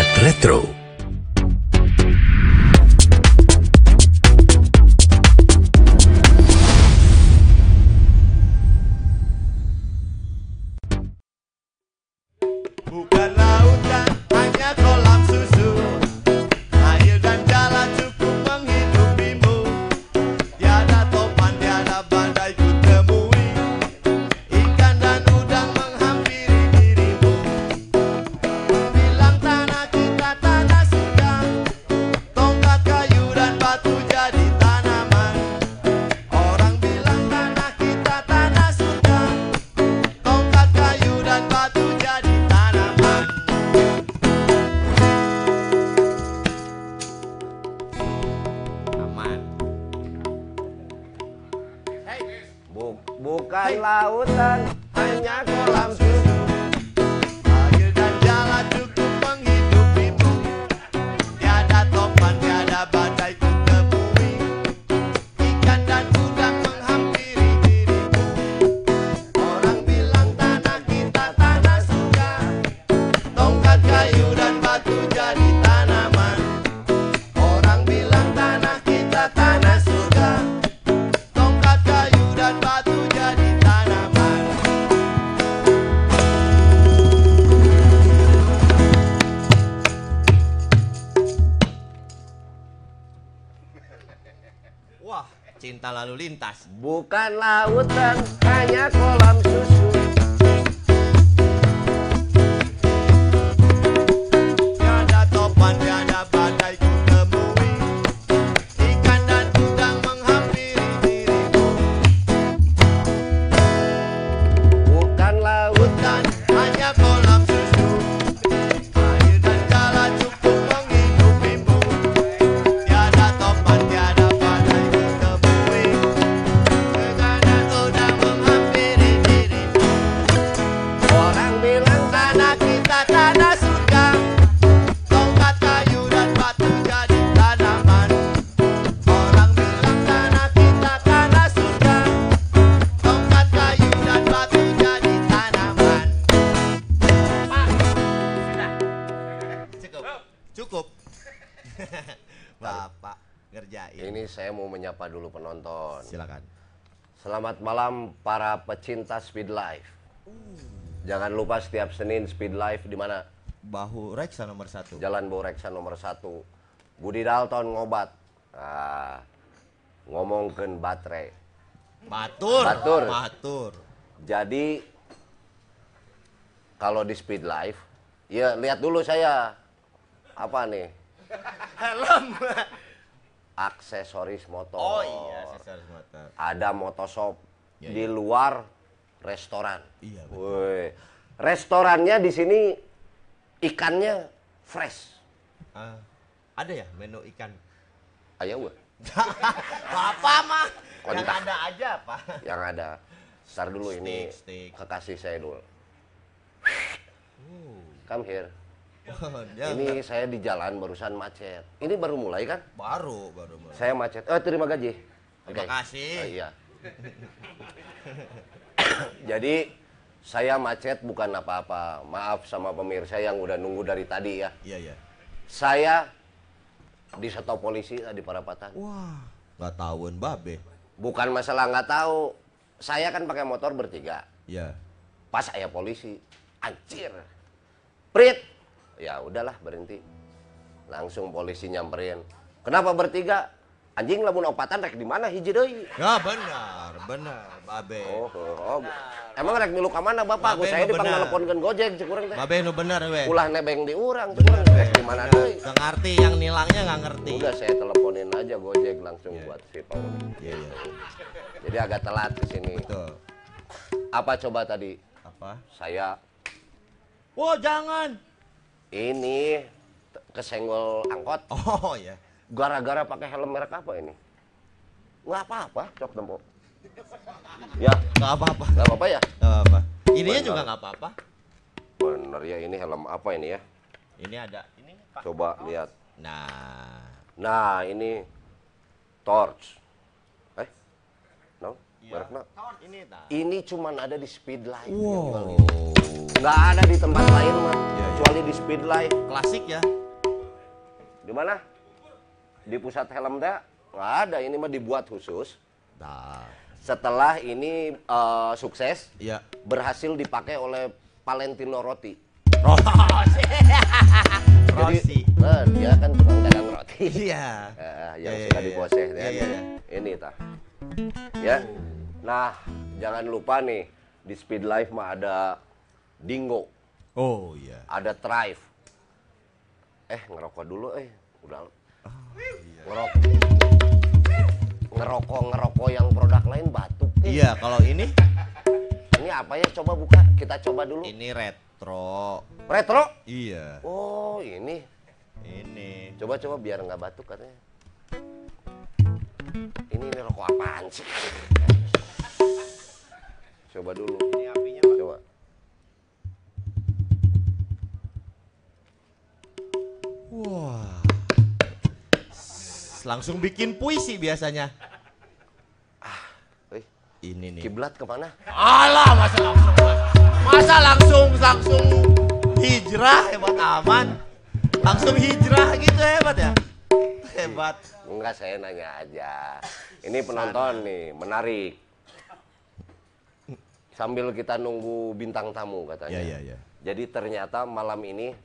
Saat Retro. Bukan lautan, hanya kolam susu. Air dan jalan cukup menghidupimu. Tiada topan, tiada badai ku temui. Ikan dan udang menghampiri dirimu. Bilang tanah kita tanah surga. Tongkat kayu dan batu jadi tanaman. Orang bilang tanah kita tanah surga. Tongkat kayu dan batu jadi tanaman. Aman. Bukan lautan, hanya kolam susu. Air dan jalan cukup menghidupimu. Tiada topan, tiada badai ku temui. Ikan dan udang menghampiri dirimu. Orang bilang tanah kita tanah surga. Tongkat kayu dan batu jadi tanaman. Orang bilang tanah kita tanah surga. Tongkat kayu dan batu jadi tanaman. Wah, cinta lalu lintas. Bukan lautan, hanya kolam susu. Tiada topan, tiada badai ku temui. Ikan dan udang menghampiri dirimu. Bukan lautan, Hutan, hanya kolam susu. Air dan jalan cukup menghidupimu. Tiada topan, tiada badai ku temui. Ikan dan udang menghampiri dirimu. orang bilang Tanah kita tanah surga. Tongkat kayu dan batu jadi tanaman. Orang bilang tanah kita tanah surga. Tongkat kayu dan batu jadi tanaman. Pak, sudah. Cukup. Cukup. Bapak ngerjain. ini saya mau menyapa dulu penonton. Silakan. Selamat malam para pecinta Speed Life. Jangan lupa setiap Senin Speed Life di mana? Bahu reksa nomor 1. Jalan Boreksa nomor 1. Budi Dalton ngobat. Ngomongkeun baterai. Batur. Batur. Batur. Jadi kalau di Speed Life, ya lihat dulu saya apa nih? Helm. Aksesoris motor. Oh iya, aksesoris motor. Ada motoshop Ya, di ya. luar restoran. Iya, betul. Woi, restorannya di sini ikannya fresh. Ada ya menu ikan? Ayo, weh. Apa mah? Yang Kontak. ada aja apa? Yang ada. Ntar dulu ini Steak. kekasih saya dulu. Come here. Dia Ini saya di jalan barusan macet. Ini baru mulai kan? baru mulai. Saya macet. Terima gaji. Terima Oke. kasih. Iya. Jadi saya macet bukan apa-apa. Maaf sama pemirsa yang udah nunggu dari tadi ya. Iya, iya. Saya di stop polisi di Parapatan. Wah, nggak tahuan babe. Bukan masalah nggak tahu. Saya kan pakai motor bertiga. Iya. Pas saya polisi, anjir. Prit. Ya udahlah berhenti. Langsung polisi nyamperin. Kenapa bertiga? Anjing lamun opatan rek di mana hiji deui? Ya benar, babe. Oh. Emang rek milu ka mana Bapak? Ku Babe, saya nu benar. dipangneleponnkeun Gojek cek urang teh. Babe nu benar we. Ulah nebeng di urang cek urang rek di mana deui? Nggak ngerti yang nilangnya nggak ngerti. Udah saya teleponin aja Gojek langsung buat si Paul. Iya, iya. Jadi agak telat ke sini. Betul. Apa coba tadi? Apa? Saya Wah, jangan. ini kesenggol angkot Oh ya. gara-gara pakai helm merek apa ini? Nggak apa-apa, cok tempo. Ya, Nggak apa-apa. nggak apa-apa ya. Nggak apa-apa. Ininya Benar. juga nggak apa-apa. Bener ya, ini helm apa ini ya? Ini ada ini Pak. Coba lihat. Nah, Nah, ini torch. No? Merekna. Ini tah. Ini cuman ada di Speed Life. Wow. Nggak ada di tempat lain mah, kecuali di Speed Life. Klasik ya. Di mana? Di pusat helm teh nggak ada. Ini mah dibuat khusus. Nah. Setelah ini sukses, Iya. berhasil dipakai oleh Valentino Rossi. Rossi. Dia kan tukang dagang roti. Iya. Yang Iya, suka iya, diboseh. iya, iya. Ini tah. Ya. Nah, jangan lupa nih di Speed Life mah ada Dingo, Oh iya. ada Thrive. Ngerokok dulu udah. Ngerokok yang produk lain batuk. Iya, kalau ini Ini apa ya? Coba buka, kita coba dulu. ini retro. Retro? Iya. Oh, ini. Ini. Coba biar nggak batuk katanya. Ini rokok apaan sih? Coba dulu. Ini apinya, Pak. Coba. Wah. Langsung bikin puisi biasanya. Wih, Ini nih. kiblat kemana? Alah, masa langsung hijrah, hebat aman. Langsung hijrah gitu hebat ya. Hebat. Enggak, saya nanya aja. Ini penonton nih, menarik. Sambil kita nunggu bintang tamu katanya. Iya. Jadi ternyata malam ini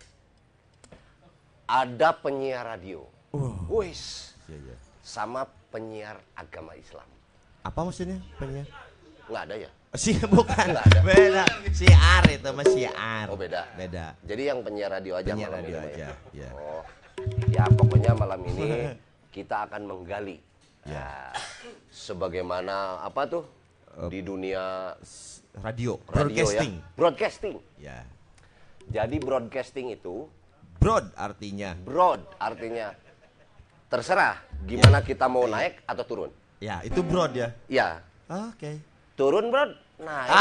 ada penyiar radio. Wis. Iya. Sama penyiar agama Islam. Apa maksudnya penyiar? Nggak ada ya? Bukan. Nggak ada. Beda. Siar itu mah siar. Oh, beda. Beda. Jadi yang penyiar radio aja Penyiar malam radio ini, Pak, aja, ya? ya. Oh. Ya pokoknya malam ini kita akan menggali. Ya. Sebagaimana apa tuh? Di dunia Radio. radio Broadcasting. ya. Broadcasting. Ya. Jadi broadcasting itu Broad artinya. broad artinya terserah gimana kita mau naik atau turun. Ya, itu broad ya. Ya, Oke. turun broad, naik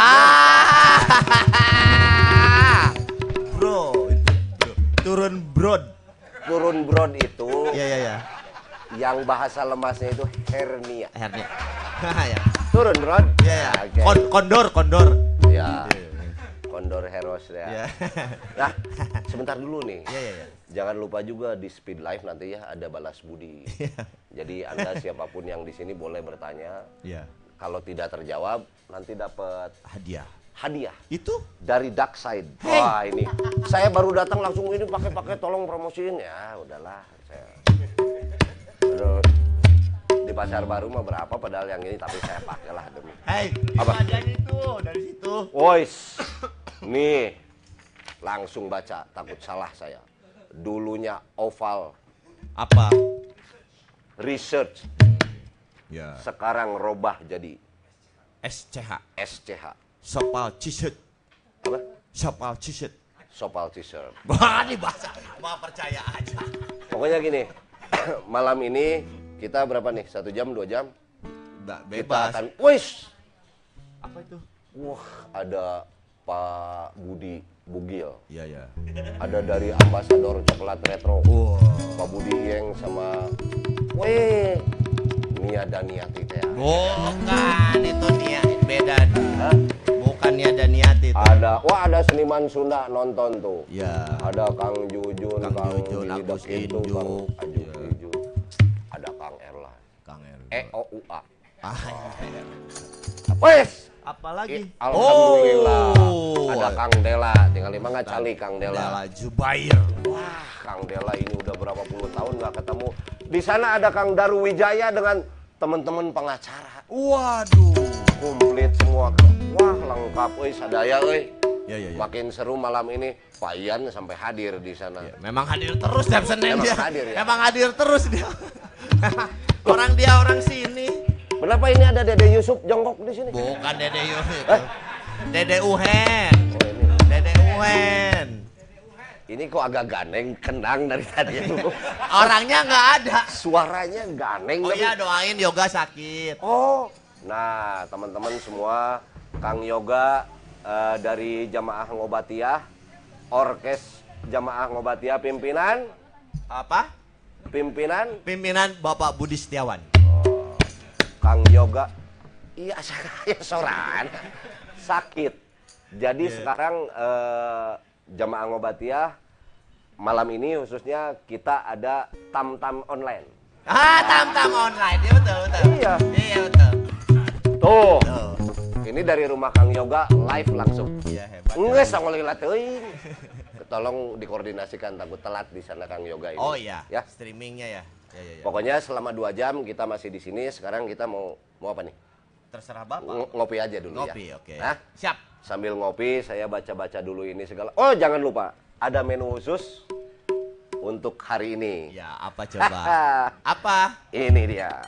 Bro, itu bro. Turun broad. broad. Turun broad itu Ya. yang bahasa lemasnya itu hernia. Hernia. Ya. Turun broad. Ya. Oke. Kondor. Ya. Kondor Heros ya. Ya. Nah, sebentar dulu nih. Ya. Jangan lupa juga di Speed Life nanti ya ada balas budi. Jadi Anda siapapun yang di sini boleh bertanya. Ya. Kalau tidak terjawab nanti dapat Hadiah. hadiah Itu dari Dark Side. Wah, ini saya baru datang langsung ini pakai tolong promosiin ya. Udahlah saya. Aduh, di pasar baru mah berapa padahal yang ini tapi saya pakailah demi. Hei, Apa? aja itu dari situ. Wois. Nih. Langsung baca, takut salah saya. Dulunya Oval Apa? Research, Ya. sekarang robah jadi SCH. SCH. Sopal Cisut. Apa? Sopal Cisut. Sopal T-shirt. Wah, ini bahasa. Mau percaya aja. Pokoknya gini, malam ini kita berapa nih? 1 jam, 2 jam? Mbak Kita bebas. akan, wis. Apa itu? Wah, ada Pak Budi Bugil. Iya. Ada dari ambasador coklat retro. Wow. Pak Budi Yeng sama Nia Daniati teh. Bukan itu niat beda. Hah? Bukan niat dan niat itu. Ada seniman Sunda nonton tuh. Ya. Ada Kang Jujun, Kang Jujun, Billy Agus Dekitu, Injuk. Kang Ajuk Iya. Injuk. Ada Kang Erlan. Kang El. EOUA. Iya. Wes. Apalagi? Alhamdulillah. Oh. Ada Kang Dela, tinggal 5 nggak cali Kang Dela. Dela Jubair. Wah, Kang Dela ini udah berapa puluh tahun nggak ketemu. Di sana ada Kang Daru Wijaya dengan teman-teman pengacara. Waduh. Komplit semua. Wah, lengkap euy sadaya euy. Ya. Makin seru malam ini. Pak Ian sampai hadir di sana. Ya, memang hadir terus tiap Senin Memang dia. hadir, ya? Memang hadir terus dia. orang sini. Kenapa ini ada Dede Yusuf jongkok di sini? Bukan Dede Yusuf. Dede Uhen. Oh, ini. Dede Uhen. Ini kok agak ganeng, kendang dari tadi. Orangnya nggak ada. Suaranya ganeng. Oh tapi- iya, doain Yoga sakit. Oh, nah teman-teman semua, Kang Yoga dari Jamaah Ngobatiyah, Orkes Jamaah Ngobatiyah pimpinan Apa? Pimpinan Bapak Budi Setiawan. Kang Yoga. Iya, saya soran. Sakit. Jadi sekarang jamaah Ngobatiyah malam ini khususnya kita ada tam-tam online. Tam-tam online. Iya betul. Iya. Iya betul. Tuh. Tuh. Ini dari rumah Kang Yoga live langsung. Iya hebat. Nggak sangolila teuing. Tolong dikoordinasikan takut telat di sana Kang Yoga ini. Oh iya. Ya. Streamingnya ya. Ya. Pokoknya selama 2 jam kita masih di sini. Sekarang kita mau apa nih? Terserah Bapak. Ngopi aja dulu Ngopi, ya. oke. Hah? Siap. Sambil ngopi saya baca-baca dulu ini segala. Oh, jangan lupa ada menu khusus untuk hari ini. Ya, apa coba? Apa? Ini dia.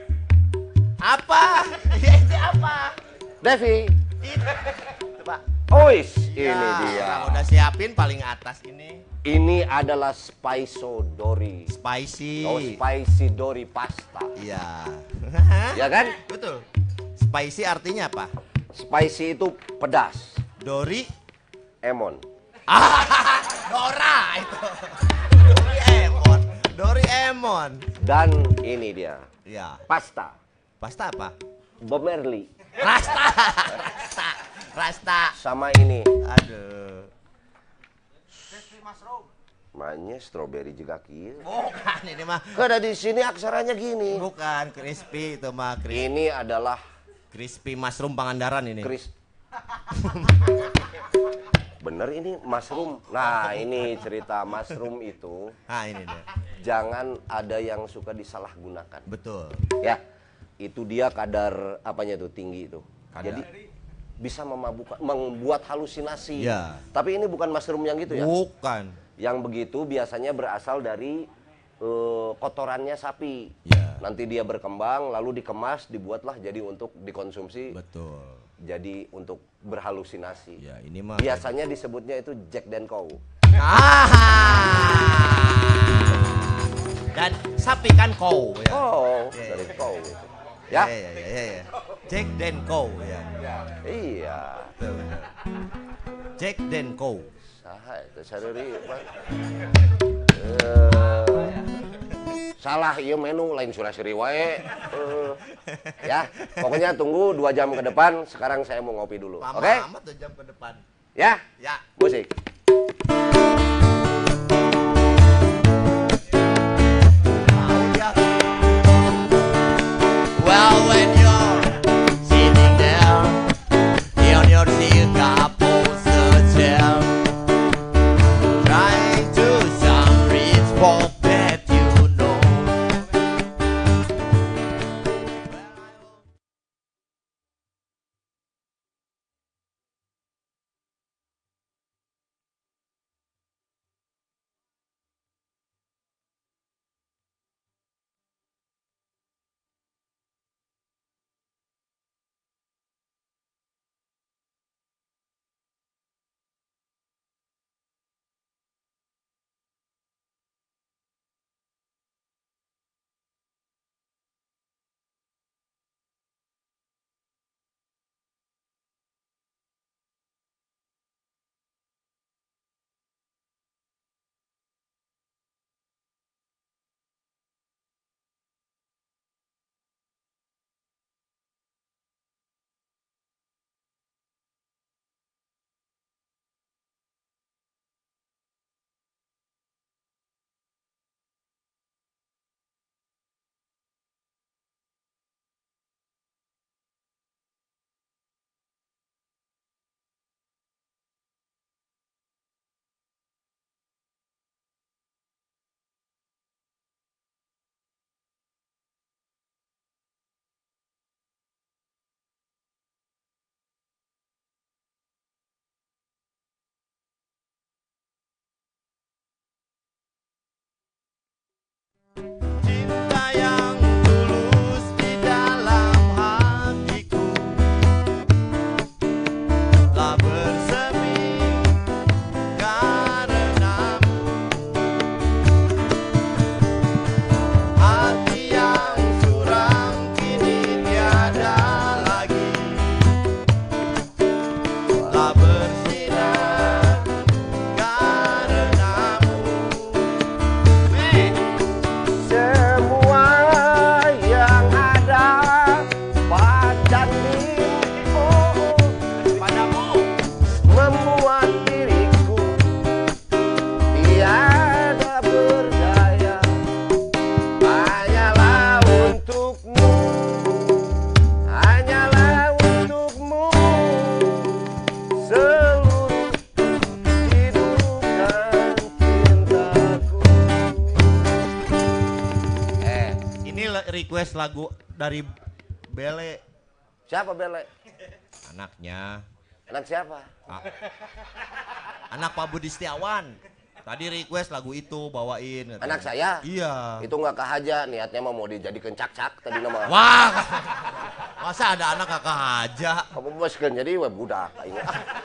Apa? Ini apa? Devi. Coba. Ois, ini Ya, dia. orang udah siapin paling atas ini. Ini adalah Spicy Spicy. Oh, spicy Dori pasta. Iya. Ya kan? Betul. Spicy artinya apa? Spicy itu pedas. Dori. Emon. Dora itu. Doraemon. Doraemon. Dan ini dia. Ya. Pasta. Pasta apa? Bob Marley. Rasta. Sama ini. Aduh. Maknya strawberry juga kieu. Bukan ini mah. Kada di sini aksaranya gini. Bukan crispy itu mah. Ini adalah Crispy mushroom Pangandaran ini. Chris. Bener ini mushroom. Nah, ini cerita mushroom itu Ah ini dia. jangan ada yang suka disalahgunakan. Betul. Ya. Itu dia kadar apanya tuh tinggi itu. Kadar. Jadi bisa memabukkan, membuat halusinasi. Ya. Tapi ini bukan mushroom yang gitu ya. Bukan. Yang begitu biasanya berasal dari kotorannya sapi. Ya. Nanti dia berkembang, lalu dikemas, dibuatlah jadi untuk dikonsumsi. Betul. Jadi untuk berhalusinasi. Ya ini mah. Biasanya disebutnya itu Jack dan Cow. Dan sapi kan cow ya. Oh, Ya, dari ya. Cow itu. Ya? Ya. Jack dan cow ya. Iya. Betul. Jack dan cow. Saha itu sadari salah iya menu lain surasiri wae. Ya, pokoknya tunggu 2 jam ke depan. Sekarang saya mau ngopi dulu. Lama Oke? amat 2 jam ke depan. Ya? Ya. Musik. request lagu dari Bele. Siapa Bele? Anaknya. Anak siapa? Anak Pak Budi Setiawan. Tadi request lagu itu bawain. Katanya. Anak saya? Iya. Itu nggak kahaja, niatnya mah mau dijadikan cak-cak tadi nama. Wah. Masa ada anak kakak aja? Kamu boskan jadi web budak ini.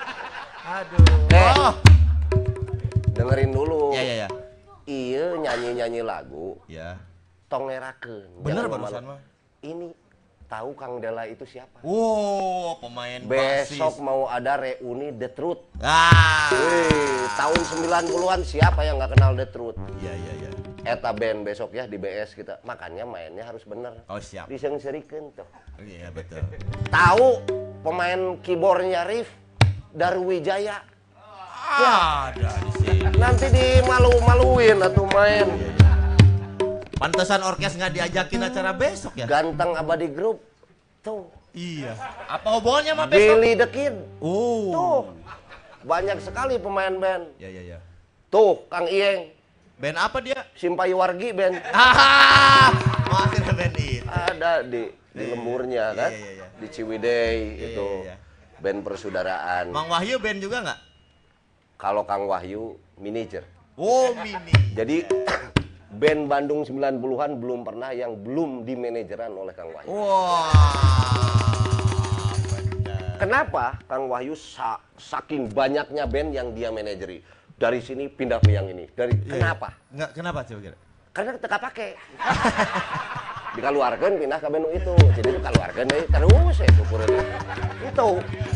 Aduh. Dengerin dulu. Ya. Iya nyanyi lagu. Ya. Tong ngerakeun. Bener Jangan barusan malu. mah. Ini tahu Kang Dela itu siapa? Wow, pemain Besok basis. mau ada reuni The Truth. Ah. Wih, tahun 90-an siapa yang nggak kenal The Truth? Iya. Eta band besok ya di BS kita. Makanya mainnya harus bener. Oh siap. Diseng-serikeun tuh. Iya betul. Tahu pemain keyboardnya Rif Darwijaya. Ada di sini. Nanti dimalu-maluin atau main. Pantesan orkes nggak diajakin acara besok ya? Ganteng Abadi Group. Tuh. Iya. Apa hubungannya sama besok? Billy the Kid. Oh. Tuh. Banyak sekali pemain band. Ya. Tuh, Kang Iyeng. Band apa dia? Simpai Wargi band. Masih ada band itu. Ada di lemburnya kan. Iya. Di Ciwidey itu. Iya. Band persaudaraan. Mang Wahyu band juga nggak? Kalau Kang Wahyu manajer. Oh mini. Jadi band Bandung 90-an belum pernah yang belum dimanajeran oleh Kang Wahyu. Wah. Benar. Kenapa Kang Wahyu saking banyaknya band yang dia manajeri? Dari sini pindah ke yang ini. Kenapa? Nggak, kenapa coba kira? Karena teka pakai. Dikaluarkan pindah ke band itu. Jadi dikaluarkan deh terus ya syukurin. Itu.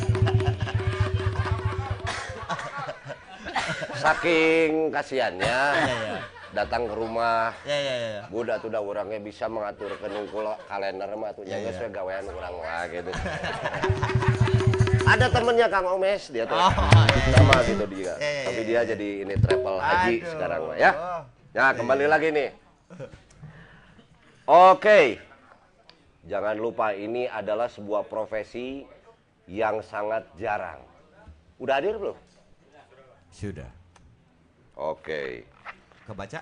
Saking kasihannya datang ke rumah. Ya. Budak tuh dah orangnya bisa mengatur kenungkul kalender mah tuh nyanyi sesuai gawean orang wah gitu. Ada temennya Kang Omes dia tuh. Sama gitu dia. Tapi dia jadi ini travel haji sekarang mah ya. Nah, kembali lagi nih. Oke. Jangan lupa ini adalah sebuah profesi yang sangat jarang. Udah hadir belum? Sudah. Oke. Kebaca?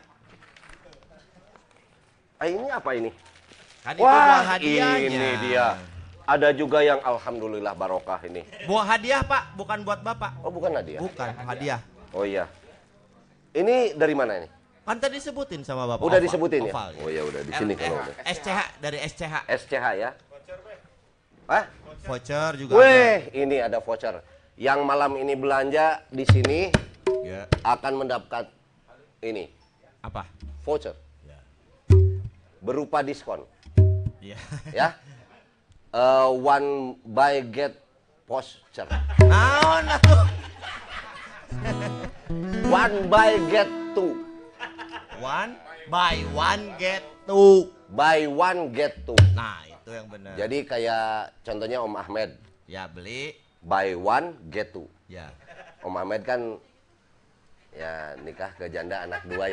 Ini apa ini? Kan itu buah hadiahnya. Ini dia. Ada juga yang alhamdulillah barokah ini. Buah hadiah Pak, bukan buat Bapak. Oh bukan hadiah? Bukan, hadiah. Oh iya. Ini dari mana ini? Kan tadi disebutin sama Bapak. Udah Oval. disebutin ya? Oval, Oh iya udah di sini kalau udah. SCH dari SCH. SCH ya? Hah? Voucher juga. Weh, ini ada voucher. Yang malam ini belanja di sini Ya. akan mendapat ini Apa? voucher Ya. berupa diskon. Iya. Ya. One buy get voucher. Naon atuh? One buy get two. One buy one get two. Buy one get two. Nah, itu yang benar. Jadi kayak contohnya Om Ahmed. Ya beli. Buy one get two. Ya. Om Ahmed kan ya nikah ke janda anak dua ya.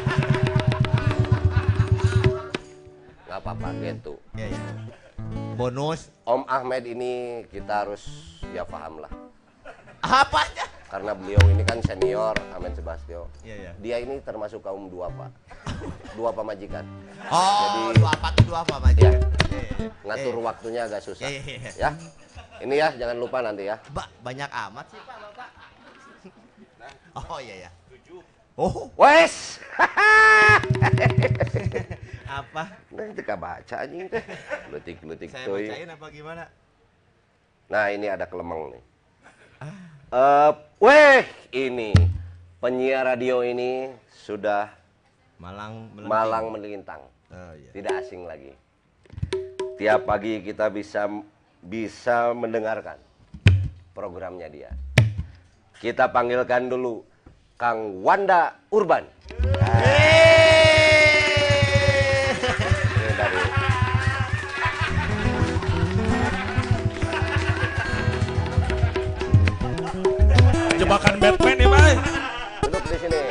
Nggak apa-apa gitu. Ya. Bonus. Om Ahmed ini kita harus ya paham lah. Apanya? Karena beliau ini kan senior, Amen Sebastio. Iya. Dia ini termasuk kaum duafa. Duafa majikan. Oh, Jadi- dua apa tuh dua apa Mas? Ya. Iya. Ngatur waktunya agak susah. Iya. Ya. Ini ya, jangan lupa nanti ya. Banyak amat sih Pak Bapak. Oh iya ya. Oh, Wes. apa? Nah, itu baca anjing teh. Letik-letik Saya teuing. bacain apa gimana? Nah, ini ada kelemeng nih. Ini penyiar radio ini sudah Malang melenting. malang melintang. Oh iya. Tidak asing lagi. Tiap pagi kita bisa mendengarkan programnya dia. Kita panggilkan dulu Kang Wanda Urban. Ini dari Jebakan Batman nih, Pak. duduk di sini.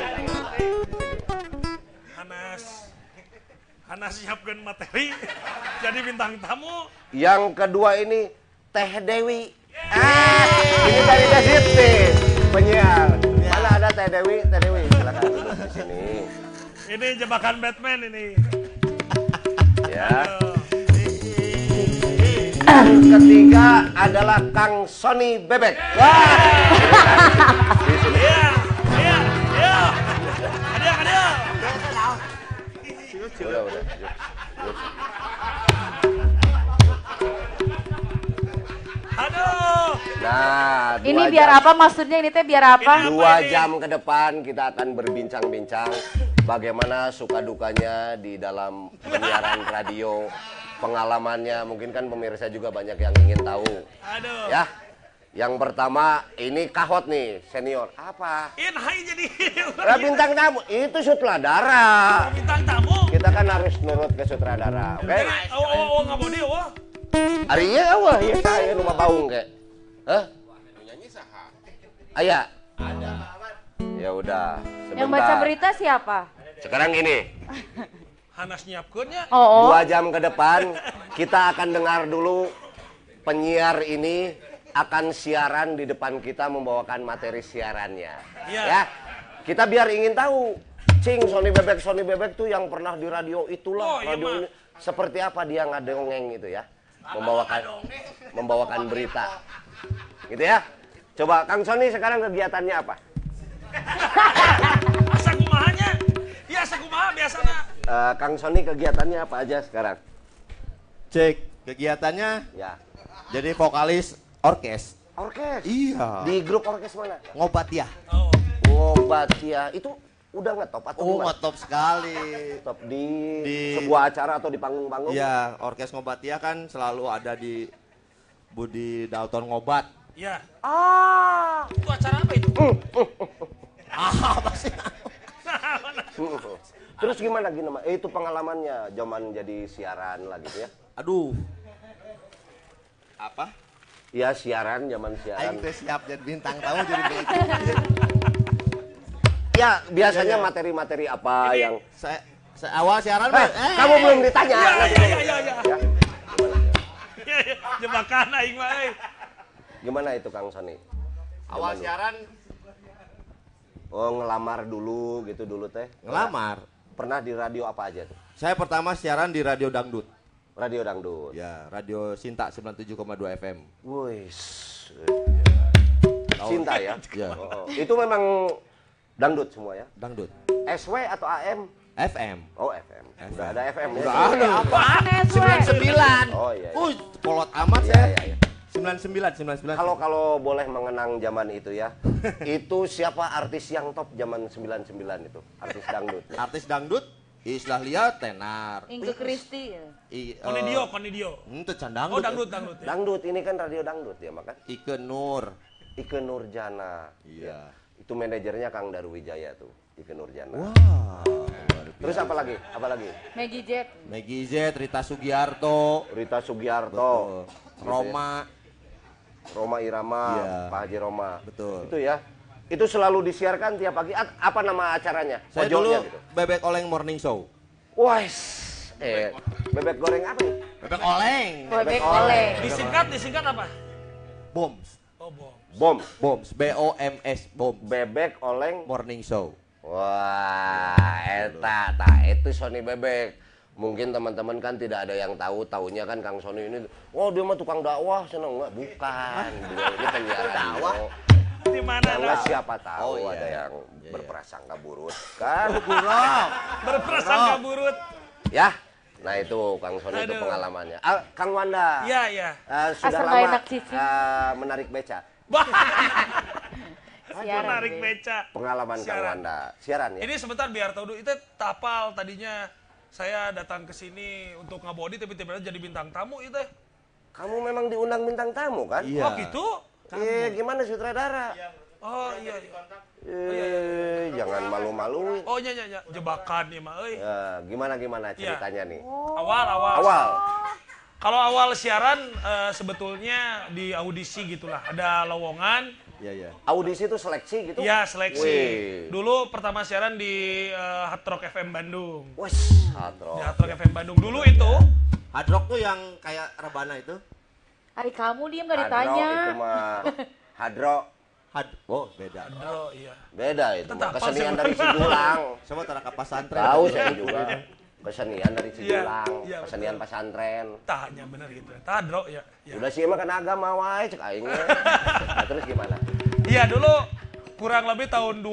Hanas siapkan materi jadi bintang tamu. Yang kedua ini Teh Dewi. Ini dari Dasit nih, penyiar. Mana ada Teh Dewi? Teh Dewi, silakan duduk di sini. Ini jebakan Batman ini. Ya. Yang ketiga adalah Kang Sony Bebek. Wah. Iya, iya, iya. Hadiah. Udah. Aduh. Nah, Ini 2 biar jam, apa maksudnya ini teh biar apa? 2 jam ke depan kita akan berbincang-bincang bagaimana suka dukanya di dalam penyiaran radio, pengalamannya. Mungkin kan pemirsa juga banyak yang ingin tahu. Aduh. Ya. Yang pertama ini Kahot nih, senior. Apa? Hai jadi. Bintang tamu itu sutradara. Bintang tamu. Kita kan harus nurut ke sutradara, oke? Nggak mau dia, Arinya wah ya saya rumah baung kayak. Hah? Nyanyi saha? Aya. Ada. Ya udah. Yang baca berita siapa? Sekarang gini. Hanas nyiapkeunnya. Oh. 2 jam ke depan kita akan dengar dulu penyiar ini akan siaran di depan kita membawakan materi siarannya. Iya. Ya. Kita biar ingin tahu. Cing Sony Bebek tuh yang pernah di radio itulah. Iya, Radio ini seperti apa dia ngadongeng gitu ya. Membawakan berita. Gitu ya. Coba Kang Sony sekarang kegiatannya apa? Asa kumahanya? Ya asa kumaha biasana. Kang Sony kegiatannya apa aja sekarang? Cek kegiatannya Ya. jadi vokalis orkes. Orkes. Iya. Di grup orkes mana? Ngobat ya. Oh. Ngobat ya. Itu udah ngetop atau Oh, gimana? ngetop sekali. Top di Di- sebuah acara atau di panggung-panggung? Iya, orkes Ngobat ya kan selalu ada di Budi Dalton Ngobat. Ya. Ah. Itu acara apa itu? Apa sih? Terus gimana itu pengalamannya zaman jadi siaran lah gitu ya? Aduh. Apa? Ya siaran, zaman siaran. Aing teh siap jadi bintang tamu jadi bintang. Ya biasanya materi-materi apa yang Saya awal siaran, kamu belum ditanya. Ya. Jebakan aing mah euy. Gimana itu Kang Sony? Awal Zaman siaran dulu. Oh ngelamar dulu gitu dulu teh. ngelamar. Pernah di radio apa aja tuh? Saya pertama siaran di Radio Dangdut. Radio dangdut. Ya, Radio Sinta 97,2 FM. Wih. Cinta ya? Ya. Oh, itu memang dangdut semua ya? Dangdut. SW atau AM? FM. Oh FM. Udah ada FM ya? Udah ada. Apaan SW? 99. Oh iya. Kolot amat Iya, saya. iya, iya. 99. Kalau boleh mengenang zaman itu ya, itu siapa artis yang top zaman 99 itu? Artis dangdut. Ya? Artis dangdut Islah lihat tenar. Ingke Kristi. Konidio. Itu can Oh, dangdut. dangdut ya. Dangdut ini kan radio dangdut ya makan. Ike Nur. Ike Nurjana. Iya. Itu manajernya Kang Darwijaya tuh, Ike Nurjana. Wah. Terus apa lagi? Apa lagi? Maggie Jet. Maggie Z, Rita Sugiarto, Rita Sugiarto, betul. Roma. Roma Irama, Iya. Pak Haji Roma. Betul. Itu ya. Itu selalu disiarkan tiap pagi. Apa nama acaranya? Saya dulu Pojoknya gitu. Bebek Oleng Morning Show. Wah, bebek goreng apa nih? Bebek Oleng. Bebek oleng. Disingkat apa? Boms. Oh, bom. Bom. Boms. BOMS. Boms. Bebek oleng. Morning Show. Wah, itu Sony Bebek. Mungkin teman-teman kan tidak ada yang taunya kan Kang Sony ini, oh dia mah tukang dakwah, seneng enggak? Bukan, beliau ini penyiar dakwah. Di mana Enggak ada? siapa tahu Oh, iya. ada yang Iya. berprasangka buruk kan? Berprasangka buruk. Ya, nah itu Kang Sony itu Aduh. pengalamannya. Kang Wanda, Iya, iya. sudah Asal nggak lama enak cici. menarik beca. Siaran, Menarik Be. beca. Pengalaman Kang Siaran. Wanda, siaran ya? Ini sebentar biar tahu dulu. Itu tapal tadinya saya datang ke sini untuk ngabodi tapi tiba-tiba jadi bintang tamu itu. Kamu memang diundang bintang tamu kan? Iya. Oh gitu? Gimana sutradara? Oh iya. Iya. Jangan malu-malu. Oh iya. Jebakan nih mah euy. Ya, gimana ceritanya nih? Awal. Kalau awal siaran sebetulnya di audisi gitulah. Ada lowongan. Iya. Audisi itu seleksi gitu? Iya, seleksi. Wih. Dulu pertama siaran di Hard Rock FM Bandung. Wes, Hatro. Di Hard Rock FM Bandung. Dulu itu Hard Rock tuh yang kayak rebana itu. Ari kamu diem gak Hadro ditanya. itu mah Hadro Oh, beda. oh iya. beda itu mah Tetap kesenian apa dari sih? Sidulang. Sama tara ka pasantren. Tahu saya juga. Kesenian dari Cijulang, Iya, kesenian betul. pesantren. Tanya bener gitu. Tadro ya. Ya. Udah sih emang kan agama wae cek aing. Nah, terus gimana? Iya dulu kurang lebih tahun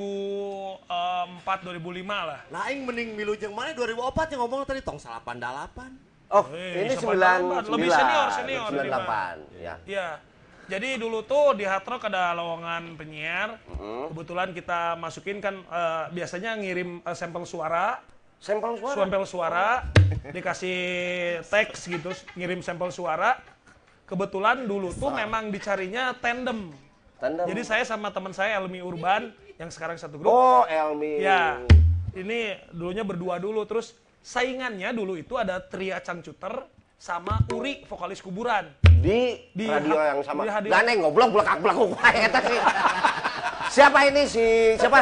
2004 2005 lah. Nah, aing mending milu jeung mana 2004 yang ngomong tadi tong 88. Oh, Wih, ini 98. 99. Lebih senior, 98, ya. Iya. Jadi dulu tuh di Hard Rock ada lowongan penyiar. Kebetulan kita masukin kan biasanya ngirim sampel suara. Sampel suara. Sampel suara, dikasih teks gitu, ngirim sampel suara. Kebetulan dulu tuh memang dicarinya tandem. Tandem. Jadi saya sama teman saya Elmi Urban yang sekarang satu grup. Oh, Elmi. Ya, ini dulunya berdua dulu. Terus saingannya dulu itu ada Tria Cangcuter sama Uri, vokalis Kuburan. Di radio yang sama. di radio. Ganeng goblok belakang wae eta sih. Siapa ini siapa?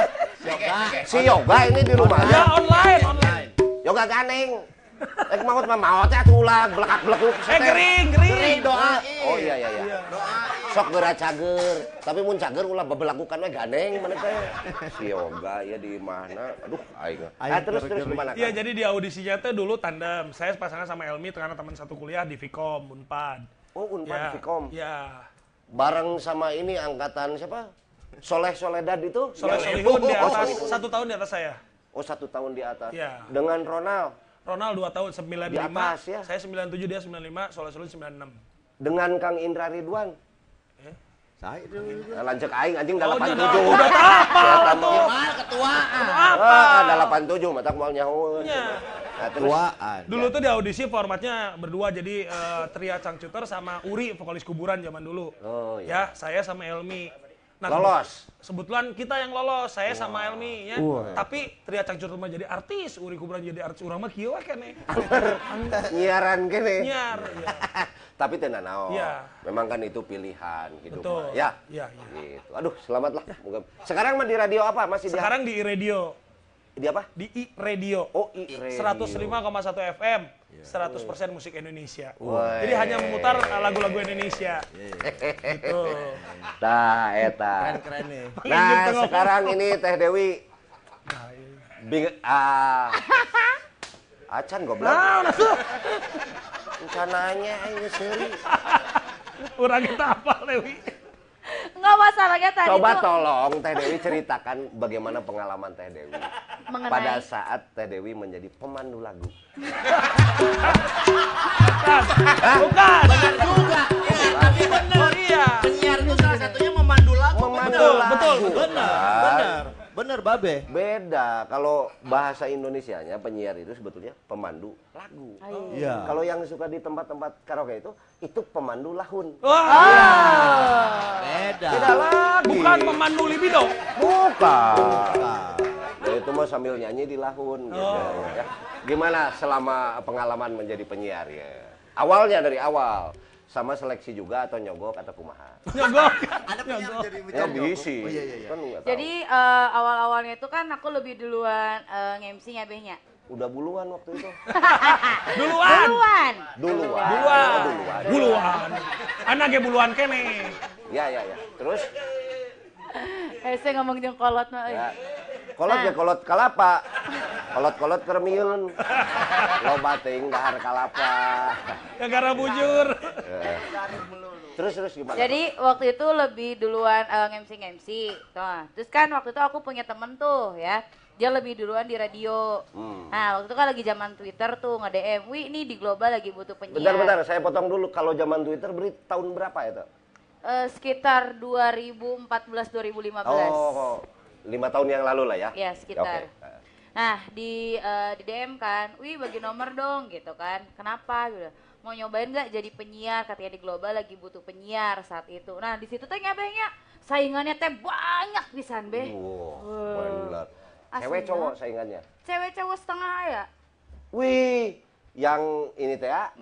Si Yoga ini di rumah. Ya online. Yoga Ganeng. Maut mah maot teh ulah belakang-belakang. Gering. Doain. Oh iya. Sok geura cager, tapi mun cager ulah babelakukan we Ganeng mana teh. Si Yoga ya di mana? Aduh aing. Terus gimana? Iya, jadi di audisinya tuh dulu tandem. Saya pasangan sama Elmi karena teman satu kuliah di Vkom, Unpad. Oh, Unpad Vkom. Ya. Bareng sama ini angkatan siapa? Soleh Soledad itu? Soleh Yang- Solihun di Oh, atas, Solihun. 1 tahun di atas saya. Oh, 1 tahun di atas. Iya. Dengan Ronald. Ronald 2 tahun, 95. Di atas, ya? Saya 97, dia 95, Soleh Solihun 96. Dengan Kang Indra Ridwan. Saya dulu. Lanjut aing anjing Oh, 87. udah hafal tuh. Gimana ketuaan? Ada 87 mata moal nyaho. Iya. Nah, terus Ketuaan. Dulu tuh di audisi formatnya berdua, jadi Tria Cangcuter sama Uri, vokalis Kuburan zaman dulu. Oh, Ya, saya sama Elmi. lolos. Kebetulan kita yang lolos, saya sama Elmi ya. Tapi Tria Cangcuter mah jadi artis, Uri Kuburan jadi artis. Urang mah kieu we keneh. Nyiaran kene. Nyiar. Ya. Tapi teu nanaon. Iya. Memang kan itu pilihan hidup. Betul. mah. Ya. Iya. Gitu. Aduh, selamat lah. Moga. Sekarang mah di radio apa? Masih Sekarang di iRadio. di apa? Di iRadio. Oh, iRadio. 105,1 FM. 100% musik Indonesia. Wah. Jadi hanya memutar lagu-lagu Indonesia. Gitu. Tah eta. Keren nih. Nah, sekarang ini Teh Dewi Acan goblok. Rencananya ini seri. Urang kita apa, Lewi? Enggak masalahnya tadi Coba tuh tolong Teh Dewi ceritakan bagaimana pengalaman Teh Dewi mengenai pada saat Teh Dewi menjadi pemandu lagu. Bukan. Juga. Tapi bener. Oh iya. Penyiar itu salah satunya memandu lagu. Memandu lagu. betul. Bener Babe. Beda kalau bahasa Indonesianya penyiar itu sebetulnya pemandu lagu. Iya. Kalau yang suka di tempat-tempat karaoke itu pemandu lahun. Wah. Beda. Beda lagi. Bukan pemandu libido. Bukan. Nah, Ya itu mah sambil nyanyi di lahun gitu ya. Gimana selama pengalaman menjadi penyiar ya? Awalnya dari awal sama seleksi juga atau nyogok atau kumaha? Nyogok. ada penyiar jadi Ya bisi. Oh iya. Kan nggak tahu. jadi awal-awalnya itu kan aku lebih duluan nge-MC nya Behnya. Udah buluan waktu itu. Duluan. Duluan. Buluan. Anaknya buluan kene. Ya. Terus Saya ngomong jeung kolot mah euy. ya. Kolot ya kolot kalapa. Kolot kermiun. Loba teuing dahar kalapa. Gara-gara bujur. Terus gimana? Jadi waktu itu lebih duluan nge-MC. Nah, terus kan waktu itu aku punya temen tuh ya. Dia lebih duluan di radio. Nah, waktu itu kan lagi zaman Twitter tuh nge-DM, "Wih, ini di Global lagi butuh penyiar." Bentar, saya potong dulu. Kalau zaman Twitter beri tahun berapa itu? Sekitar 2014-2015. Oh, 5 tahun yang lalu lah ya? Ya, sekitar. Oke. Nah, di DM kan, "Wih, bagi nomor dong," gitu kan. "Kenapa?" gitu. "Mau nyobain nggak jadi penyiar?" Katanya di Global lagi butuh penyiar saat itu. Nah, di situ tuh nyabehnya saingannya teh banyak pisan, Beh. Wow, benar. Asli Cewek cowok banget. saingannya? Cewek cowok setengah ya. Wih, yang ini teh ya?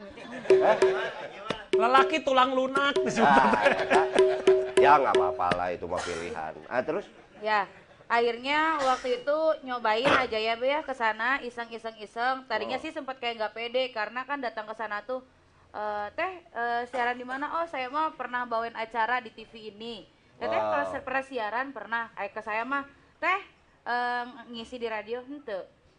Lelaki tulang lunak disebut. Ya nggak apa-apa lah itu mah pilihan. Terus? Ya, akhirnya waktu itu nyobain aja ya Be ya ke sana iseng. Tadinya sih sempat kayak nggak pede karena kan datang ke sana tuh siaran di mana? Oh, saya mah pernah bawain acara di TV ini. Teteh pernah siaran pernah. Ke saya mah, "Teh ngisi di radio henteu."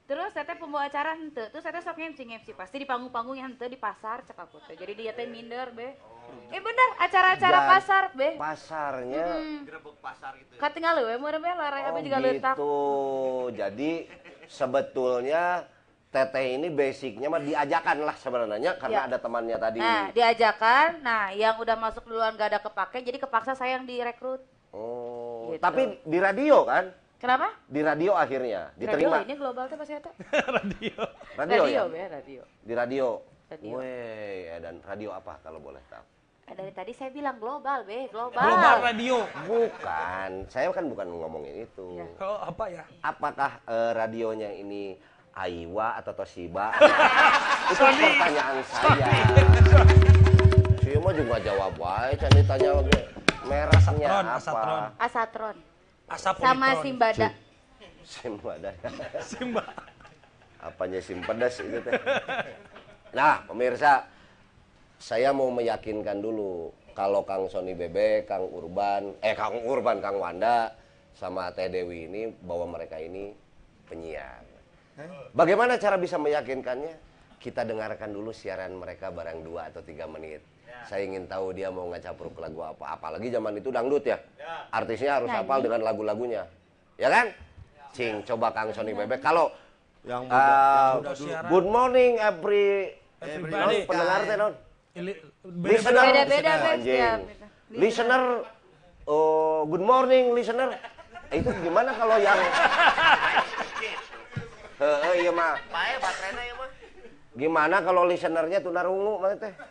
Terus saya teh pembawa acara henteu, terus saya teh sok ngemsi pasti di panggung-panggung yang henteu di pasar cek aku teh. Jadi dia teh minder be. Bener acara-acara Dan pasar be. Pasarnya Gerebek pasar itu. Katinggal leuweh meureun be larang oh apa juga leutak. gitu. Jadi sebetulnya Teteh ini basicnya mah diajakan lah sebenarnya karena Ya. ada temannya tadi. Nah, diajakan. Nah, yang udah masuk duluan gak ada kepake, jadi kepaksa saya yang direkrut. Oh, Gitu. tapi di radio kan? Kenapa? Di radio akhirnya diterima. Radio ini global tuh pas eta. Radio. Radio, ya? Be, radio. Di radio. Radio. Weh, dan radio apa kalau boleh tahu? Dari tadi saya bilang global, be, global. Global Radio. Bukan, saya kan bukan ngomongin itu. Ya. Oh, apa ya? Apakah radionya ini Aiwa atau Toshiba? Itu pertanyaan saya. Saya mah juga jawab wae, can ditanya lagi mereknya Asatron, apa? Asatron. Asatron. Asap Sama Unitron. Simbada. Simba dah. Simba. Apanya sim pedas itu teh. Nah, pemirsa, saya mau meyakinkan dulu kalau Kang Sony Bebek, Kang Wanda sama Teh Dewi ini bahwa mereka ini penyiar. Bagaimana cara bisa meyakinkannya? Kita dengarkan dulu siaran mereka barang 2 atau 3 menit. Saya ingin tahu dia mau ngacapruk lagu apa. Apalagi zaman itu dangdut ya. Artisnya harus Nyanyi. hafal dengan lagu-lagunya. Ya kan? Cing, coba Kang Sony Bebek. Kalau Yang Udah siaran. good morning every Everybody. pendengar teh non. Beda-beda. Listener. Beda-beda, Bes. Anjing. Ya, Listener, good morning listener. Itu gimana kalau yang iya mah. Pae baterainya ya mah. Gimana kalau listenernya tunarungu mah teh?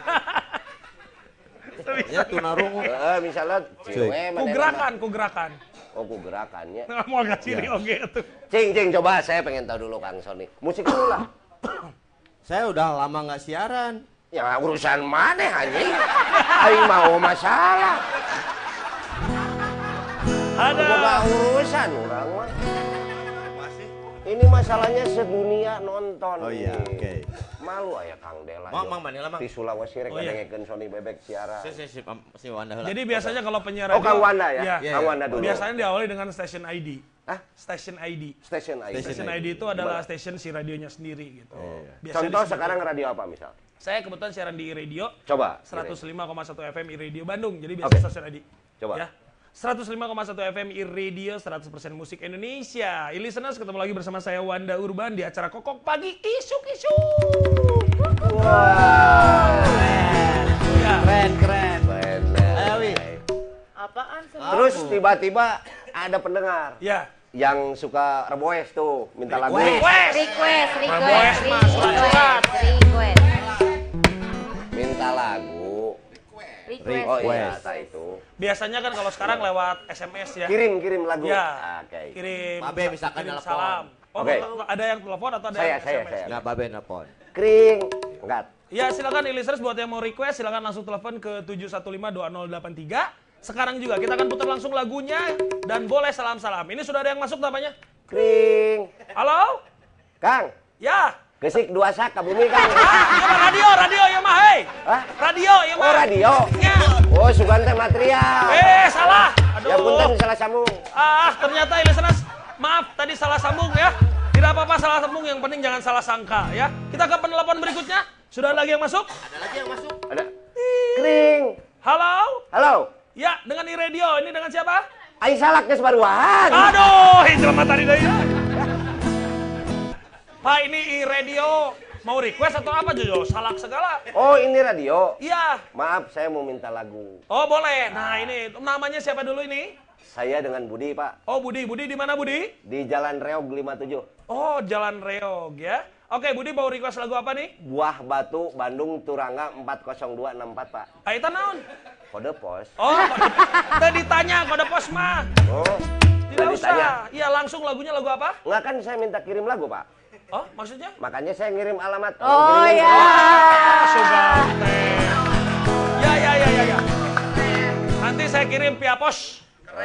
Ya tunarungu. Misalnya cewek Ku gerakan. Oh, ku gerakannya. Nggak mau ngasih oke tuh. Cing, coba saya pengen tahu dulu Kang Sony. Musik dulu lah. Saya udah lama nggak siaran. Ya urusan mana anjing? Aing mau masalah. Ada. Boga urusan orang mah. Masih. Ini masalahnya sedunia nonton. Oh iya, nih. oke. Malu aya Kang Dela. Mang, Mang Manila, Mang. Di Sulawesi rek Oh, iya. ngadengekeun Sony Bebek siaran. Si Wanda heula. Jadi biasanya kalau penyiar Oh, Kang Wanda ya? Iya. Iya, Kang Wanda dulu. Biasanya diawali dengan station ID. Hah? Station ID. Station ID. Station ID itu adalah station si radionya sendiri gitu. Biasanya Contoh disebut- sekarang radio apa misal? Saya kebetulan siaran di radio Coba. 105,1 FM iRadio Bandung. Jadi Oke. biasa stasiun ID. Coba. Ya. 105,1 FM iRadio 100% musik Indonesia. Listeners, ketemu lagi bersama saya Wanda Urban di acara Kokok Pagi Isu-Isu. Wah. Ya. Keren, keren. Bener. Ayo, Wi. Apaan sih? Terus tiba-tiba ada pendengar Ya. yang suka request tuh, minta lagu. Request. Request. Minta lagu. Request. Oh iya, tak itu. Biasanya kan kalau sekarang lewat SMS ya. Kirim lagu. Ya. Oke. Kirim. Babe misalkan kirim telepon. salam. Oh, Oke. ada yang telepon atau ada Saya, yang SMS? saya. Nggak babe nelpon. Kring. Enggak. Ya silakan listeners buat yang mau request silakan langsung telepon ke 715-2083. Sekarang juga kita akan putar langsung lagunya dan boleh salam-salam. Ini sudah ada yang masuk namanya? Kring. Halo? Kang, Ya. gesik 2 sak ke bumi Kang. Radio ya mah hei. Hah? Radio ya mah. Oh, radio. Ya. Oh, sugante material. Salah. Aduh. Ya punten salah sambung. Ternyata listeners, maaf tadi salah sambung ya. Tidak apa-apa salah sambung, yang penting jangan salah sangka ya. Kita ke penelpon berikutnya. Sudah ada lagi yang masuk? Ada lagi yang masuk. Ada. Kring. Halo? Halo. Ya, dengan iRadio. Ini dengan siapa? Aing salak geus baruan. Aduh, jelema tadi deui. Pak, ini iRadio. Mau request atau apa, Jojo? Salak segala. Oh, ini radio. Iya. Maaf, saya mau minta lagu. Oh, boleh. Nah, ini namanya siapa dulu ini? Saya dengan Budi, Pak. Oh, Budi. Budi di mana, Budi? Di Jalan Reog 57. Oh, Jalan Reog ya. Oke, Budi mau request lagu apa nih? Buah Batu, Bandung, Turangga 40264, Pak. Aitan naon? Kode pos. Oh, tadi ditanya kode pos mah. Oh, Tidak tadi tanya. usah. Iya, langsung lagunya lagu apa? Nggak kan saya minta kirim lagu, Pak. Oh, maksudnya? Makanya saya ngirim alamat. Oh Kirimin ya. Sugante. Ya. Nanti saya kirim via pos.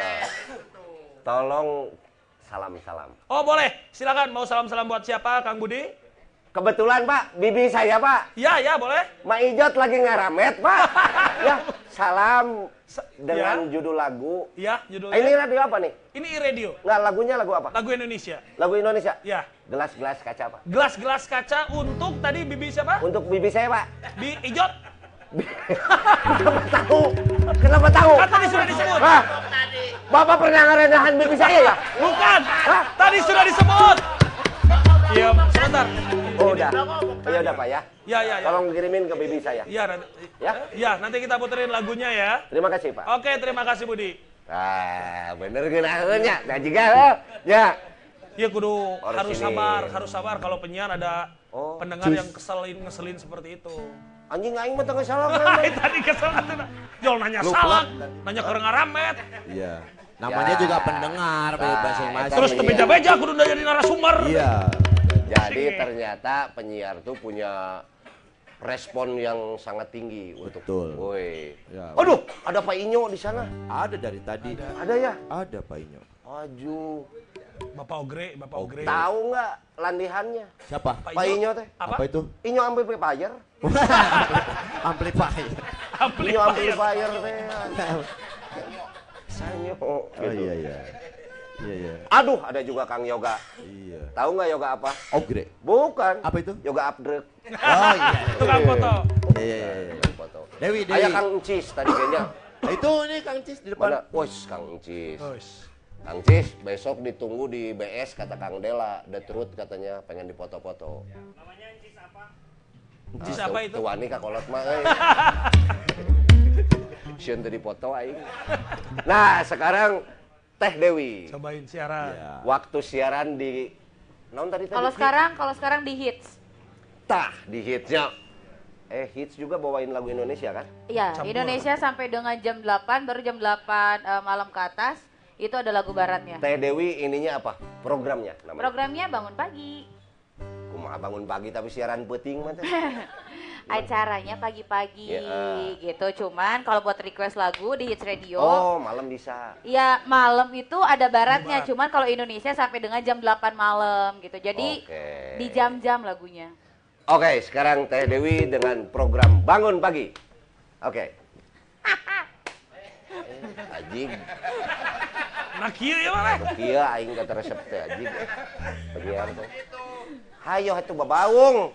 Tolong salam-salam. Oh, boleh. Silakan mau salam-salam buat siapa, Kang Budi? Kebetulan, Pak, bibi saya, Pak. Ya, boleh. Ma Ijot lagi ngaramet, Pak. Ya, salam dengan Ya. judul lagu. Ya, judulnya. Ini radio apa nih? Ini iRadio. Nggak, lagunya lagu apa? Lagu Indonesia. Lagu Indonesia. Ya. Gelas-gelas kaca, Pak. Gelas-gelas kaca untuk tadi bibi siapa? Untuk bibi saya, Pak. Bi Ijot. Kenapa tahu? Kenapa tahu? Kan tadi sudah disebut. Hah? Bapak pernah ngerendahan bibi saya ya? Bukan. Tadi sudah disebut. Iya, sebentar. Oh, udah. Ya udah, Pak ya. Ya, ya, ya. Tolong kirimin ke bibi saya. Ya, nanti, Ya? ya, nanti kita puterin lagunya ya. Terima kasih, Pak. Oke, terima kasih Budi. Ah, bener ngeunaheunnya. Da jiga ya. Ya kudu Harus harus ini. sabar kalau penyiar ada Oh, pendengar yang ngeselin seperti itu. Anjing aing mah teu salah kan. Tadi kesel atuh. Jol nanya salah, nanya ke ngaramet. Iya. Namanya Ya. juga pendengar masing-masing. Terus ke beja-beja kudu udah jadi narasumber. Iya. Jadi ternyata penyiar tuh punya respon yang sangat tinggi untuk Betul. woi. Ya. Aduh, ada Pak Inyo di sana. Ada dari tadi. Ada ya? Ada Pak Inyo. Aju. Bapak Ogre. Tahu nggak landihannya? Siapa? Pak Inyo teh. Apa? Apa itu? Inyo amplifier. Amplifier. Inyo amplifier teh. Sanyo. Oh iya iya. Iya iya. Aduh, ada juga Kang Yoga. Iya. Tahu nggak yoga apa? Ogre. Bukan. Apa itu? Yoga upgrade. Oh iya. Tukang foto. Iya iya iya. Foto. Dewi. Ayah Kang Encis tadi kayaknya. Itu nih Kang Cis di depan. Mana? Wos, Kang Encis. Terus. Kang Cis, besok ditunggu di BS kata Kang Dela. The Truth katanya pengen difoto-foto. Cis apa itu? Tuani kakolot mah euy. Sieun teu dipoto aing. Nah, sekarang Teh Dewi. Cobain siaran. Iya. Waktu siaran di naon tadi tadi? Kalau sekarang di hits. Tah, di hitsnya. Hits juga bawain lagu Indonesia kan? Iya, Campur. Indonesia sampai dengan jam 8, baru jam 8 malam ke atas itu ada lagu baratnya. Teh Dewi ininya apa? Programnya namanya. Programnya bangun pagi. Kumaha bangun pagi tapi siaran peuting mah teh. Acaranya pagi-pagi Ya. gitu. Cuman kalau buat request lagu di Hits Radio, Oh, malam bisa. ya malam itu ada baratnya. Cuman kalau Indonesia sampai dengan jam 8 malam gitu. Jadi Oke. di jam-jam lagunya. Oke, sekarang Teh Dewi dengan program Bangun Pagi. Oke. Ajing, Nah kieu ya mah. kieu aing kata resep teh ajing. Bagian teh. Hayo atuh babaung.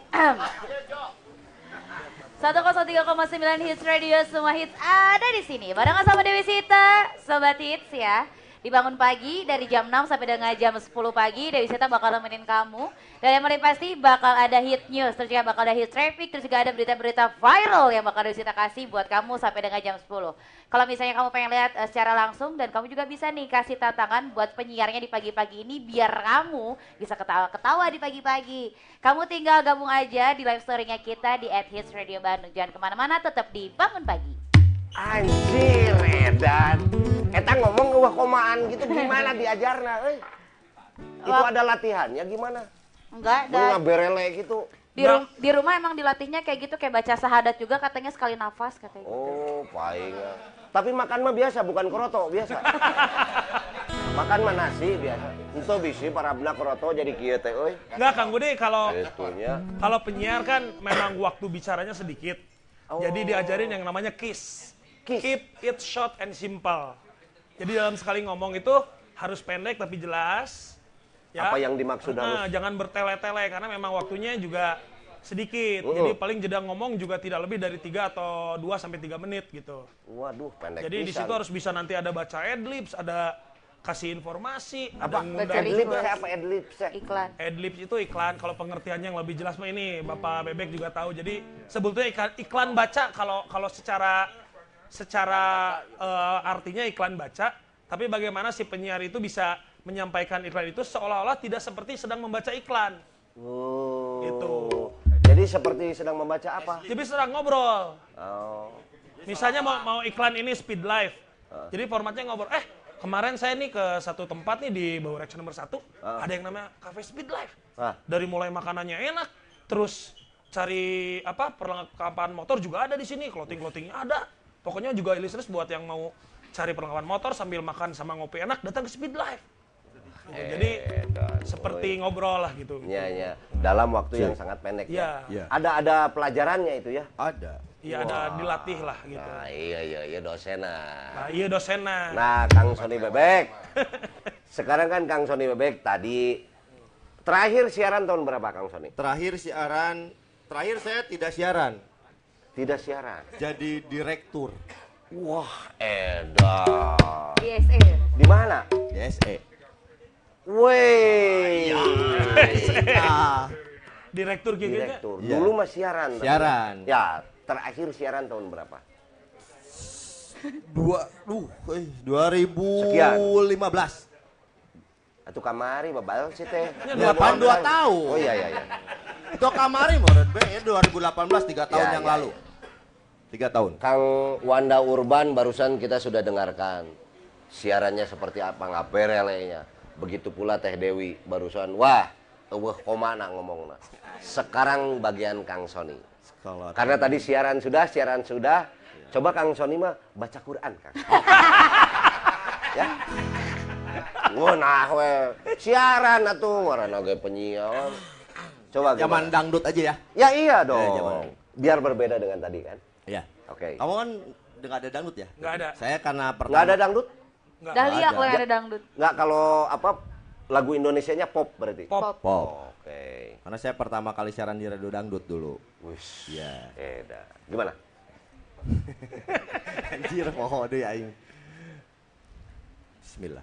103,9 Hits Radio, semua hits ada di sini. Barengan sama Dewi Sita, Sobat Hits ya. Dibangun pagi dari jam 6 sampai dengan jam 10 pagi, Dewi Sita bakal nemenin kamu. Dan yang paling pasti bakal ada hit news, terus juga bakal ada hit traffic, terus juga ada berita-berita viral yang bakal Dewi Sita kasih buat kamu sampai dengan jam 10. Kalau misalnya kamu pengen lihat secara langsung, dan kamu juga bisa nih kasih tantangan buat penyiarnya di pagi-pagi ini biar kamu bisa ketawa-ketawa di pagi-pagi. Kamu tinggal gabung aja di live story-nya kita di @hitsradiobandung. Jangan kemana-mana, tetap di Bangun Pagi. Anjir, edan. Eta ngomong eueuh komaan gitu gimana diajarna euy? Itu ada latihannya gimana? Enggak, Mun dan ngaberele gitu. di rumah emang dilatihnya kayak gitu, kayak baca sahadat juga katanya sekali nafas katanya gitu. Oh, paling. Tapi makan mah biasa, bukan kroto, biasa. Makan mah nasi biasa. Itu bisi parabna kroto jadi kieu teh euy. Enggak Kang Budi, kalau Itunya. penyiar kan memang waktu bicaranya sedikit. Oh. Jadi diajarin yang namanya KISS. Kiss. Keep it short and simple. Jadi dalam sekali ngomong itu harus pendek tapi jelas. Ya. Apa yang dimaksud harus? Jangan bertele-tele karena memang waktunya juga sedikit. Jadi paling jeda ngomong juga tidak lebih dari 3 atau 2 sampai 3 menit gitu. Waduh, pendek Jadi di pisan. situ harus bisa nanti ada baca adlibs, ada kasih informasi, apa? ada ngundang Adlib Baca teh apa adlib teh? Iklan. Adlibs itu iklan, kalau pengertiannya yang lebih jelas mah ini Bapak Bebek juga tahu. Jadi sebetulnya iklan baca kalau secara artinya iklan baca, tapi bagaimana si penyiar itu bisa menyampaikan iklan itu seolah-olah tidak seperti sedang membaca iklan. Oh. Gitu. Jadi seperti sedang membaca apa? Jadi sedang ngobrol. Oh. Misalnya mau iklan ini Speed Life. Jadi formatnya ngobrol. Kemarin saya nih ke satu tempat nih di Baurex nomor 1. Ada yang namanya Cafe Speed Life. Dari mulai makanannya enak, terus cari perlengkapan motor juga ada di sini, clothing-clothingnya ada. Pokoknya juga listeners buat yang mau cari perlengkapan motor sambil makan sama ngopi enak, datang ke Speed Life. Jadi seperti ngobrol lah gitu. Iya. Dalam waktu yang sangat pendek Iya. ya. Ada pelajarannya itu ya? Ada. Iya, ada dilatih lah gitu. Nah, iya dosenna. Nah, iya dosennya. Nah, Kang Sony Bebek. Sekarang kan Kang Sony Bebek tadi Terakhir siaran tahun berapa Kang Sony? Terakhir saya tidak siaran. Tidak siaran. Jadi direktur. Wah, edan. Di SE. Di mana? Di SE. Wey. Ah, Direktur GGG. Direktur. Iya. Dulu mah siaran. tapi- Siaran. Ya, terakhir siaran tahun berapa? 2015. Atau kamari babal sih teh. Ya, 82 tahun. Oh iya iya iya. Itu kamari menurut B ya 2018 3 tahun Ya, yang ya, lalu. 3 tahun. Kang Wanda Urban barusan kita sudah dengarkan siarannya seperti apa ngaperelenya. Begitu pula Teh Dewi barusan. Wah, eueuh komana ngomongna. Sekarang bagian Kang Sony. Kalau Karena tadi siaran sudah. Coba Kang Sony mah baca Quran, Kang. Ya. Ngunah we. Siaran atuh ngaranna ge penyiar. Coba zaman gimana? dangdut aja ya. Ya iya dong. zaman. Biar berbeda dengan tadi kan. Iya. Oke. Kamu kan nggak ada dangdut ya? Nggak ada. Saya karena pertama. Nggak ada dangdut? Nggak. Dahlia ada. kalau yang ada dangdut. Nggak, kalau apa lagu Indonesianya pop berarti? Pop. Pop. Oke. Karena saya pertama kali siaran di radio dangdut dulu. Wis. Iya. Eda. Gimana? Anjir, poho deh aing. Bismillah.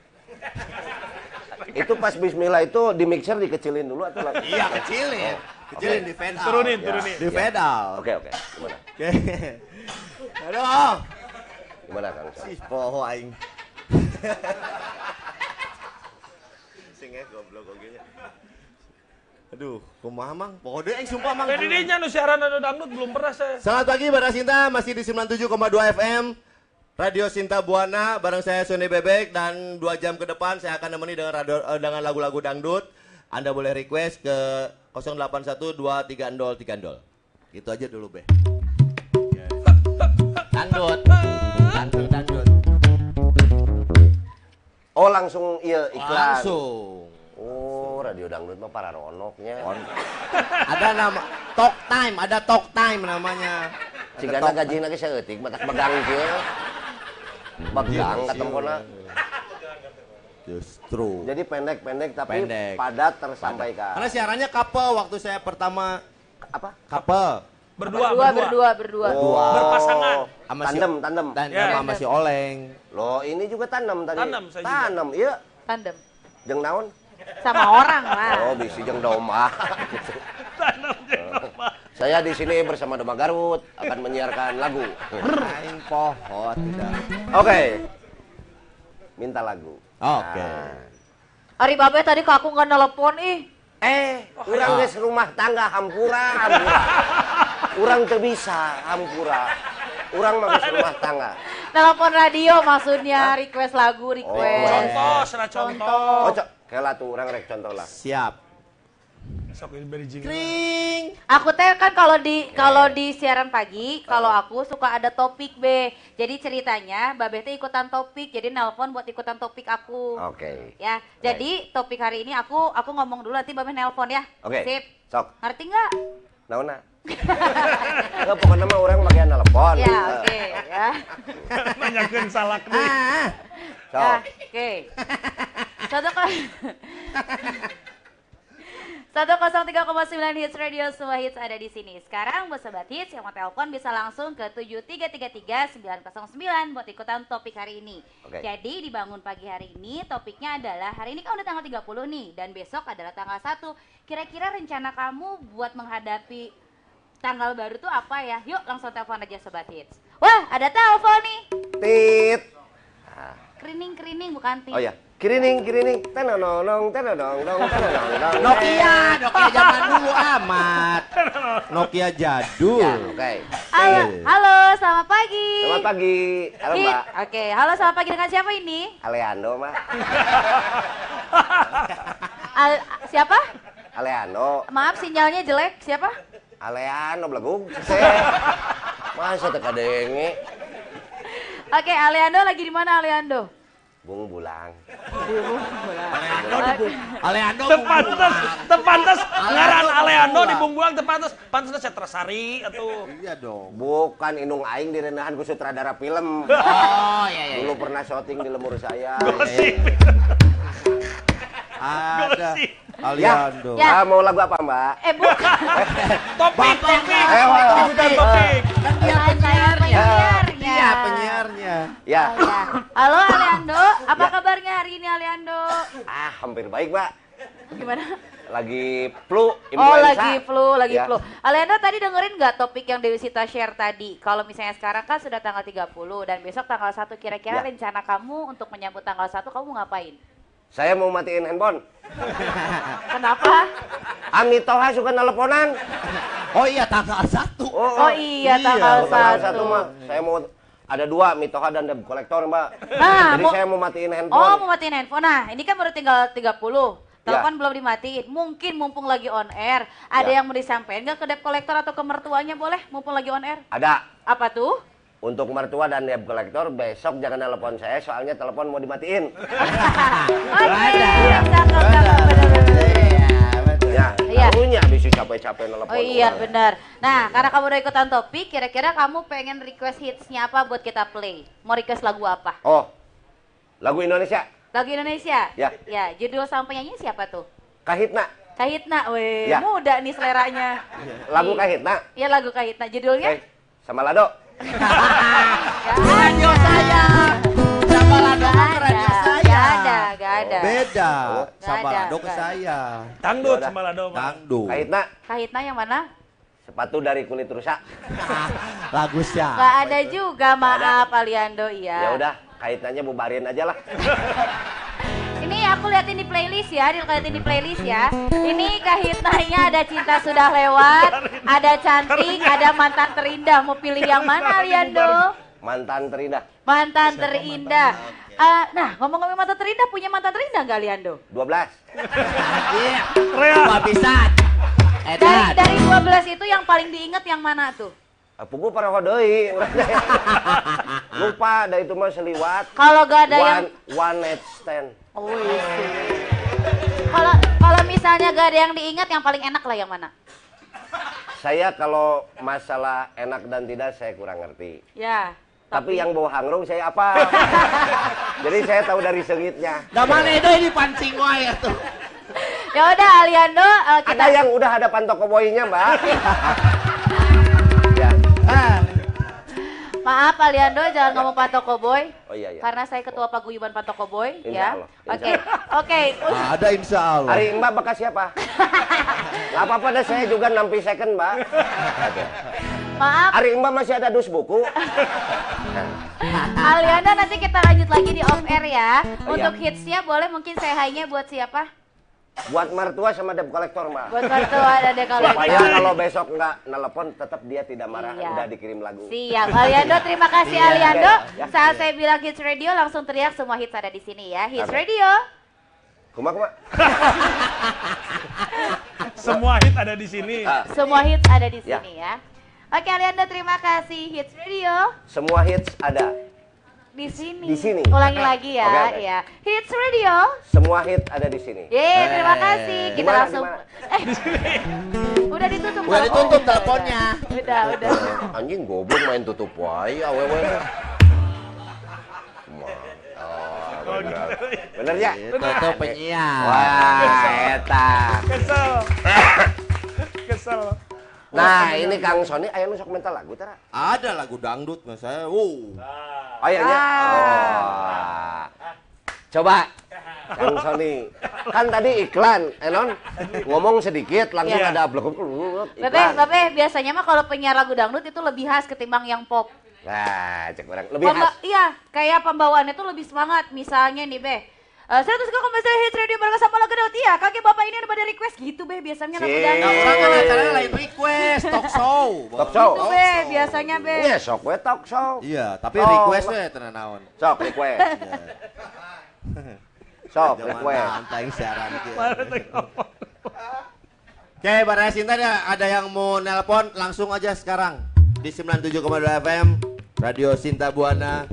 Itu pas bismillah itu di mixer dikecilin dulu atau lagi? Iya, kecilin. Kecilin di fade out. Turunin, Ya. turunin. Di fade out. Oke. Gimana? Oke. Aduh. Gimana Kang Sony? Si poho aing. Sing goblok oge nya. Aduh, kumaha mang? Poho deui aing sumpah mang. Tadi dinya nu siaran anu dangdut belum pernah saya. Selamat pagi Bara Sinta, masih di 97,2 FM Radio Sinta Buana bareng saya Sony Bebek dan 2 jam ke depan saya akan nemeni dengan lagu-lagu dangdut. Anda boleh request ke 08123030. Gitu aja dulu, Be. Dangdut. Dangdut. Oh langsung iya iklan. Langsung. Oh radio dangdut mah para ronoknya. Ada nama talk time namanya. Cigana gaji lagi saya eutik matak megang kieu. Megang katempona. Justru. Jadi pendek tapi Pendek. padat tersampaikan. Karena siarannya couple waktu saya pertama Apa? couple. Berdua. Berdua. Berpasangan. Sama si- Tandem. Dan Ya. sama si Oleng. Loh, ini juga tanam tadi. Tanam saya juga. Tanam, iya. Tandem. Jeung naon? Sama orang lah. Oh, bisi jeung domah. Tanam jengkol. Saya di sini bersama Domba Garut akan menyiarkan lagu. Aing poho tidak. Oke. Minta lagu. Oke. Ari babe tadi ke aku nggak nelpon ih. Urang geus rumah tangga hampura. Urang teu bisa hampura. Urang mah geus rumah tangga. Telepon radio maksudnya request lagu request. Contoh. Oh, kela tuh urang rek contoh lah. Siap. Sok ini beri jingle. Kring. Aku teh kan kalau di siaran pagi, kalau aku suka ada topik B. Jadi ceritanya Babe teh ikutan topik, jadi nelpon buat ikutan topik aku. Oke. Ya, jadi topik hari ini aku ngomong dulu nanti Babe nelpon ya. Oke. Sip. Sok. Ngerti nggak? Naonna? Enggak pokoknya mah urang bagian telepon. Ya, oke ya. Nanyakeun salak deui. Sok. Ya, oke. 103,9 Hits Radio, semua hits ada di sini. Sekarang buat Sobat Hits yang mau telepon bisa langsung ke 7333-909 buat ikutan topik hari ini. Oke. Jadi di Bangun Pagi hari ini topiknya adalah, hari ini kan udah tanggal 30 nih dan besok adalah tanggal 1. Kira-kira rencana kamu buat menghadapi tanggal baru tuh apa ya? Yuk langsung telepon aja Sobat Hits. Wah, ada telepon nih. Tit. Kerining bukan tit. Oh ya. Kirining. Tenonong. Nokia zaman dulu amat. Nokia jadul. Ya, oke. Halo, selamat pagi. Selamat pagi. Halo, Mbak. Oke, halo selamat pagi, dengan siapa ini? Aleando, Mbak. Siapa? Aleando. Maaf sinyalnya jelek, siapa? Aleando belagug. Masa teka denge. Oke, Aleando lagi di mana Aleando? Bung Bulang. Aleando Tepantes ngaran Aleando di Bungbulang tepantes saya Tersari atau Iya dong. Bukan Inung Aing direnahan ku sutradara film. Oh iya. Dulu pernah syuting di Lemur Saya. Gosip. Ada. Aliando. Ya. Mau lagu apa, Mbak? Bukan. Topik. Topik. Topik. Kan dia Saya penyiarnya. penyiarnya. Iya, penyiarnya. Ya. Oh, ya. Halo Aliando, apa Ya. kabarnya hari ini Aliando? Hampir baik, Mbak. Gimana? Lagi flu, Oh influenza. lagi Ya. flu. Aliando tadi dengerin nggak topik yang Dewi Sita share tadi? Kalau misalnya sekarang kan sudah tanggal 30 dan besok tanggal 1 kira-kira Ya. rencana kamu untuk menyambut tanggal 1 kamu ngapain? Saya mau matiin handphone. Kenapa? Ami Toha suka nelponan. Oh iya, tanggal 1. Oh iya tanggal Tanggal 1. 1 mah saya mau ada 2, Mitoha dan debt collector, Mbak. Nah, Jadi saya mau matiin handphone. Oh, mau matiin handphone. Nah, ini kan baru tinggal 30. Telepon Ya. belum dimatiin. Mungkin mumpung lagi on air, ada Ya. yang mau disampaikan nggak ke debt collector atau ke mertuanya boleh? Mumpung lagi on air. Ada. Apa tuh? Untuk mertua dan debt collector besok jangan telepon saya soalnya telepon mau dimatiin. Oke, Ada. cakep, bener-bener. Iya, betul. Ya, Iya. tahunya bisa capek-capek telepon. Oh iya orang. benar. Nah, karena kamu udah ikutan topik, kira-kira kamu pengen request hitsnya apa buat kita play? Mau request lagu apa? Oh. Lagu Indonesia. Lagu Indonesia? Ya. Ya, judul sama penyanyi siapa tuh? Kahitna. Kahitna, weh, Ya. muda nih seleranya. Lagu Kahitna. Iya lagu Kahitna, judulnya? Oke. Sama Lado. Radio saya. Siapa Lado Gak ke radio ada, saya? gak ada. Beda. Oh. Siapa Nggak ada, Lado ke nggak ada. saya? Dangdut Yaudah. sama Lado. Pak. Dangdut. Kahitna. Kahitna yang mana? Sepatu dari kulit rusak. Lagu siapa? Gak ada juga, maaf Aliando, iya. Ya udah, Kahitnanya bubarin aja lah. Ini aku liatin di playlist ya, dilihatin di playlist ya. Ini Kahitnanya ada Cinta Sudah Lewat, ada Cantik, ada Mantan Terindah. Mau pilih yang mana Aliando? Mantan terindah. Mantan Terindah. Nah, ngomong-ngomong mantan terindah, punya mantan terindah nggak Aliando? 12. Iya. Rea. Gua bisa. Dari 12 itu yang paling diinget yang mana tuh? Pugu para hodoi. Lupa, dah itu mah seliwat. Kalau gak ada yang One night stand. Oh, iya. Kalau misalnya gak ada yang diingat, yang paling enak lah yang mana? Saya kalau masalah enak dan tidak saya kurang ngerti. Ya. Tapi yang bawa hangrung saya apa? Jadi saya tahu dari sengitnya. Nah mana itu ini pancing wae tuh. Ya udah Aliando, kita Ada yang udah ada pantoko boynya, Mbak. Ya. maaf Aliando jangan ngomong Pantoko Boy. Oh iya iya. Karena saya ketua paguyuban Pantoko Boy Insya ya. Allah, Oke. insya Oke. Ada insya Allah. Hari Mbak bekas siapa? Gak apa-apa deh, saya juga nampi second, Mbak. Maaf Hari Mbak masih ada dus buku. Aliando, nanti kita lanjut lagi di off air ya. Oh, Untuk iya. hitsnya boleh mungkin say hi-nya buat siapa? Buat mertua sama debt collector, Mbak. Buat mertua dan Supaya dekolektor. kalau besok nggak nelpon, tetap dia tidak marah. Iya. Udah dikirim lagu. Siap, Aliando, terima kasih Iya. Aliando. Ya. Saat saya bilang hits radio langsung teriak semua hits ada di sini ya. Hits Apa? radio. Kuma. Semua hit ada di sini. Semua hits ada di Ya. sini ya. Oke Aliando, terima kasih. Hits radio Semua hits ada. di sini. Di sini. Ulangi lagi ya. Oke, oke. Ya. Hits radio. Semua hit ada di sini. Yeay, terima kasih. Kita Gimana, langsung. gimana? Udah ditutup. Udah Bang. ditutup teleponnya. Udah. Anjing goblok main tutup wae awewe. Bener ya? Itu penyiar. Wah, eta. Kesel. Kesel. Nah, ini Kang Sony aya nu sok mental lagu tara? Ada lagu dangdut mas saya. Ayahnya. Oh. Coba Kang Sony. Kan tadi iklan, non ngomong sedikit langsung Iya. ada blok Babe, biasanya mah kalau penyiar lagu dangdut itu lebih khas ketimbang yang pop. Nah, cek orang lebih khas. Iya, kayak pembawaannya tuh lebih semangat. Misalnya nih, Be. 103,9 Hits Radio bareng sama lagu dangdut. Iya, kakek bapak ini ada pada request gitu, Be. Biasanya lagu Sip. dangdut. Orang kan acaranya lain request, talk show. Talk show. Gitu, Be. Biasanya, Be. Iya, sok we talk show. Iya, tapi Oh, requestnya tenan naon. Sok request. Sok request. Santai siaran gitu. Mana tengok. Oke, Baraya Sinta ada yang mau nelpon langsung aja sekarang di 97,2 FM Radio Sinta Buana.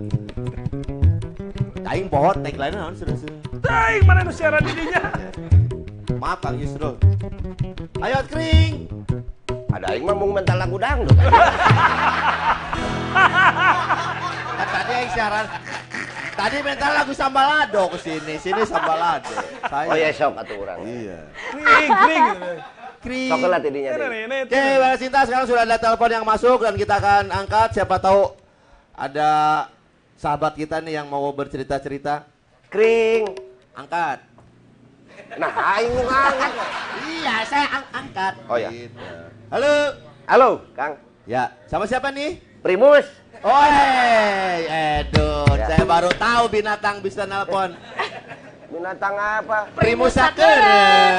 Aing pohon tagline naon sudah. Daing, mana nu siaran didinya? Maaf Kang Yusrul. Ayo kring. Ada aing mah mung mental lagu dangdut. Kan tadi aing siaran Tadi mental lagu Sambalado kesini, sini Sambalado. Saya. Oh ya sok atuh urang. Iya. Kring. Kring. Sok lah tidinya deh. Oke, Mbak Sinta, sekarang sudah ada telepon yang masuk dan kita akan angkat. Siapa tahu ada sahabat kita nih yang mau bercerita-cerita. Kring. Angkat. Nah, aing ngangkat. Iya, saya angkat. Oh ya. Gitu. Halo. Halo, Kang. Ya, sama siapa nih? Primus. Oi, Edun. Ya. Saya baru tahu binatang bisa nelpon. Binatang apa? Primus Sakeureut.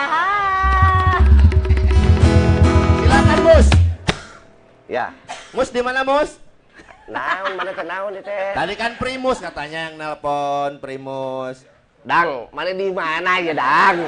Silakan, Mus. Ya. Mus di mana, Mus? Naon mana teh naon teh? Tadi kan Primus katanya yang nelpon, Primus. Dang, mana di mana ya, Dang?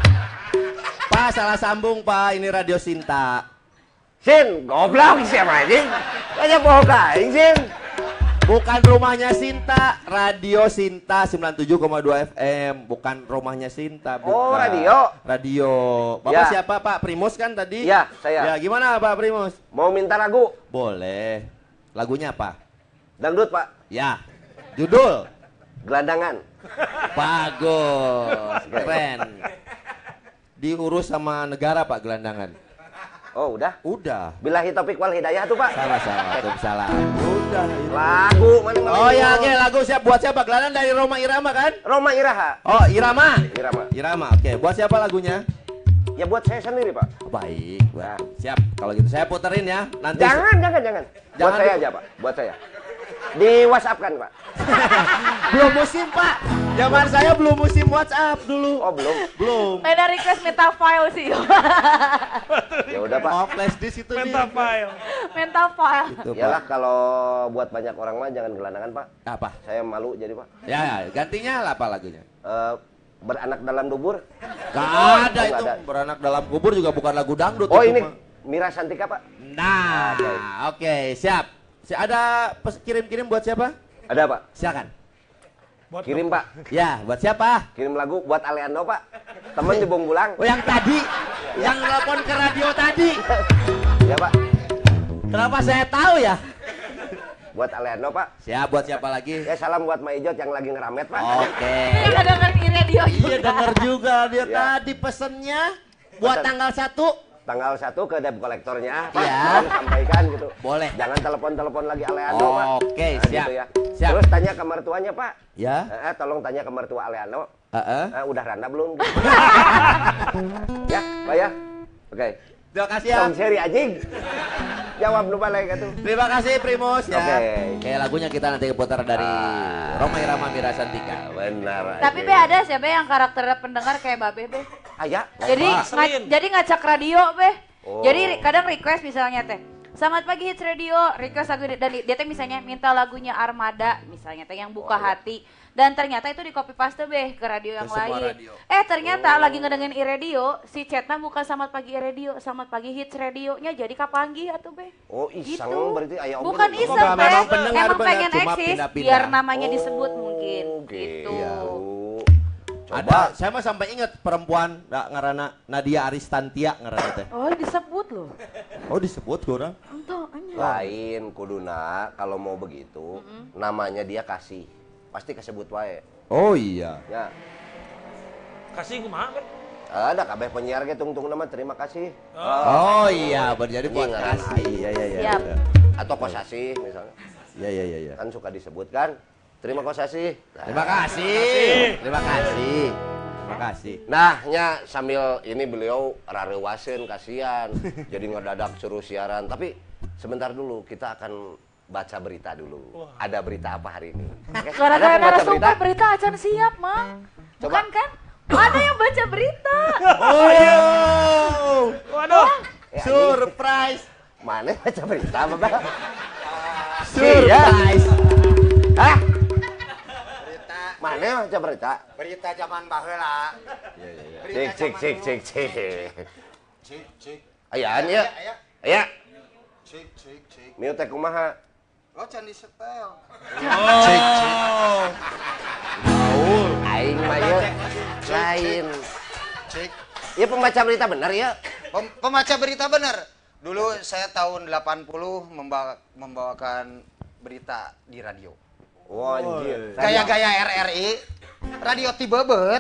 Pak, salah sambung, Pak. Ini Radio Sinta. Sin, goblok siapa anjing? Kayak bohong aing, Sin. Bukan rumahnya Sinta, Radio Sinta 97,2 FM. Bukan rumahnya Sinta, bukan. Oh, radio. Radio. Bapak Ya. siapa, Pak? Primus kan tadi? Ya, saya. Ya, gimana, Pak Primus? Mau minta lagu? Boleh. Lagunya apa? Dangdut, Pak. Ya. Judul? Gelandangan. Bagus. Keren. Diurus sama negara, Pak, gelandangan. Oh, udah. Udah. Billahi taufik wal hidayah tuh, Pak. Sama-sama. Waalaikumsalam. Udah. itu. Lagu mana Oh ya, oke, lagu siap buat siapa? Gelandang dari Roma Irama kan? Roma Iraha. Oh, Irama. Irama. Irama. Oke, buat siapa lagunya? Ya buat saya sendiri, Pak. Baik, Nah. siap. Kalau gitu saya puterin ya. Nanti Jangan. Buat Jangan saya dulu. aja, Pak. Buat saya. Di WhatsApp kan, Pak? belum musim, Pak. Zaman saya belum musim WhatsApp dulu. Oh, belum. Belum. Beda request minta file sih. Ya udah, Pak. Oh, flash disk itu nih. Mentafile. Minta file. Itu, Iyalah Pak. kalau buat banyak orang mah jangan gelandangan, Pak. Apa? Saya malu jadi, Pak. Ya, gantinya lah apa lagunya? Beranak dalam dubur. Gak ada nggak itu. ada. Beranak dalam kubur juga bukan lagu dangdut. Oh, itu ini mah. Mira Santika, Pak. Nah, Oke. oke, siap. Ada kirim-kirim buat siapa? Ada, Pak. Silakan. Buat Kirim, Pak. Ya, buat siapa? Kirim lagu buat Aleando, Pak. Temen di Bungbulang. Oh, yang tadi, yang telepon ke radio tadi. Ya, Pak. Kenapa saya tahu ya? Buat Aleando, Pak. Siap, buat siapa lagi? Ya, salam buat Maijot yang lagi ngeramet, Pak. Oke. Ini nggak dengerin radio juga. Iya, denger juga dia Ya. tadi pesennya buat Pesen. tanggal 1. Tanggal 1 ke debt kolektornya, Pak. Iya. Tolong sampaikan gitu. Boleh. Jangan telepon-telepon lagi Aleando, Pak. Oke, Nah, siap. Gitu ya. Siap. Terus tanya ke mertuanya, Pak. Ya. Tolong tanya ke mertua Aleando. Heeh. Udah randa belum? Ya, Pak ya. Oke. Terima kasih ya. Tong seri anjing. Jawab lu balik atuh. Terima kasih Primus ya. Oke. Kayak lagunya kita nanti putar dari Roma Irama Mira Santika. Benar. Tapi be ada siapa yang karakter pendengar kayak Babe be. Aya. Jadi Selin. jadi ngacak radio be. Oh. Jadi kadang request misalnya teh. Selamat pagi Hits Radio, request lagu dan dia teh misalnya minta lagunya Armada misalnya teh yang buka hati. Dan ternyata itu di copy paste be ke radio yang Ke semua lain. radio. Ternyata lagi ngedengerin i-radio, si chatnya bukan Selamat Pagi i-radio, Selamat Pagi Hits Radionya jadi kapanggi atuh be. Oh, iseng Gitu. berarti aya om. Bukan bener. iseng Enggak, be, memang pendengar emang bener, pengen cuma eksis pindah-pindah. biar namanya disebut mungkin gitu. Coba. Ada, saya mah sampai ingat perempuan ngarana Nadia Aristantia ngarana teh. Oh disebut loh. Oh, disebut orang. Entah, anjir. Lain kuduna kalau mau begitu, namanya dia kasih. Pasti kesebut wae. Oh iya. Ya. Kasih kumaha, Be? Ada kabeh penyiar ge tungtung nama terima kasih. Oh iya, berjadi buat Iya, kasih. Iya iya iya. Siap. Atau kosasih misalnya. Iya iya iya. Kan suka disebutkan. Terima kosasih. Terima kasih. Terima kasih. Terima kasih. Nah, nya sambil ini beliau rarewaseun kasihan. Jadi ngedadak suruh siaran. Tapi sebentar dulu kita akan baca berita dulu. Ada berita apa hari ini? Oke? Ada Gara-gara pembaca narasumber berita acan siap, Mang. Coba. Bukan kan? Ada yang baca berita. Oh, Waduh. surprise. Mana baca berita, Bapak? Surprise. Hah? Mana baca berita? Berita zaman baheula. Cik. Cik. Ayaan ya? Aya. Cik. Mieu teh kumaha? Oh, can disetel. Aing mah ye lain. Cik. Ya pembaca berita benar ya? Pembaca berita benar. Dulu saya tahun 80 membawakan berita di radio. Anjir. Gaya-gaya RRI, radio Tibebet.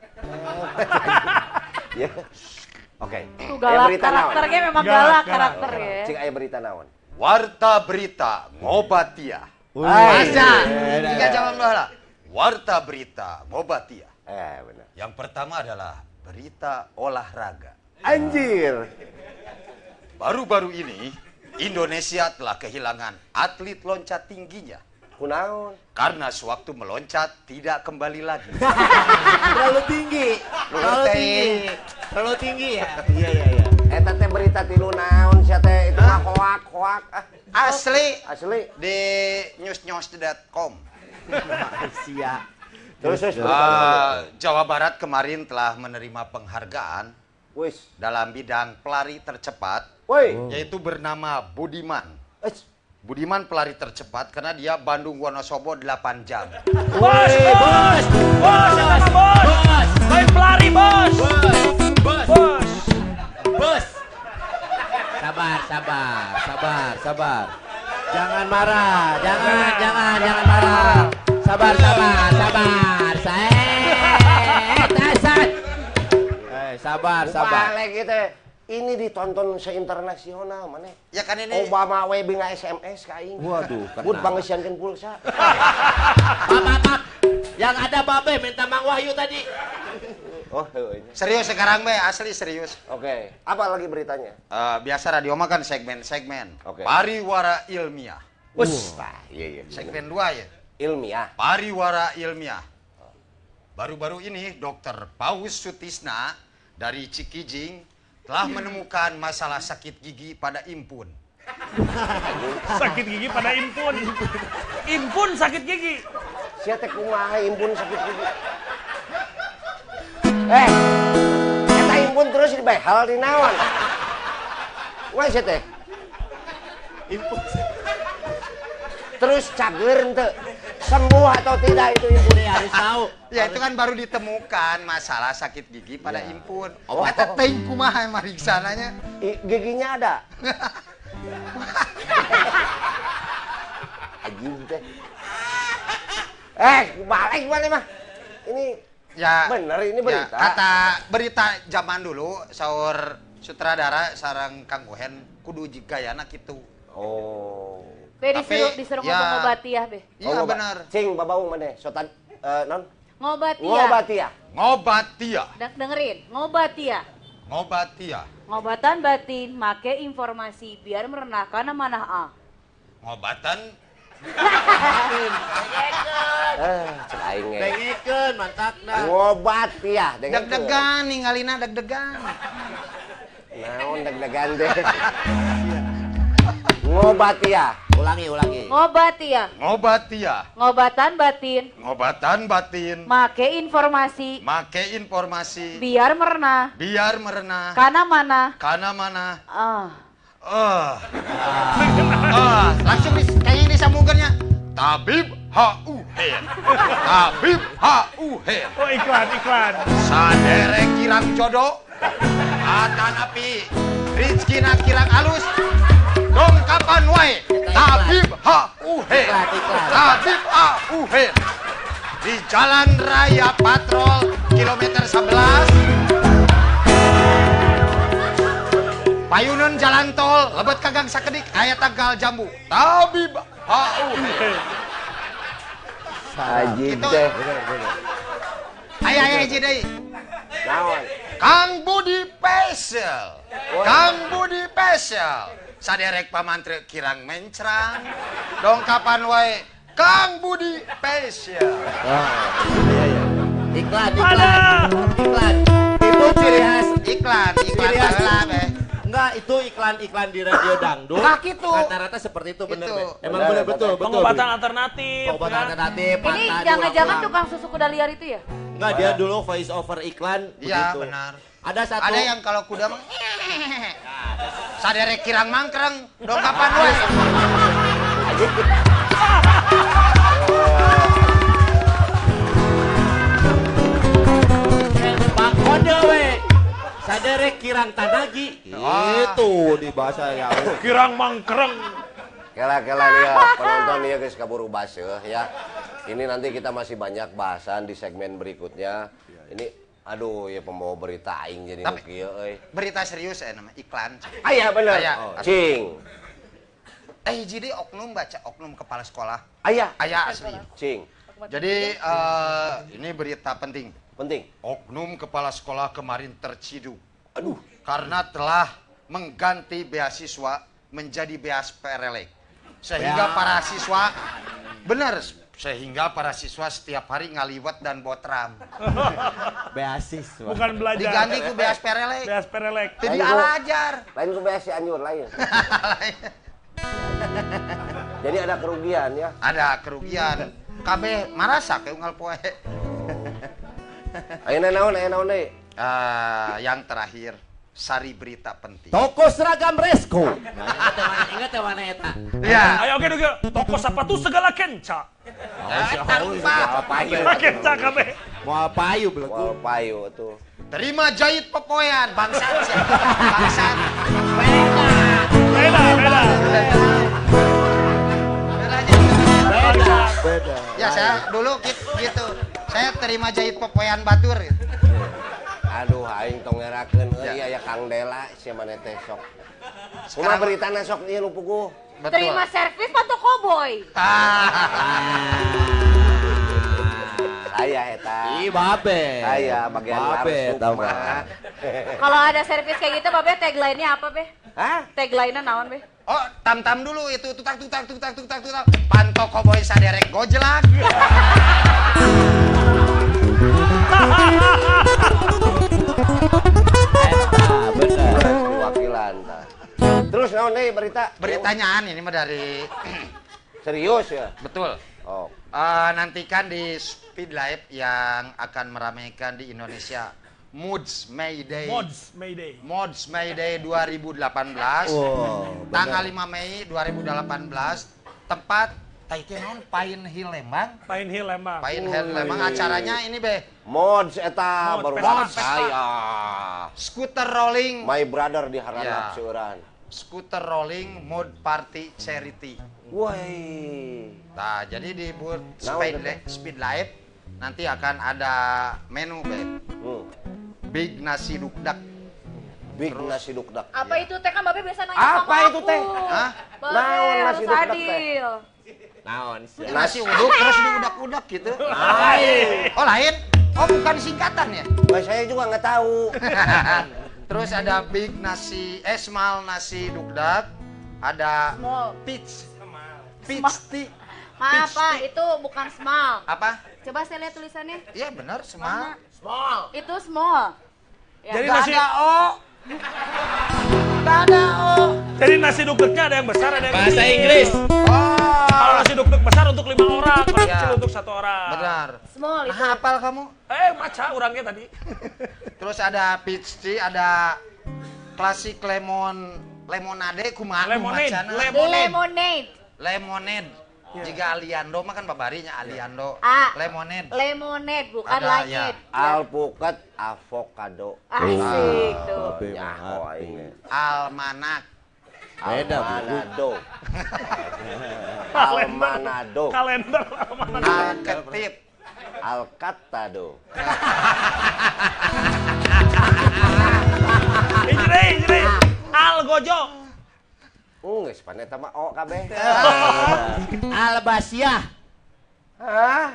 Ya. Oke. Tuh galak, karakternya memang galak karakternya. Cik aya berita naon? Warta berita ngobatia. Hai. Masa? Tiga jawab lah. Warta berita ngobatia. Benar. Yang pertama adalah berita olahraga. Anjir. Baru-baru ini Indonesia telah kehilangan atlet loncat tingginya. Kunaon? Karena sewaktu meloncat tidak kembali lagi. Terlalu tinggi. Terlalu tinggi ya. Iya. Eta teh berita tilu naon sia teh itu mah hoak. Asli Asli. di newsnews.com. Sia. Terus Jawa Barat kemarin telah menerima penghargaan wis. dalam bidang pelari tercepat, Woi. yaitu bernama Budiman. Wis. Budiman pelari tercepat karena dia Bandung Wonosobo 8 jam. Bos, yang mana bos? Main pelari bos. Bos. Sabar. Jangan marah. Jangan marah. Sabar. Sabar. Balik gitu. Ini ditonton se-internasional mana? Ya kan ini Obama we binga SMS ka aing. Waduh, Bud bangesiankeun pulsa. Maaf. Yang ada Babe minta Mang Wahyu tadi. Oh, ini. serius sekarang be, asli serius. Oke. Apa lagi beritanya? Biasa radio mah kan segmen-segmen. Oke. Pariwara ilmiah. Iya. Segmen 2 ya. Ilmiah. Pariwara ilmiah. Baru-baru ini Dr. Paus Sutisna dari Cikijing telah menemukan masalah sakit gigi pada Impun. Sakit gigi pada Impun. Impun sakit gigi. Sia teh kumaha impun sakit gigi. Eta impun terus dibehal di naon? Wah sia teh. Impun. Terus cager henteu. Sembuh atau tidak itu impun Harus tahu. Ya itu kan baru ditemukan masalah sakit gigi pada Impun. Eta teuing kumaha mariksananya? Giginya ada. Anjing teh. Balik mana mah? Ini Ya bener ini berita. Ya, kata berita zaman dulu saur sutradara sareng Kang Gohen kudu gayana kitu. Oh. Be Tapi, disuruh ya. ngomong ngobatiah be. Iya benar. Cing babaung mana? Sotan non? Ngobatiah. Ngobatia. Ngobatia. Dengerin, ngobatiah. Ngobatia. Ngobatan batin, make informasi biar merenahkan amanah A. Ngobatan Cek aing ge. Dengekeun mantakna. Ngobatia. deg-degan ningalina deg-degan. Naon deg-degan teh. Ngobatia. Ulangi. Ngobatiah. Ngobatia. Ngobatan batin, Ngobatan batin. make informasi Make informasi biar merenah biar merenah kana mana. kana mana. Ah. Langsung kayaknya disambungkannya. Tabib H.U.Hen. Tabib H.U.Hen. Oh iklan. Sadere kirang jodoh. Atanapi rizkina kirang alus. Dongkapan wae. Tabib H.U.Hen. Tabib H.U.Hen. Di Jalan Raya Patrol kilometer 11. Payunan jalan tol, lebet kagang sakedik, aya Tegal Jambu. Tabib H.U.Hen. Anjing Itu. teh. Aya hiji deui. Naon? Kang Budi Pesel. Kang Budi Pesel. Saderek pamantre kirang mencrang. Dongkapan wae Kang Budi Pesel. Iklan. Itu ciri khas. Iklan Ciri khas baheula be. Enggak, itu iklan di radio dangdut. Nah, gitu. Rata-rata seperti itu bener, Gitu. Be. Emang betul. Pengobatan alternatif. Pengobatan ya. alternatif. Ini patah, jangan-jangan diulang-ulang. tukang susu kuda liar itu ya? Enggak, dia dulu voice over iklan Iya begitu. benar. Ada satu. Ada yang kalau kuda mah saderek kirang mangkreng. Dongkapan wae. Pak Kode we. Saderek kirang tanagi. Wah. Itu di bahasa yang Kirang mangkreng. Kela-kela nih ya, penonton nih ya guys, kaburu baseuh ya. Ini nanti kita masih banyak bahasan di segmen berikutnya. Ini, aduh ya pembawa berita aing jadi Tapi, nukieu euy. Berita serius nama iklan. Aya bener. Aya. Cing. Jadi oknum baca oknum kepala sekolah. Aya. Aya asli. Cing. Jadi ini berita penting. Penting. Oknum kepala sekolah kemarin terciduk. Aduh. Karena telah mengganti beasiswa menjadi beas perelek. Sehingga para siswa, benar, sehingga para siswa setiap hari ngaliwat dan botram. Beasiswa. Bukan belajar. Diganti ku beas perelek. Beas perelek. Jadi Lain ku- alajar. Lain ku beas si anyur lain. Jadi ada kerugian ya. Ada kerugian. KB marasa ke unggal poe. Ayeuna naon deui? Yang terakhir, sari berita penting. Toko seragam Resko. Ingat ya mana eta? Iya. Ayo oke dulu. Toko sepatu segala kenca. Kenca kabe. Mau payu belum? Wal payu tuh. Terima jahit pepoyan, bangsat. Bangsat. Beda. Beda. Ya saya dulu gitu. Saya terima jahit pepoyan batur. Gitu. Aduh aing tong ngerakeun euy Ya. aya Kang Dela sia maneh teh sok. Kumaha beritana sok ieu nu puguh. Betul. Terima servis foto koboi. Saya eta. Ih, babe. Saya bagian Babe, larsuk tau mah. mah. Kalau ada servis kayak gitu, Babe tagline-nya apa, Be? Hah? Tagline-nya naon, Be? Oh, tam-tam dulu itu tutak. Panto koboy saderek gojelak. Bener. Wakilan tah. Terus naon deui berita? Beritanyaan ini mah dari Serius ya? betul. Oh. Nantikan di Speed Live yang akan meramaikan di Indonesia Moods Mayday. Mods Mayday. 2018. Wow, Tanggal 5 Mei 2018. Tempat Taikenon Pine Hill Lembang. Pine Hill Lembang. Pine Hill Lembang. Acaranya ini be Mods eta Mods, baru Vespa. dapat saya. Scooter rolling. My brother di Harana Ya. seueuran. Scooter rolling mood party charity. Woi. Nah, jadi di booth Naon Speed Live nanti akan ada menu be Big nasi dukdak. Big nasi dukdak. Apa itu teh kan Babe biasa nanya Apa sama itu, aku. teh? Hah? Babe, Naon nasi harus dukdak, teh? adil. Naon sih? Nasi uduk terus diudak-udak gitu. Oh lain? Oh bukan singkatan ya? Bah, saya juga nggak tahu. Terus ada big nasi, small nasi dukdak, ada Small. peach tea. Maaf, Peach Pak, tea. itu bukan small. Apa? Coba saya lihat tulisannya. Iya benar, Mana? small. Itu small. Ya. Jadi Nggak nasi ada O. Nggak ada O. Jadi nasi dukduknya ada yang besar, ada yang Bahasa kecil. Inggris. Kalau Oh, nasi dukduk besar untuk 5 orang, kalau Ya. kecil untuk 1 orang. benar. Small itu. Nah, hafal kamu? Maca orangnya tadi. Terus ada peach tea, ada klasik lemonade kumaha Lemonade. macana? Lemonade. Lemonade. Ya. Jika Aliando mah kan babarinya Aliando. Ah. Lemonade. Lemonade bukan Ada, langit. Alpukat avocado. Asik tuh. Babe Nyaho mah aing. Almanak. Beda, Bu. Almanado. Almanado. Kalender. Alketip. Alcatado. Ijri. Algojo. Geus paneta mah O kabeh. Albasiah. Hah?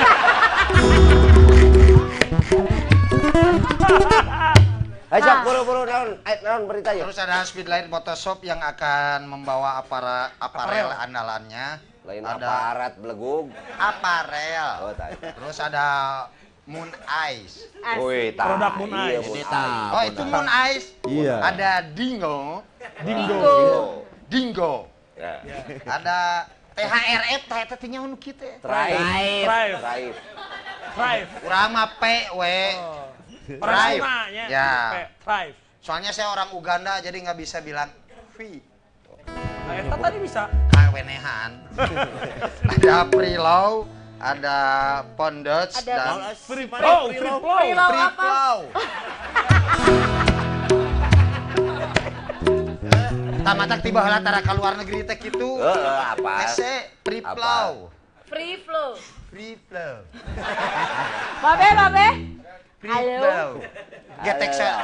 Ayo buru-buru naon berita yuk. Terus ada Speedlight Photoshop yang akan membawa aparel andalannya. Lain ada aparat belegug. aparel. Oh, tadi. Terus ada Moon Eyes. Wih, tah. Produk Moon Iya, Eyes. Moon Ini Eyes. tah. Oh, itu Moon Eyes. Iya. Ada Dingo. Dingo. Ya. Ada THRF, eta teh nyaho nu kitu. Drive. Drive. Urang mah P we. Orang Drive. Sunganya. Ya. Drive. Soalnya saya orang Uganda jadi nggak bisa bilang V. Nah, eta tadi bisa. Kawenehan. Ada Prelow, ada Pondage Ada dan Free flow. Prelow Free apa? Flow. mata-mata tiba heula tara ka luar negeri teh kitu. Apa? Hese free flow. Free flow. Free flow. Babe. Free Halo. flow. Getek saya.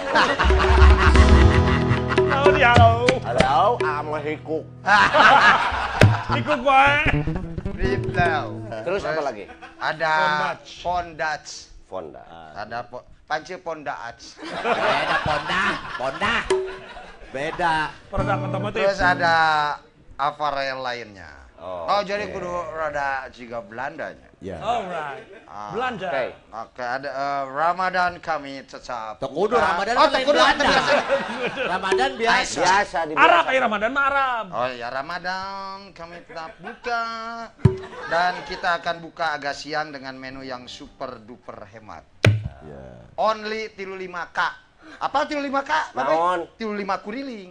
Halo dia halo. Halo, ama hikuk. Ikut wae. Free flow. Terus apa lagi? Ada pondats. Fonda. Ada panci pondats. Beda Ponda. Beda. Produk otomotif. Terus ada aparel lainnya. Oh, Jadi kudu rada juga Belandanya. Ya. Alright. Belanja. Oke. Oke, ada Ramadan kami tetap. Tok kudu buka. Ramadan Oh, kan tok lain kudu Belanda. biasa. Ramadan biasa. Biasa di Arab, Ramadan mah Arab. Oh ya, Ramadan kami tetap buka. Dan kita akan buka agak siang dengan menu yang super duper hemat. Only 35K. Apa 35K? Naon? 35 kuriling.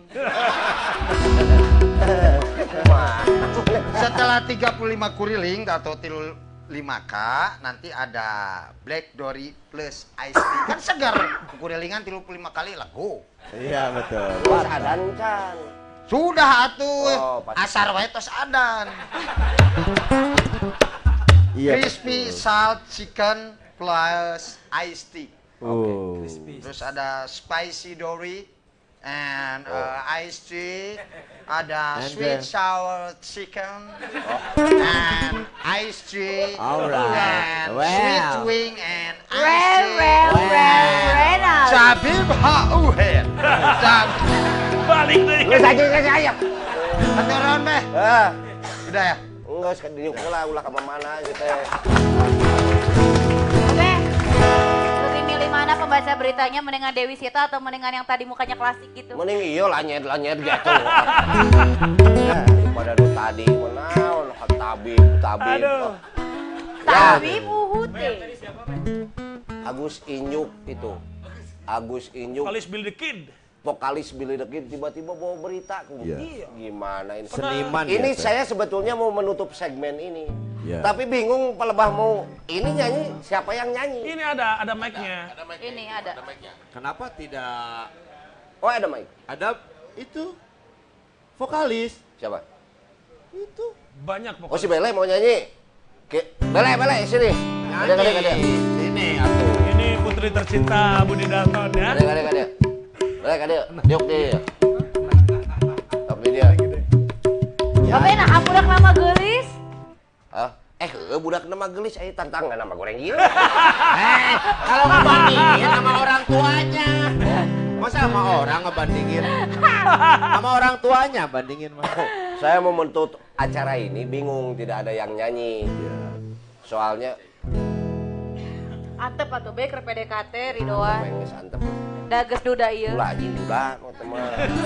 Setelah 35 kuriling atau 35K, nanti ada Black Dory plus Ice Tea. Kan segar, kurilingan 35 kali lah, go. Iya betul. Terus ada Can. Sudah atuh, Oh, pasti. asar wae tos adan. Iya. Crispy salt chicken plus Ice Tea. Oh. Terus ada spicy dory and iced tea, ada And sweet the- sour chicken and iced tea, Alright. and Well. sweet wing and iced tea. Reynald. Zabib hauhen. Balik deh. Geus aja saya. Aturan meh. Udah ya. Enggak sekadar ulah ka mana gitu. Babe, lebih milih mana pembaca beritanya, mendingan Dewi Sita atau mendingan yang tadi mukanya klasik gitu? Mending iya lanyet gitu. Daripada nu tadi menaon tabib. Aduh. Tapi Uhute. Agus Inyuk itu. Agus Inyuk. Kalis Bill the Kid. Vokalis Billy the Kid tiba-tiba bawa berita. Iya. Gimana ini? Seniman Ini biasa. saya sebetulnya mau menutup segmen ini. Iya. Tapi bingung pelebah mau ini nyanyi, siapa yang nyanyi? Ini ada mic-nya. Ini ada. Kenapa tidak Oh, ada mic. ada itu vokalis? Siapa? Itu Banyak Oh, si pokoknya. Bele mau nyanyi. Bele sini. Ada. Sini atuh. Ini putri tercinta Budi Dalton ya. Ada. Bele. Diuk dia. Tapi dia. Babe, nah budak nama gelis. Budak nama gelis aya tantangan nama goreng gila. Kalau ngebandingin sama orang tuanya. Masa sama orang ngebandingin? Sama orang tuanya bandingin mah. Saya mau menutup acara ini bingung tidak ada yang nyanyi. Soalnya Antep atuh be keur PDKT Ridhoan. pengen santep. Dages duda ieu. Ulah anjing udah teman.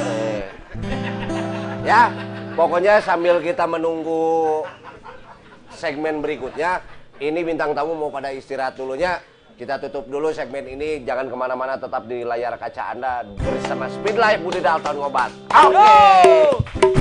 Ya, pokoknya sambil kita menunggu segmen berikutnya, ini bintang tamu mau pada istirahat dulunya. Kita tutup dulu segmen ini, jangan kemana-mana, tetap di layar kaca Anda bersama Speed Life Budi Dalton Ngobat. Oke.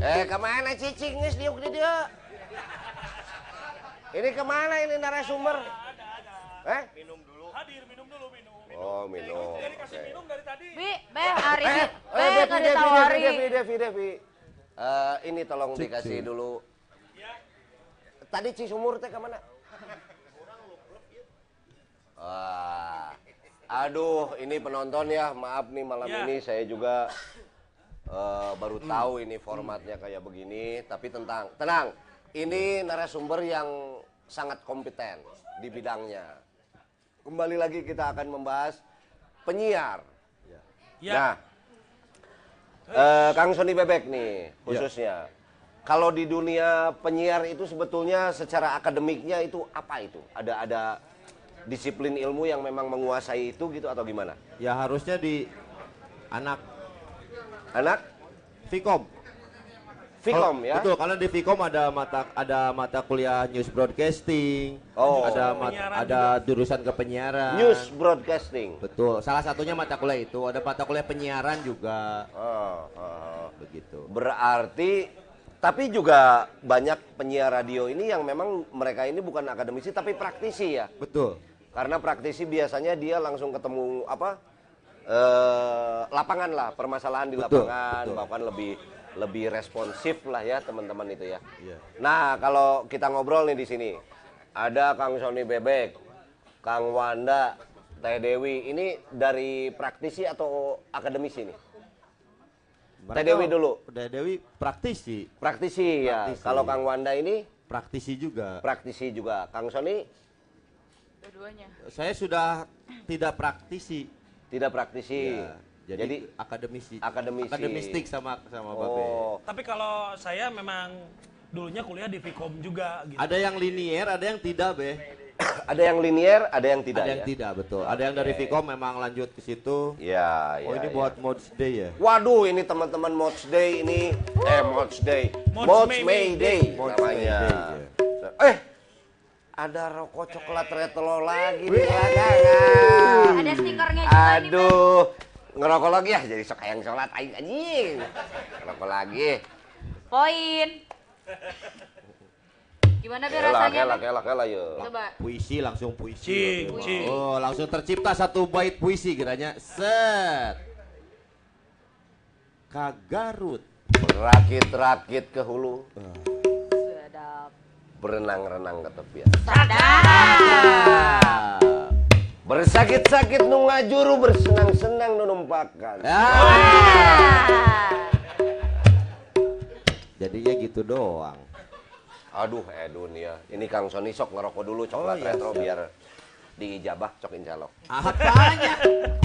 Kemana cicing geus diuk di dia? Ini kemana ini narasumber? Minum dulu. Hadir, minum dulu, minum. Oh, minum. Jadi kasih minum dari tadi. Hari ini, nggak ditawari. Devi. Ini tolong dikasih dulu. Tadi Cisumur teh kemana? Aduh, ini penonton ya, maaf nih malam ini saya juga baru tahu ini formatnya kayak begini. Tapi tenang, ini narasumber yang sangat kompeten di bidangnya. Kembali lagi kita akan membahas penyiar. Nah, Kang Sony Bebek nih khususnya. Kalau di dunia penyiar itu sebetulnya secara akademiknya itu apa itu? Ada disiplin ilmu yang memang menguasai itu gitu atau gimana? Ya harusnya di anak Vkom. Vkom ya? Betul, karena di Vkom ada mata kuliah news broadcasting, ada jurusan kepenyiaran. News broadcasting. Betul, salah satunya mata kuliah itu, ada mata kuliah penyiaran juga. Begitu. Berarti tapi juga banyak penyiar radio ini yang memang mereka ini bukan akademisi tapi praktisi ya. Betul. Karena praktisi biasanya dia langsung ketemu lapangan lah, permasalahan di lapangan, bahkan lebih responsif lah ya teman-teman itu ya. Iya. Nah, kalau kita ngobrol nih di sini, ada Kang Sony Bebek, Kang Wanda, Teh Dewi, ini dari praktisi atau akademisi nih? Teh Dewi dulu. Teh Dewi praktisi. Praktisi ya. Kalau Kang Wanda ini? Praktisi juga. Praktisi juga. Kang Sony? Dua-duanya. Saya sudah tidak praktisi. Tidak praktisi. Ya, jadi akademisi. Akademisi. Akademistik sama Babe. Tapi kalau saya memang dulunya kuliah di Vkom juga gitu. Ada yang linier, ada yang tidak, Be. Ada yang linier, ada yang tidak. Ada yang tidak, betul. Ada yang dari Vkom memang lanjut ke situ. Ya, Oh, ini buat Mods Day ya? Waduh, ini teman-teman Mods Day ini. Mods Day. Mods May Day Mods namanya. May Day, Ada rokok coklat retro lagi di belakangan. Ada stikernya juga nih, Aduh, ngerokok lagi ya jadi sok yang sholat aing anjing. Ngerokok lagi. Poin. Gimana Be rasanya? Kelak ya. Coba. Puisi, langsung puisi. Cing. Oh, langsung tercipta satu bait puisi kiranya. Set. Kagarut. Rakit-rakit ke hulu. Sedap. Berenang-renang ke tepian. Sadap. Bersakit-sakit nu ngajuru, bersenang-senang nu numpakan. Jadinya gitu doang. Aduh, Edun ya. Ini Kang Sony sok ngerokok dulu coklat retro biar diijabah cok injalok. Apanya?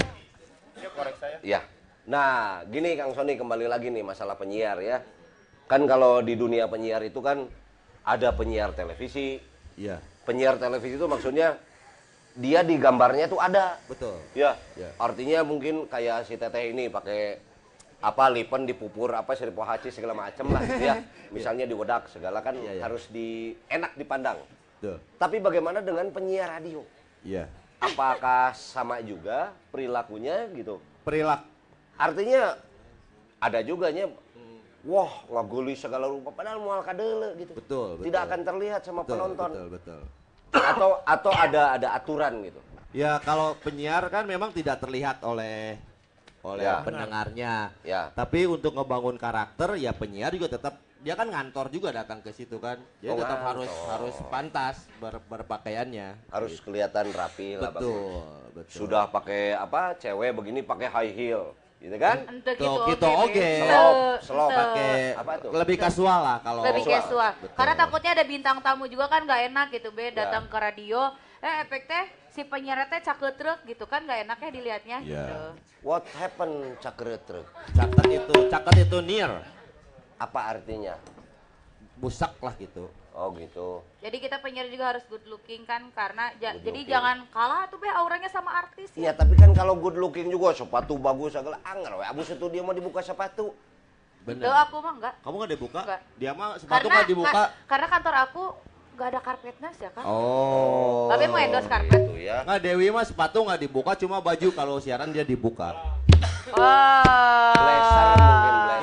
Ya. Nah, gini Kang Sony kembali lagi nih masalah penyiar ya. Kan kalau di dunia penyiar itu kan ada penyiar televisi. Iya. Penyiar televisi itu maksudnya dia di gambarnya tuh ada. Betul. Ya. Ya. Artinya mungkin kayak si Teteh ini pakai lipen dipupur seribu haci segala macam lah ya. Misalnya di wedak segala kan harus enak dipandang. Tuh. Tapi bagaimana dengan penyiar radio? Iya. Apakah sama juga perilakunya gitu? Perilaku. Artinya ada juga wah ngaguli segala rupa padahal moal kadele gitu. Betul. Tidak akan terlihat sama penonton. Betul. Atau ada aturan gitu. Ya kalau penyiar kan memang tidak terlihat oleh pendengarnya. Ya. Tapi untuk ngebangun karakter ya penyiar juga tetap dia kan ngantor juga datang ke situ kan. Jadi tetap harus pantas berpakaiannya. Harus kelihatan rapi lah. Betul. Sudah pakai cewek begini pakai high heel. Gitu kan? Gitu oke. Slow pakai lebih kasual lah kalau. Lebih casual. Betul. Karena takutnya ada bintang tamu juga kan nggak enak gitu Be datang ke radio. Efek teh si penyiar teh caketrek gitu kan nggak enaknya dilihatnya gitu. What happened caketrek? Caket itu near. Apa artinya? Busak lah gitu. Oh gitu. Jadi kita penyiar juga harus good looking kan karena jadi jangan kalah tuh Be auranya sama artis Iya, tapi kan kalau good looking juga sepatu bagus segala anggar we abis itu dia mau dibuka sepatu. Bener. Tuh aku mah enggak. Kamu nggak dibuka? Enggak. Dia mah sepatu nggak dibuka. Karena kantor aku nggak ada karpetnya ya kan. Oh. Babe mau endorse karpet. Gitu ya. Nggak, Dewi mah sepatu nggak dibuka, cuma baju kalau siaran dia dibuka. Blazer mungkin blazer. Ininya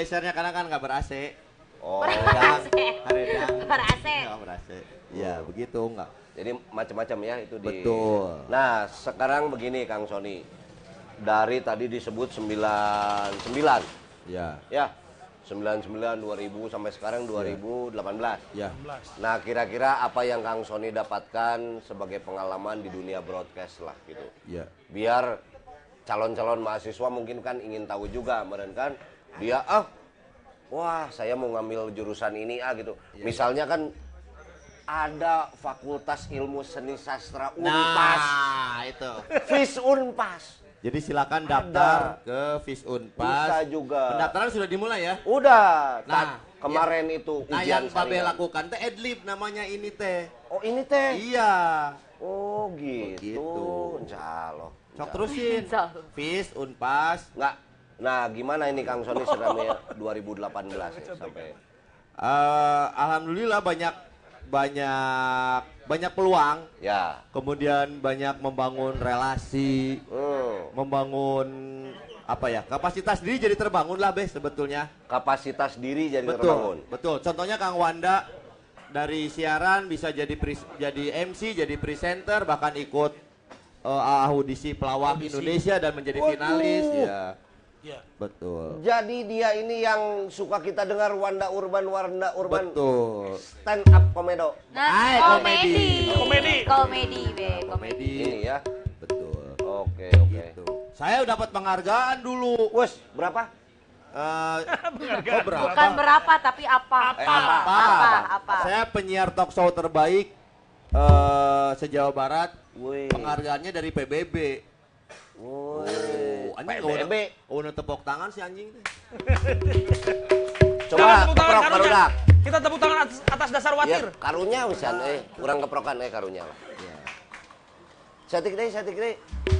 ventilatornya karena kan nggak ber-AC. Oh, Haredang. Ber-AC. Nggak ber-AC. Ya, begitu enggak. jadi macam-macam ya itu di. Betul. Nah, sekarang begini Kang Sony. Dari tadi disebut 99. Ya. Ya. 99 2000 sampai sekarang 2018. Ya. Nah, kira-kira apa yang Kang Sony dapatkan sebagai pengalaman di dunia broadcast lah gitu. Ya. Biar calon-calon mahasiswa mungkin kan ingin tahu juga, meren kan dia wah saya mau ngambil jurusan ini gitu. Misalnya kan ada Fakultas Ilmu Seni Sastra Unpas. Nah, itu. FIS Unpas. Jadi silakan daftar ke FIS Unpas. Bisa juga. Pendaftaran sudah dimulai ya? Udah. Nah, kemarin itu Nah, ujian yang Babe saringan. lakukan teh adlib namanya ini teh. Oh, ini teh. Iya. Oh, gitu. Begitu. Insya Sok terusin. Insya Allah. FIS Unpas. Nggak. Nah, gimana ini Kang Sony selama 2018 ya, sampai Alhamdulillah banyak peluang. ya. Kemudian banyak membangun relasi, membangun apa ya, kapasitas diri jadi terbangun lah Be sebetulnya. Kapasitas diri jadi terbangun. Betul. Contohnya Kang Wanda dari siaran bisa jadi MC, jadi presenter, bahkan ikut audisi pelawak Indonesia dan menjadi finalis. Ya. Ya. Betul. Jadi dia ini yang suka kita dengar Wanda Urban. Betul. Stand up komedo. Nah, komedi. Be, komedi. Komedi. Ini ya. Betul. Oke. Gitu. Saya dapat penghargaan dulu. Wes, berapa? Berapa? Bukan berapa tapi apa? Apa? Saya penyiar talk show terbaik se-Jawa Barat. Wih. Penghargaannya dari PBB. Anjing PBB. udah tepuk tangan si anjing. Coba Tepuk tangan keprok karunya. barudak. Kita tepuk tangan atas dasar Ya, watir. karunya wisan kurang keprokan karunya lah. Satik deh.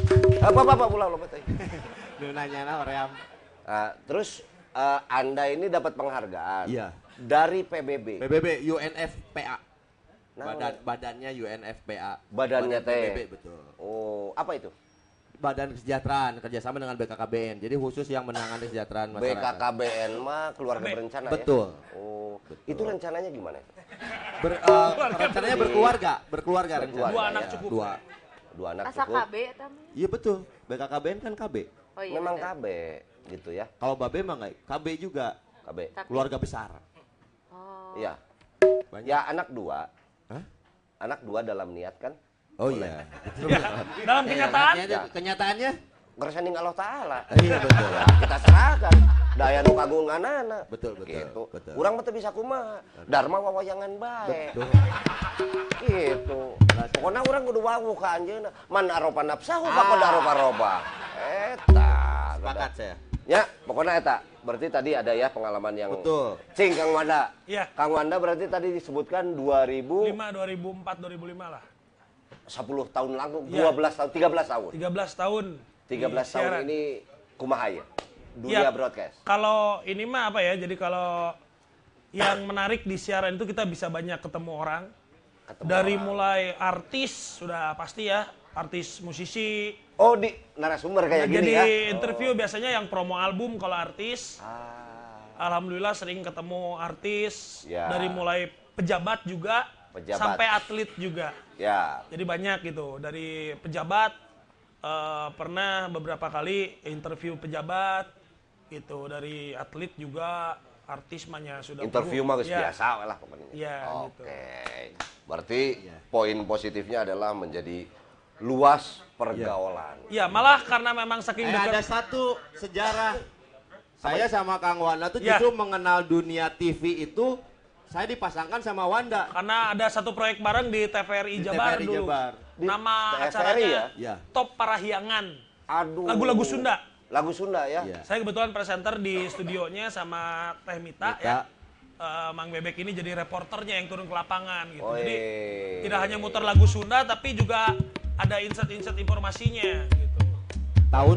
Apa pula lo teh. Lu nanya nah Oream. Terus Anda ini dapat penghargaan. Iya. Dari PBB. PBB UNFPA. Nah, Badannya UNFPA. Badannya Badan teh. PBB betul. Oh, apa itu? Badan Kesejahteraan kerjasama dengan BKKBN. Jadi khusus yang menangani kesejahteraan masyarakat. BKKBN mah keluarga berencana Betul. ya? Oh, itu rencananya gimana? Rencananya berkeluarga rencana. Dua anak cukup. Dua anak Asa cukup. KB eta mah. Iya betul. BKKBN kan KB. Oh iya. Memang bener. KB gitu ya. Kalau Babe mah enggak, KB juga. KB. Tapi- Keluarga besar. Oh. Iya. Banyak. Ya anak dua. Hah? Anak dua dalam niat kan. Oh iya. Dalam kenyataan, Kenyataannya? Ngeresaning Allah Ta'ala. Iya betul. Ya, kita serahkan. Daya nu kagunganana. Betul. Gitu. Betul. Urang mah teu bisa kumaha. Dharma wawayangan bae. Betul. Gitu. Pokoknya orang kudu wawu ka anjeunna. Man aropa nafsahu faqad aropa. Eta. Sepakat saya. Ya, pokoknya eta. Berarti tadi ada ya pengalaman yang Betul. Cing Kang Wanda. Iya. Kang Wanda berarti tadi disebutkan 2010 2004, 2005 lah. tahun lalu, Iya. 12 tahun, 13 tahun. 13 tahun. 13 di tahun siaran. ini kumaha ya? Dunia Iya. broadcast. Kalau ini mah apa ya? Jadi kalau yang menarik di siaran itu kita bisa banyak ketemu orang. Dari mulai artis sudah pasti ya, artis musisi. Oh, di narasumber kayak gini Jadi ya. interview biasanya yang promo album kalau artis. Alhamdulillah sering ketemu artis. Ya. Dari mulai pejabat juga Pejabat. sampai atlet juga. Ya. Jadi banyak gitu. Dari pejabat pernah beberapa kali interview pejabat gitu. Dari atlet juga, artis mahnya sudah. Interview mah geus Ya. biasa lah pokoknya. Iya, gitu. Oke. Berarti poin positifnya adalah menjadi luas pergaulan. Ya malah karena memang saking Ada dekat. satu sejarah. Saya sama Kang Wanda tuh Ya. justru mengenal dunia TV itu saya dipasangkan sama Wanda. Karena ada satu proyek bareng di TVRI Di Jabar TVRI dulu. Jabar. Di Nama TVRI acaranya ya? Ya. Top Parahyangan. Aduh. Lagu-lagu Sunda. Lagu Sunda ya. Iya. Saya kebetulan presenter di studionya sama Teh Mita Mita. ya. Mang Bebek ini jadi reporternya yang turun ke lapangan gitu. Oh, Jadi iya. tidak hanya muter lagu Sunda tapi juga ada insert-insert informasinya gitu. Tahun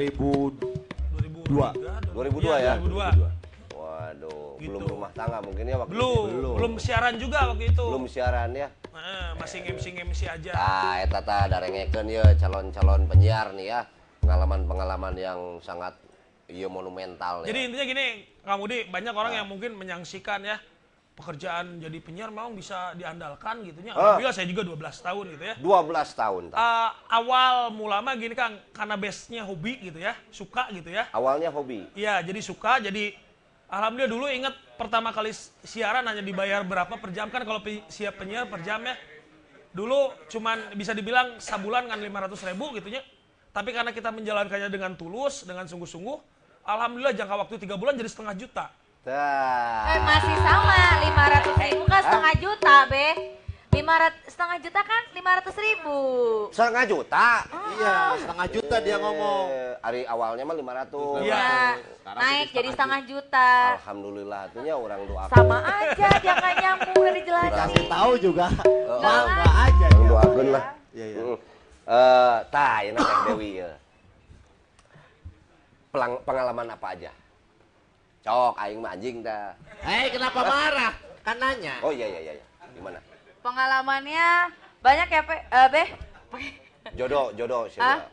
2002. 2002 ya? 2002. Waduh, Gitu. belum rumah tangga mungkin ya waktu Belum, itu. belum siaran juga waktu itu. Belum siaran ya. Masih MC aja. Nah, eta tah darengekeun ya calon-calon penyiar nih ya. Pengalaman-pengalaman yang sangat Iya monumental ya. Jadi intinya gini, Kang Budi, banyak orang yang mungkin menyaksikan ya pekerjaan jadi penyiar memang bisa diandalkan gitu ya. Alhamdulillah saya juga 12 tahun gitu ya. 12 tahun. Awal mula mah gini Kang, karena base-nya hobi gitu ya, suka gitu ya. Awalnya hobi. Iya, jadi suka, jadi alhamdulillah dulu inget pertama kali siaran hanya dibayar berapa per jam kan kalau siap penyiar per jam ya. Dulu cuman bisa dibilang sabulan kan 500.000 gitu ya. Tapi karena kita menjalankannya dengan tulus, dengan sungguh-sungguh, alhamdulillah jangka waktu 3 bulan jadi 500.000 juta. Masih sama, 500.000 kan setengah juta, Be. 500 juta kan 500.000. Setengah juta? Iya, setengah juta dia ngomong. Hari awalnya mah 500. Iya. Naik jadi setengah juta. Alhamdulillah, itunya orang doakan. Sama aja, dia nggak nyambung udah dijelasin. Dikasih tahu juga. Enggak aja. Yang dia. doakan lah. Iya, iya. Tah, ini Teh Dewi ya. Pengalaman apa aja? Cok, aing mah anjing dah. Hei, kenapa marah? Kan nanya. Oh iya. Gimana? Pengalamannya banyak ya, Be? Jodoh siapa?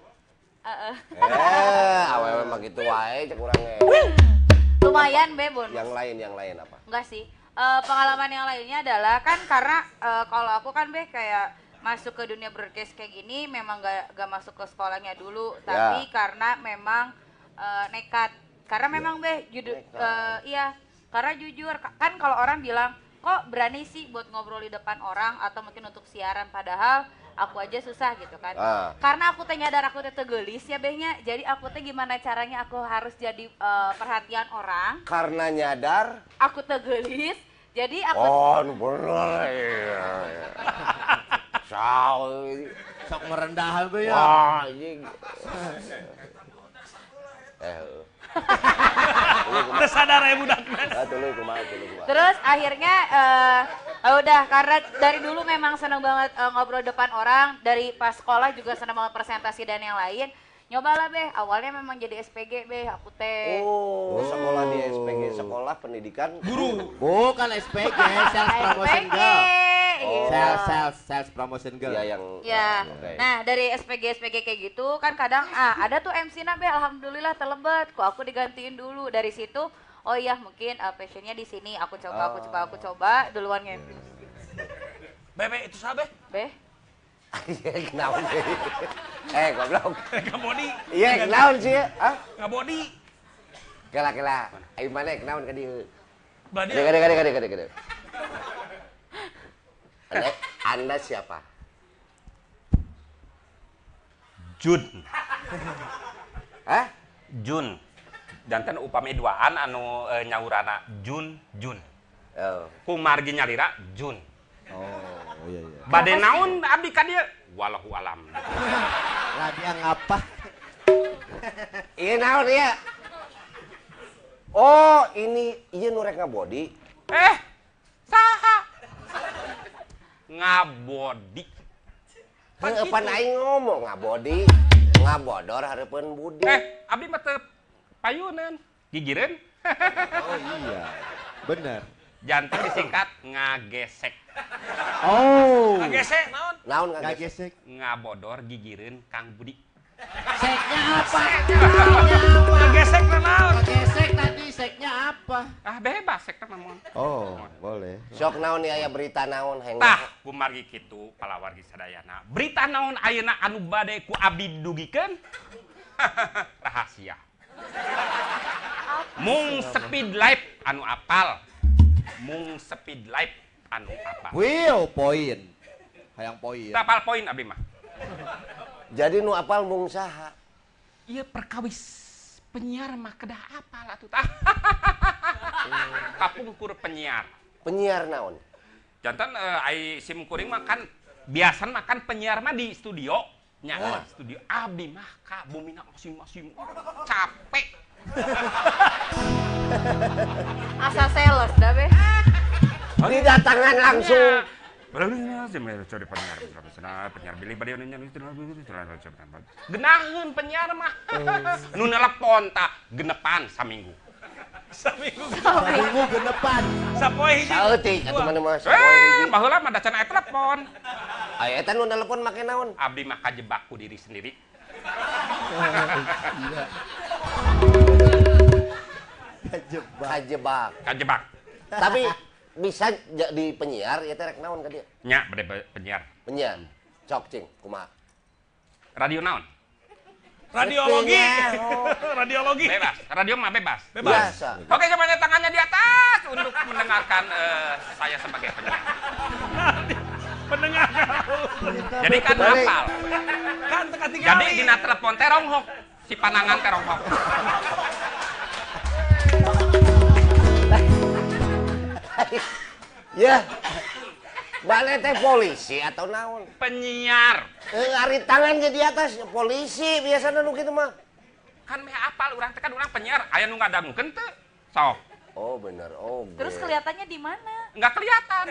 Ah, Awewe mah gitu wae cek urangnya. lumayan, Be, bonus. Yang lain apa? Enggak sih. Pengalaman yang lainnya adalah kan karena kalau aku kan, Be, kayak masuk ke dunia broadcast kayak gini memang gak masuk ke sekolahnya dulu, tapi karena memang nekat. Karena memang iya, karena jujur kan kalau orang bilang kok berani sih buat ngobrol di depan orang atau mungkin untuk siaran, padahal aku aja susah gitu kan. Karena aku teh nyadar aku teh tegelis ya Behnya, jadi aku teh gimana caranya aku harus jadi perhatian orang. Karena nyadar Aku tegelis, jadi aku bener. Sok merendah be ya. Wah, anjing. Udah sadar ya budaknya. Terus akhirnya udah karena dari dulu memang seneng banget ngobrol depan orang, dari pas sekolah juga seneng banget presentasi dan yang lain. Nyobalah Be, awalnya memang jadi SPG Be, aku teh. Oh, sekolah di SPG, sekolah pendidikan Guru. Bukan SPG, Sales Promotion SPG. Girl. Iya. Sales Promotion Girl. ya yang Ya, oke. nah dari SPG kayak gitu kan kadang ada tuh MC-na Be, alhamdulillah terlebat, kok aku digantiin dulu dari situ. Oh iya mungkin passionnya di sini, aku coba duluan nge-MC. Bebe itu sabe. Be, Iya, kenaun sih. Goblok. Nggak body. Iya, kenaun sih. Hah? Nggak body. Kela. Ayo mana kenaun ka dieu? Berarti Gede. Anda siapa? Jun. Hah? Jun. Janten upami duaan anu nyaurana Jun. Oh. Ku margi nyalira Jun. Oh, iya. Bade naon abdi ka dieu? Wallahu alam. Lah dia ngapa? Iya naon ya? Oh, ini iya nu rek ngabodi. Saha? Ngabodi. Pan aing ngomong ngabodi, ngabodor hareupeun budi. Abdi mah teu payunan. Gigireun. Oh iya. Bener. Janten disingkat ngagesek. Oh. gesek naon? Naon Nggak ngagesek? gesek. Ngabodor gigireun Kang Budi. Seknya apa? Gesek naon? Gesek tadi seknya apa? Bebas sek mah mon. Oh, boleh. Sok naon aya berita naon heng. Tah, kumargi kitu palawargi sadayana. Berita naon ayeuna anu bade ku abdi dugikeun? Rahasia. Mung speed life anu apal. Will point. Hayang point. Tapal poin abdi mah. Jadi nu apal mung saha? Ieu perkawis penyiar mah kedah apal atuh tah. Kapungkur penyiar. Penyiar naon? Janten ai sim kuring mah kan biasan makan penyiar mah di studio. Nya studio abdi mah ka bumina masing-masing. Capek. asal sales dah Be. Didatangan langsung. Penyiar bilih bade genaheun penyiar mah. Nu nelepon tak genepan saminggu. Minggu genepan. Sapoe hiji. Saeutik atuh mana mah sapoe hiji. Baheula mah dacan aya telepon. Aya eta nu nelpon make naon? Abdi mah kajebak ku diri sendiri. Kajebak. Tapi bisa jadi penyiar ya teh rek naon ka dieu? Nya bade penyiar. Penyiar. Cok cing kumaha? Radio naon? Radiologi. Radiologi. Bebas. Radio mah bebas. Biasa. Oke, semuanya tangannya di atas untuk mendengarkan saya sebagai penyiar. Pendengar. Jadi kan hafal. Kan teka tinggal. Jadi dina telepon teronghok si panangan teronghok. Ya. Bale teh polisi atau naon? Penyiar. Ari tangannya di atas polisi biasana nu kitu mah. Kan meh apal urang teh kan urang penyiar aya nu ngadangukeun teu? Sok. Oh bener. Oh. Terus kelihatannya di mana? Enggak kelihatan.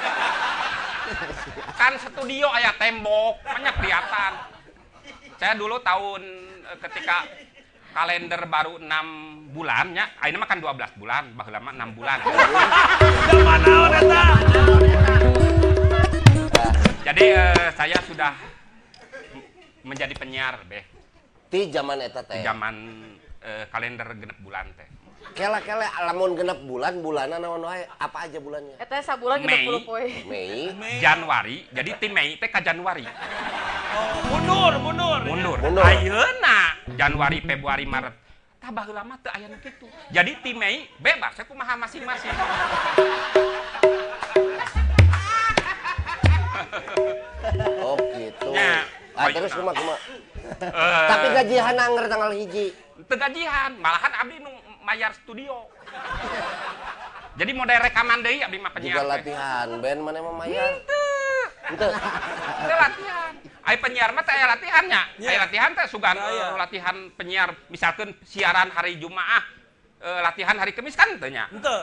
Kan studio aya tembok, banyak kelihatan. Saya dulu tahun ketika kalender baru 6 bulan nya, ayeuna mah kan 12 bulan, baheula mah 6 bulan. Zaman naon eta? Jadi saya sudah menjadi penyiar beh. Ti zaman eta teh. Di zaman kalender genep bulan teh. Kele-kele lamun genep bulan, bulanan naon wae? Apa aja bulannya? Eta sabulan Mei. 30 poe. Mei. Januari, jadi ti Mei teh ka Januari. Mundur. Mundur. Mundur. Ayeuna Januari, Februari, Maret. Tah baheula mah teu aya nu kitu. Jadi ti Mei bebas kumaha masing-masing. Oh gitu. Ya. Terus kumaha? Tapi gajian angger tanggal 1. Teu gajian, malahan abdi nu mayar studio. Jadi model rekaman deui abdi mah penyiar. Juga latihan band mana mah mayar? Teu latihan. Ai penyiar mah teh aya latihannya. Aya latihan teh sugan latihan penyiar misalkan siaran hari Jumaah, latihan hari Kamis kan teu nya. Henteu.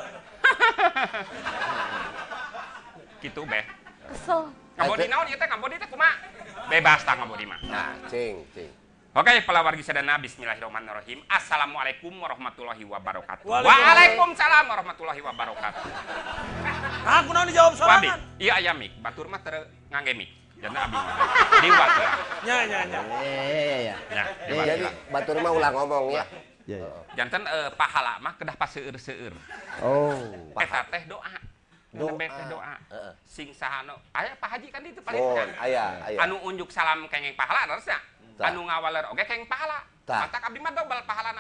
Kitu beh. Kesel. Ngabodi naon ieu teh ngabodi teh kumaha? Bebas tah ngabodi mah. Nah, cing. Oke, para wargi sadana, bismillahirrahmanirrahim. Assalamualaikum warahmatullahi wabarakatuh. Waalaikumsalam. Waalaikumsalam warahmatullahi wabarakatuh. Aku naon dijawab Wabi, sorangan. iya aya mik, batur mah teu ngangge mik. Jangan abi mah. Diwat lah. Nya. Iya. Ya, Jadi batur mah ulah ngomong ya. jantan pahala mah kedah paseueur-seueur. Oh. Eta teh doa. Doa teh doa. Sing sahano, aya Pak Haji kan itu paling Oh, kan. aya. Anu unjuk salam kengeng pahala harusnya. Tah. Anu ngawaler oge kengeng pahala. Tah. Mata abdi mah dobel pahalana.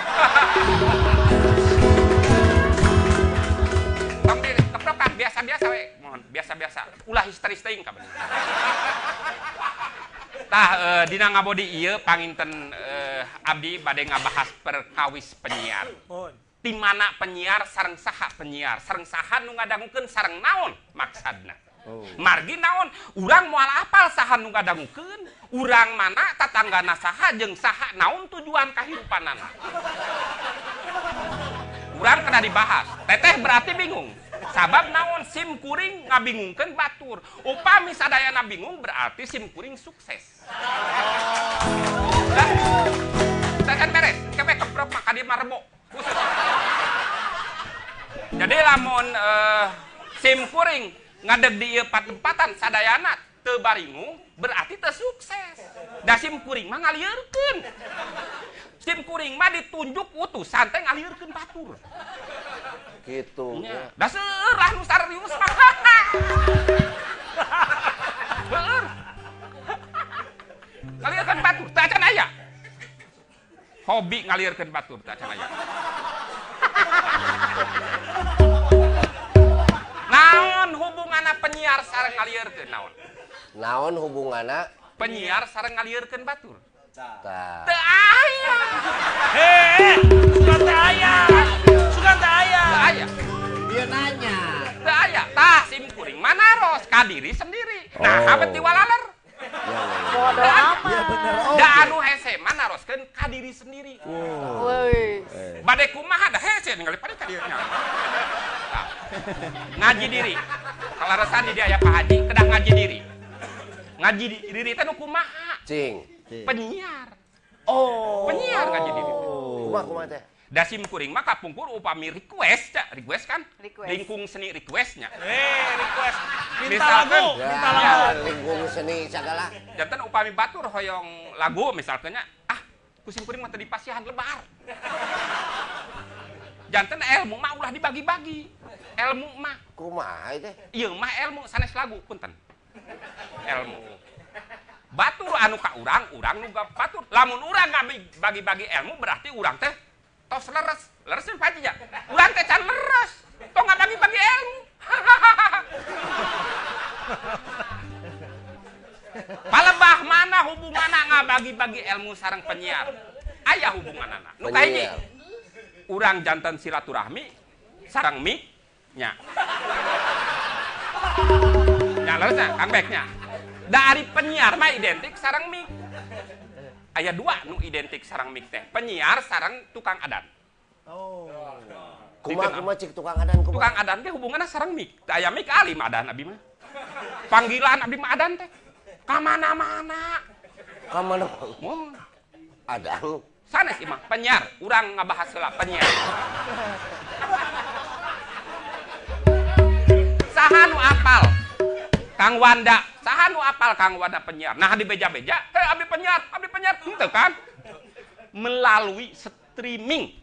Tong di keprokan biasa-biasa we. Mohon biasa-biasa. Ulah histeris teuing ka bener. Tah dina ngabodi ieu panginten abdi bade ngabahas perkawis penyiar. Mohon. Di mana penyiar sareng saha penyiar, sareng saha nu ngadangukeun sareng naon maksadna. Margi naon? Urang moal apal saha nu ngadangukeun, urang mana tatanggana saha jeung saha naon tujuan kahirupanana. Urang kena dibahas. Teteh berarti bingung. Sabab naon sim kuring ngabingungkeun batur. Upami sadayana bingung berarti sim kuring sukses. Teh kan beres, kebe keprok maka dia marebo. Jadi lamun sim kuring ngadeg di ieu patempatan sadayana teu baringung berarti teu sukses. Da sim kuring mah ngalieureun. Sim kuring mah ditunjuk utusan teh ngalieureun batur. Gitu. Nya, da seueur lah nu serius mah. Seueur. Ngalieureun batur teh acan aya. Hobi ngalieureun batur teh acan aya. Naon hubunganna penyiar sareng ngalieureun naon? Naon hubunganna? Penyiar sareng ngalieureun batur. Tah. Teu aya. Sugan teh aya. Sugan teh aya. Teu aya. Dia nanya. Teu aya. Tah sim kuring manaros ka diri sendiri. Nah, abet diwalaler. Bodoh amat. Iya bener. Da anu hese manaroskeun ka diri sendiri. Woi. Bade kumaha da hese ningali pade ka dieunya. Tah. Ngaji diri. Kalaresan di dia aya Pak Haji kedah ngaji diri. Ngaji diri teh nu kumaha? Cing. Penyiar. Oh. Penyiar ngaji diri. Kumaha teh? Da sim kuring mah kapungkur upami request, request kan? Request. Lingkung seni requestnya. Request. Minta Misalkan, lagu. ya. Minta Ya, lagu. lingkung seni segala. Jantan upami batur hoyong lagu misalnya, kusim kuring mah teu dipasihan lebar. Janten ilmu mah ulah dibagi-bagi. Ilmu mah Kumaha teh? ieu mah ilmu sanes lagu punten. Ilmu. Batur anu ka urang nu batur. Lamun urang bagi-bagi ilmu berarti urang teh tos leres. Leres teh paji ya. Urang teh can leres. Tong bagi-bagi ilmu. Palebah mana hubunganna ngabagi-bagi ilmu sareng penyiar? Aya hubunganna. Nu kahiji. Urang janten silaturahmi sareng mik nya. Nya leresna Kang Bek nya. Dari penyiar mah identik sareng mik. Aya dua nu identik sareng mik teh. Penyiar sareng tukang adan. Oh. Kumaha cik tukang adan kumaha? Tukang adan teh hubunganna sareng mik. Teh aya mik alim adan abdi mah. Panggilan abdi mah adan teh. Ka mana-mana. Ka mana? Mun Adan. sanes imah penyiar, urang ngabahas heula penyiar. Saha nu apal? Kang Wanda. Saha nu apal Kang Wanda penyiar? Nah di beja-beja, abdi penyiar henteu kan? Melalui streaming.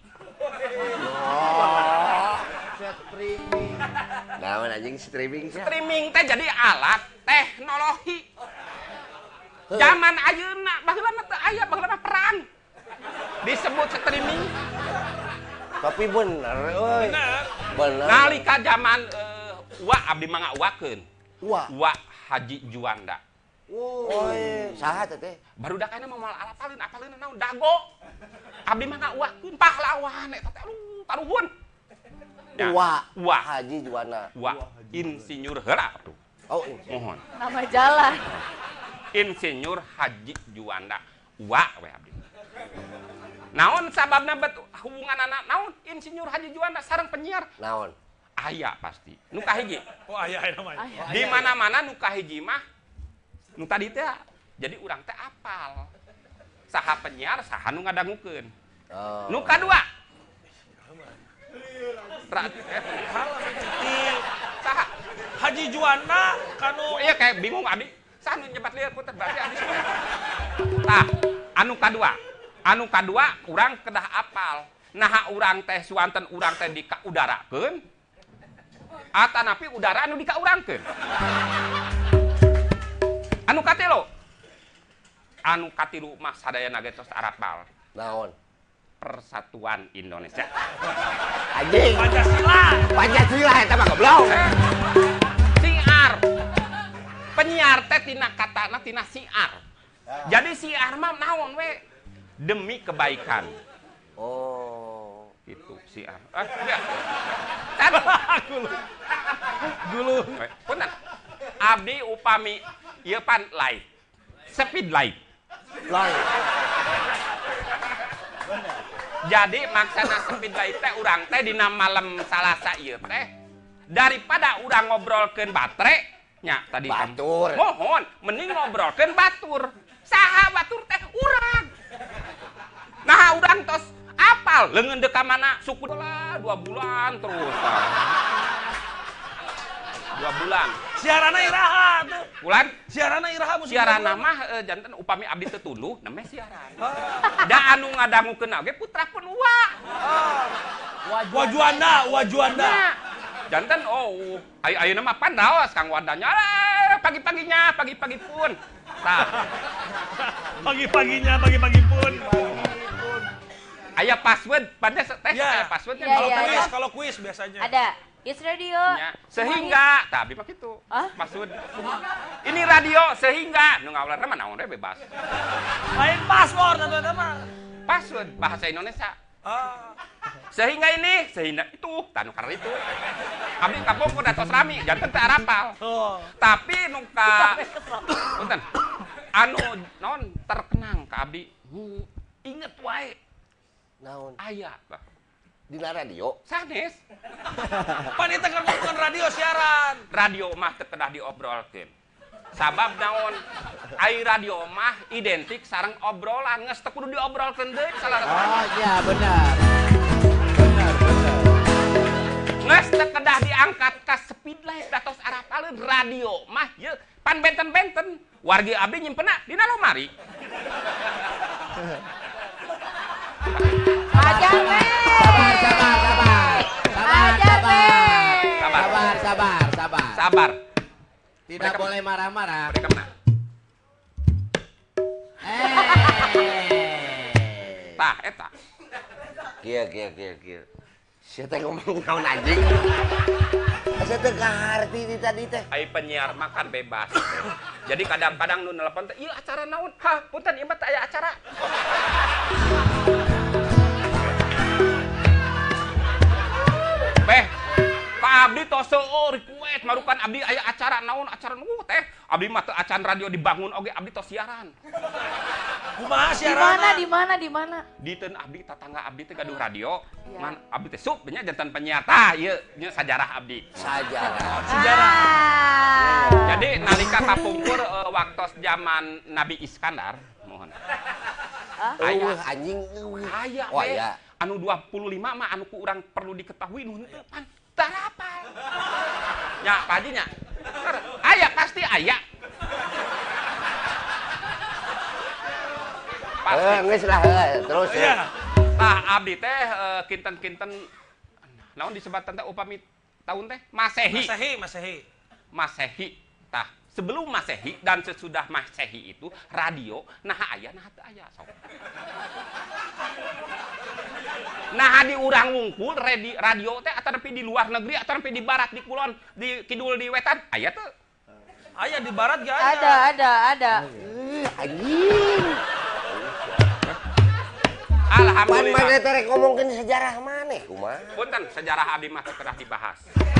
Streaming. Naon anjing streaming sih? Streaming teh jadi alat teknologi. Zaman ayeuna baheula teh aya baheula perang. Disebut streaming. Tapi bener euy. Bener. Nalika zaman abdi mah ngauwakeun. Wa Haji Juanda. Saha teh? Barudak kana mah moal apaleun naon dago. Abdi mah ngauwakeun pahlawan eta teh taruhun. Wa Haji Juanda. Wa insinyur heula tuh. Oh, Mohon. Nama jalan. Insinyur Haji Juanda. Wa we abdi. Naon sababna hubunganana naon Insinyur Haji Juanda sareng penyiar? Naon? Aya pasti. Nu kahiji. Oh aya namanya. Di mana-mana nu kahiji mah nu tadi teh jadi urang teh apal. Saha penyiar, saha nu ngadangukeun. Oh. Nu kadua. Saha? Haji Juanda kanu Iya kayak bingung abdi. Saha nu nyebat lieur puter berarti abdi. Tah, anu kadua urang kedah apal. Nah urang teh suanten urang teh dikaudarakeun. Atanapi udara anu dikaurangkeun. Anu katelo. Anu katilu mah sadayana ge tos arapal. Naon? Persatuan Indonesia. Anjing. Pancasila eta mah goblok. Siar. Penyiar teh tina katana tina siar. Jadi siar mah naon we? Demi kebaikan. Oh, Itu siar. gulu. Punten. Abdi upami ieu pan live. Speed live. Jadi maksana speed live teh urang teh dina malam Salasa ieu teh daripada urang ngobrolkeun batere nya tadi kan. Batur. Mohon mending ngobrolkeun batur. Saha batur teh urang. Nah urang tos apal leungeun deuk ka mana suku lah 2 bulan terus. 2 bulan. Siarana iraha tuh. Bulan Siarana iraha musik. siarana mah janten upami abdi teu tunduh namanya siaran. Da anu ngadangukeun oge putrakeun Wa. Wajuanda. Nah, janten ayeuna mah pandaos Kang Wadanya. Pagi-paginya, pagi-pagi pun. Tah. Pagi-pagi pun. Aya password, pantes teh aya passwordnya. Iya. Kalau kuis biasanya. Ada. It's radio. Ya, sehingga, tah abdi mah kitu. Hah? Password. Ini radio sehingga nu ngawlarna mah naon we bebas. Lain paspor eta mah. Password bahasa Indonesia. Sehingga itu, tanu karena itu. Abdi kapung kuda tos rami, janten teh arapal. Tapi nu ka punten. Anu naon terkenang ka abdi. Inget wae. Naon? Aya. Dina radio? Sanes. Pan eta kan bukan radio siaran. Radio mah teu kedah diobrolkeun. Sabab naon? Ai radio mah identik sareng obrolan, geus teu kudu diobrolkeun deui salarasana. Oh iya benar. Benar. Geus teu kedah diangkat ka speed live datos arapaleun radio mah ieu pan benten-benten wargi abdi nyimpenna dina lomari. Aja, Sabar. sabar. Tidak boleh marah-marah. Mereka mana? Tah, eta. Kieu. Saya teh ngomong naon anjing. Saya teh kaharti di tadi teh. Ai penyiar makan bebas. Jadi kadang-kadang nu nelpon teh, "Ieu acara naon?" "Hah, punten ieu mah teh aya acara." Beh, Pak Abdi tos seueur request marukan Abdi aya acara naon acara nu teh. Abdi mah teu acan radio dibangun oge Abdi tos siaran. Kumaha siaran? Di mana? Diteun Abdi tetangga Abdi teh gaduh radio. Iya. Man Abdi teh sup nya jantan penyiar tah ieu nya sajarah Abdi. Sejarah. Jadi nalika kapungkur waktos zaman Nabi Iskandar, mohon. Anjing. Aya Oh we. ya. Anu 25 mah anu ku urang perlu diketahui nu henteu pan tarapal. Nya Pak Haji nya. Aya pasti aya. Geus lah terus. Iya. Tah abdi teh kinten-kinten naon disebatan teh upami tahun teh Masehi. Masehi. Tah, sebelum Masehi dan sesudah Masehi itu radio nah aya nah teu aya sok. Nah di urang wungkul radio teh atanepi di luar negeri atanepi di barat di kulon di kidul di wetan aya teu? Aya di barat gak ada. Ada. Anjing. Alhamdulillah. Pan mana teh ngomongkeun sejarah maneh kumaha? Punten sejarah abdi mah teu kedah dibahas.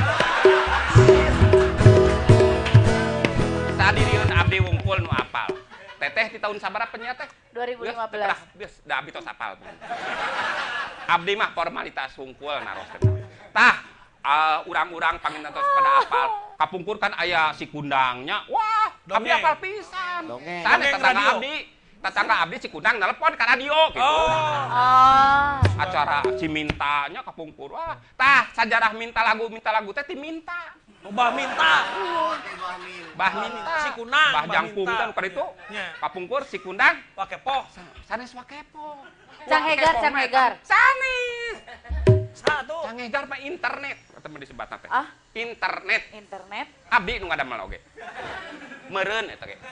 Sadiriun abdi wungkul nu apal. Teteh di tahun sabaraha penyiar teh? 2015. Da abdi tos apal. Abdi mah formalitas wungkul naros teh. Tah, urang-urang panginten tos pada apal. Kapungkur kan aya si kundangnya. Wah, abdi Dongeng. apal pisan. Dongeng. Sana Dongeng tetangga radio. abdi. Tetangga abdi si kundang nelpon ke radio gitu. Oh. Acara si mintanya kapungkur. Wah, tah sajarah minta lagu teh ti minta. Bah minta. Bah minta. Si Kunang, Bah Bah jangkung minta. kan pada itu. Nya. Kapungkur si kundang. Pakai poh. Sanes wakepo. Cang Hegar. Sanes. Satu. Cang Hegar mah internet. Kata mah disebutna teh. Ah? Internet. Abdi nu ngadamel oge. Meureun eta ge.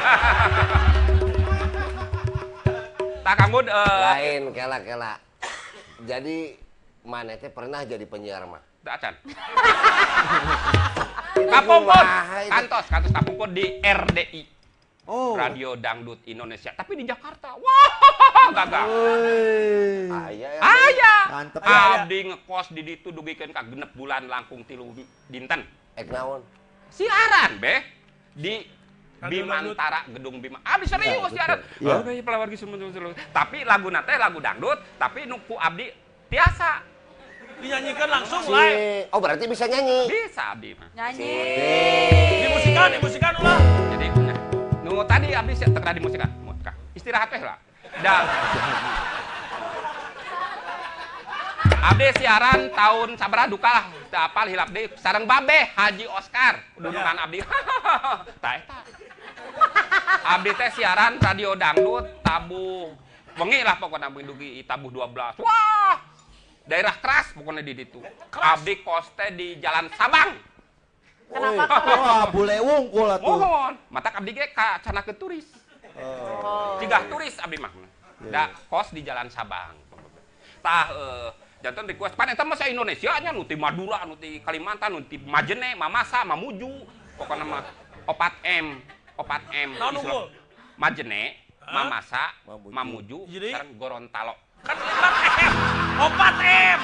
Tak kanggo Lain kela. Jadi maneh teh pernah jadi penyiar mah. da acan. Kapungkur. Kumaha itu? Kantos kapungkur di RDI. Oh. Radio Dangdut Indonesia. Tapi di Jakarta. Wah, gagal. Aya. Mantep. Abdi ngekos di ditu dugikeun ka 6 bulan langkung 3 dinten. Ek naon? Siaran beh di Radio Bimantara gedung Bima. Abdi serius siaran. Iya. Oke, pelawar geus tapi laguna teh lagu dangdut, tapi nu ku abdi tiasa. Dinyanyikan langsung live. Oh berarti bisa nyanyi. Bisa abdi mah. Nyanyi. Dimusikan ulah. Jadi nah, nu tadi abdi teu di musikan. Istirahat teh lah. Dan abdi siaran tahun sabaraha duka lah. Teu apal hilap deui sareng Babe Haji Oscar. Dudukan abdi. Tah eta. Abdi teh siaran radio dangdut tabuh wengi lah pokoknya dugi tabuh 12. Wah! Daerah keras pokoknya di ditu. Abdi kos teh di Jalan Sabang. Kenapa? Wah, bule wungkul atuh. Mohon, mata abdi ge ka canakeun turis. Cigah turis abdi mah. Da kos di Jalan Sabang. Tah janten request pan eta mah sa Indonesia nya nu ti Madura, nu ti Kalimantan, nu ti Majene, Mamasa, Mamuju, pokona mah 4M. Naon unggul? Majene, Hah? Mamasa, Mamuju. Mamuju, Jadi? sareng Gorontalo. Kan 4M.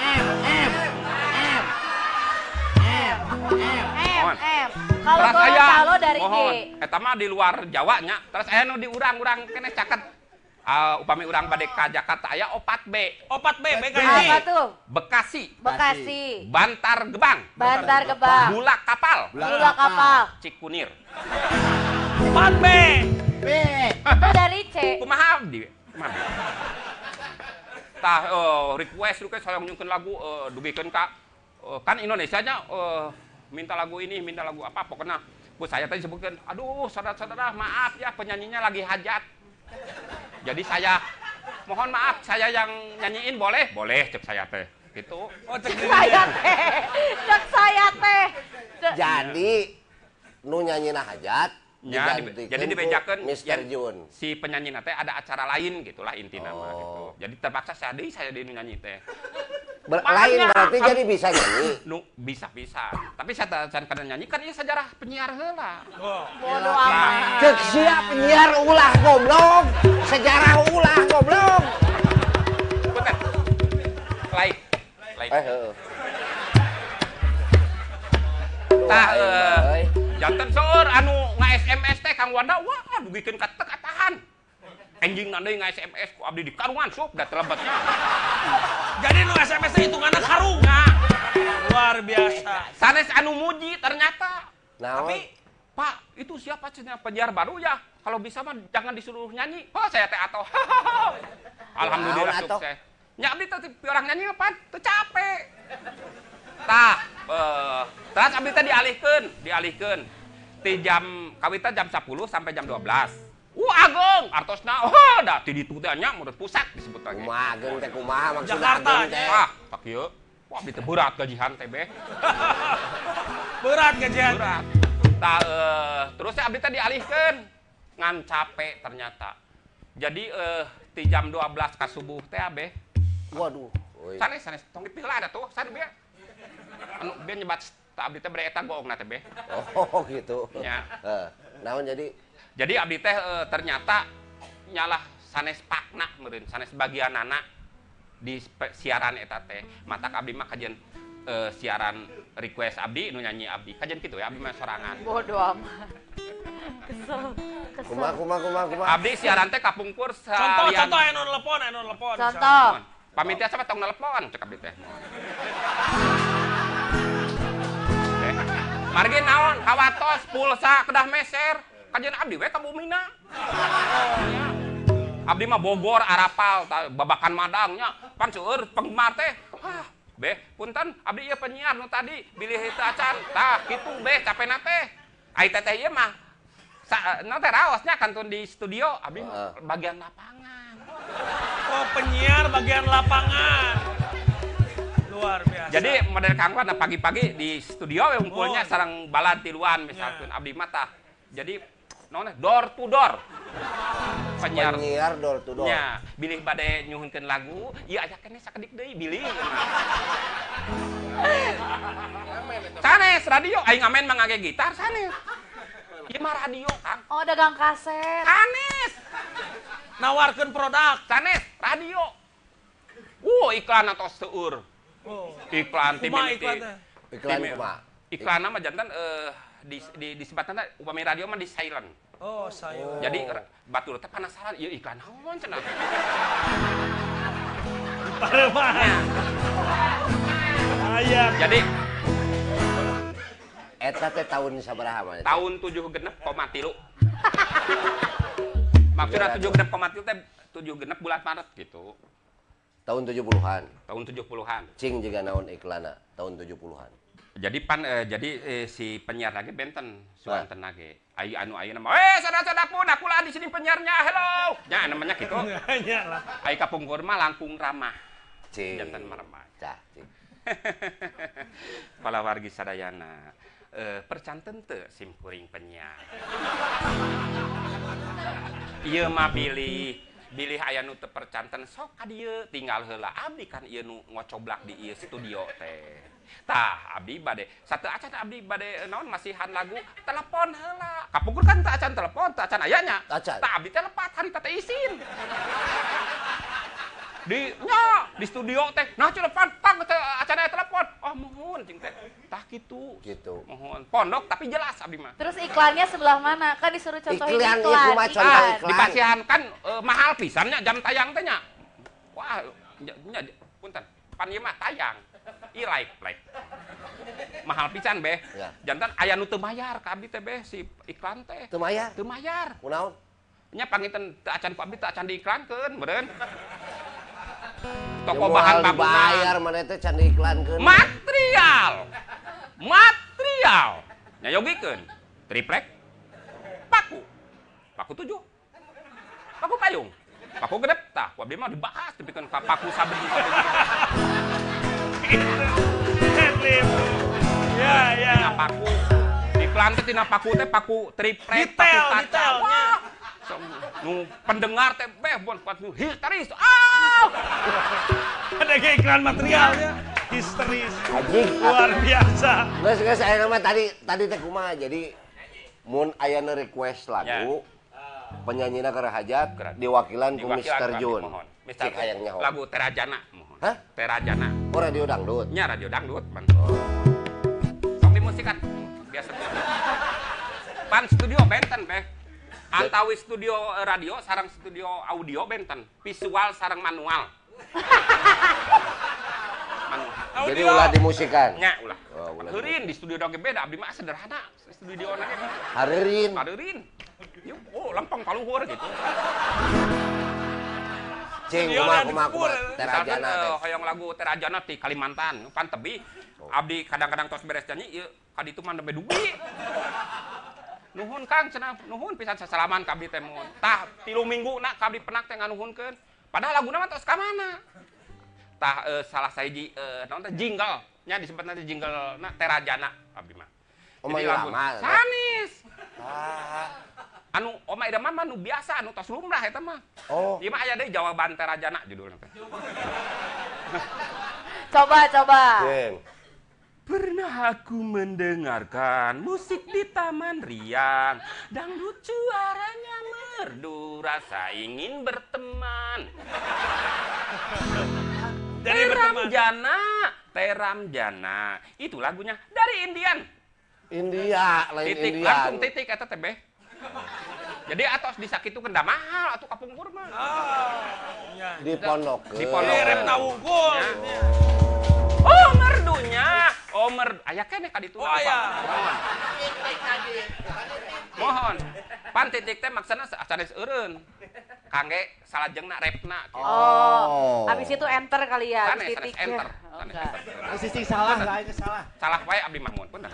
M. Kalau Terus aya, Gorontalo dari G. mohon, eta mah di luar Jawa nya. Terus aya nu di urang-urang kene caket. Upami urang bade ka Jakarta aya 4B. 4B Apa BKI. tuh? Bekasi, Bekasi. Bantar Gebang, Bantar Gebang. Bulak Kapal, Gula kapal. Cikunir. 4B. Itu dari C. Kumaha abdi? Kumaha abdi? Tah request hoyong nyungkeun lagu dugikeun ka kan Indonesia nya minta lagu ini, minta lagu apa pokoknya ku saya tadi sebutkeun aduh saudara-saudara maaf ya penyanyinya lagi hajat. Jadi saya mohon maaf saya yang nyanyiin boleh? Boleh cek saya teh. Gitu. Oh, cek Saya teh. Cek saya teh. Jadi nu nyanyina hajat Ya, jadi dibejakeun Mr. Jun. Si penyanyi teh ada acara lain gitulah inti nama gitu. Jadi terpaksa saya di nyanyi teh. Lain berarti jadi bisa nyanyi. Nu bisa. Tapi saya can kada nyanyi kan ieu sejarah penyiar heula. Bodoh amat. Cek sia penyiar ulah goblok. Sejarah ulah goblok. Punten. Lain. Heeh. Tah janten seueur anu nga-SMS teh Kang Wanda, wah dugikeun ka teu katahan. Anjing nandai nga-SMS ku abdi di karungan sup da telebetnya. Jadi nu SMS teh hitunganna karung. Luar biasa. Sanes anu muji ternyata. Naon? Tapi Pak, itu siapa cenah penyiar baru ya? Kalau bisa mah jangan disuruh nyanyi. Oh, saya teh atoh. Alhamdulillah sukses. Nya abdi teh orang nyanyi apa? Teu capek. Tah, terus abdi teh dialihkeun. Ti jam kawita jam 10 sampai jam 12. Ageng artosna. Da ti ditu teh nya menurut pusat disebut lagi. Kumaha ageng teh kumaha maksudna Jakarta, ageng teh? Tak ieu. Wah, abdi teh berat gajihan teh beh. Berat gajian. Berat. Tah terus abdi teh dialihkeun. Ngan capek ternyata. Jadi ti jam 12 ka subuh teh abeh. Waduh. Sanes tong dipila ada tuh, sanes be. Anu be nyebat abdi teh bere eta goongna teh be. Oh gitu. Nya. Naon jadi? Jadi abdi teh ternyata nyalah sanes pakna meureun, sanes bagianana di siaran eta teh. Matak abdi mah kajian siaran request abdi nu nyanyi abdi. Kajian kitu ya abdi mah sorangan. Bodoh amat. Kesel. Kumaha. Abdi siaran teh kapungkur salian. Contoh anu telepon. Contoh. Pamitia sama tong nelpon cek abdi teh. Margi naon kawatos pulsa kedah meser kajian abdi we ka Bumina. Abdi mah Bogor arapal babakan madangnya pan seueur penggemar teh. Beh punten abdi ieu penyiar nu tadi bilih teu acan. Tah kitu beh capena teh. Ai teh ieu mah na teh raosnya kantun di studio abdi bagian lapangan. Oh, penyiar bagian lapangan. Luar biasa. Jadi model Kang Wan pagi-pagi di studio ngumpulnya sareng balad tiluan misalkan abdi mah tah. Jadi naon door to door. Penyiar door to door. Nya, bilih bade nyuhunkeun lagu, ieu aya keneh sakedik deui bilih. Sanes radio aing ngamen mah ngage gitar sanes. Ieu mah radio, Kang. Oh, dagang kaset. Sanes. Nawarkeun produk. Sanes radio. Iklan atau seueur. Iklan tim Kumaha iklan teh? Iklan kumaha? Iklan mah jantan di sebatana upami radio mah di silent. Oh, saya. Jadi batur teh penasaran ieu iklan naon cenah. Paremah. Ayah. Jadi Eta teh tahun sabaraha mah? tahun 76,3. Maksudnya 76,3 teh 76 bulan Maret gitu. Tahun 70-an. Tahun 70-an. Cing juga naon iklanna tahun 70-an. Jadi si penyiar lagi benten suanten lagi. Anu ayeuna mah, saudara-saudaraku, akulah di sini penyiarnya. Hello. Ya namanya gitu. Nya lah. Ai kapungkur mah langkung ramah. Cing. Jantan marmah. Cah, cing. Kala wargi sadayana. Percanten teu sim kuring penyiar. Ieu mah bilih aya nu teu percanten sok ka dieu tinggal heula abdi kan ieu nu ngocoblak di ieu studio teh. Tah abdi bade sateu acan abdi bade naon masihan lagu telepon heula. Kapungkur kan teu acan telepon, teu acan aya nya. Acan. Tah abdi teh lepat harita teh isin. Di studio teh nah telepon tang acan aya telepon. Oh mohon cing teh. Tah kitu. Gitu. Mohon pondok tapi jelas abdi mah. Terus iklannya sebelah mana? Kan disuruh contohin Iklan, iklan. ieu mah contoh iklan. Dipasihan kan mahal pisannya jam tayang teh nya. Wah, nya punten. Pan ieu mah tayang. Live. Mahal pisan beh. Ya. Jantan aya nu teu mayar ka abdi teh beh si iklan teh. Teu mayar. Teu mayar. Kunaon? Nya panginten teu acan ku abdi teu acan diiklankeun, meureun. Toko bahan bangunan. Bayar mana teh can diiklankeun. Material. Nya yogikeun. Triplek. Paku 7. Paku payung. Paku gedep tah, ku abdi mah dibahas dipikeun ka paku sabeni. Headlim. Ya. Paku. iklan teh tina paku teh paku triplek, paku Detail, kaca. detailnya. Wah, nu pendengar teh bon kuat nu histeris. Ada kayak iklan materialnya. Histeris. Anjing. Luar biasa. Geus aya nama tadi teh kumaha jadi mun aya request lagu penyanyina keur hajat diwakilan ku Mr. Jun. Cik hayang nyaho. Lagu Terajana mohon. Hah? Terajana. Oh radio dangdut. Nya radio dangdut pan. Sok dimusikan biasa. Pan studio benten beh. Antawi studio radio sareng studio audio benten. Visual sareng manual. Jadi ulah dimusikan. Nya ulah. Oh, ulah. Heureun di studio oge beda abdi mah sederhana. Studio na ge. Hareureun. Hareureun. Yuk, oh lempeng paluhur gitu. Cing kumaha Terajana teh. Hoyong lagu Terajana di Kalimantan, pan tebi. Abdi kadang-kadang tos beres nyanyi ieu ka ditu mah nembe dugi. Nuhun Kang cenah, nuhun pisan sasalaman ka abdi teh mun. Tah 3 minggu na ka abdi penak teh nganuhunkeun. Padahal laguna mah tos ka mana? Tah salah sahiji naon teh jingle nya disebutna teh jingle na Terajana abdi mah. Oma lama. Sanis. Anu Oma Irama mah nu biasa anu tos lumrah eta mah. Oh. Ieu mah aya deui jawaban Terajana judulna teh. Coba. Cing. Pernah aku mendengarkan musik di Taman Riang. Dangdut suaranya merdu, rasa ingin berteman. Teram Jana. Itu lagunya dari Indian. India, lain Titik, Indian. langsung titik eta teh beh. Jadi atos disakitu kenda mahal atuh kapungkur mah. Dipondokeun. Dipondokeun. Rem nawungkul. Oh, merdunya. Oh, aya keneh ka ditu. Oh, aya. Mohon. Pan titik teh maksana sanes eureun. Kangge salajengna repna. Oh. Habis itu enter kali ya, Sanes titik. enter. Oh, Sanes enggak. enter. Sisi salah, lainnya salah. Salah wae abdi mah mun punten.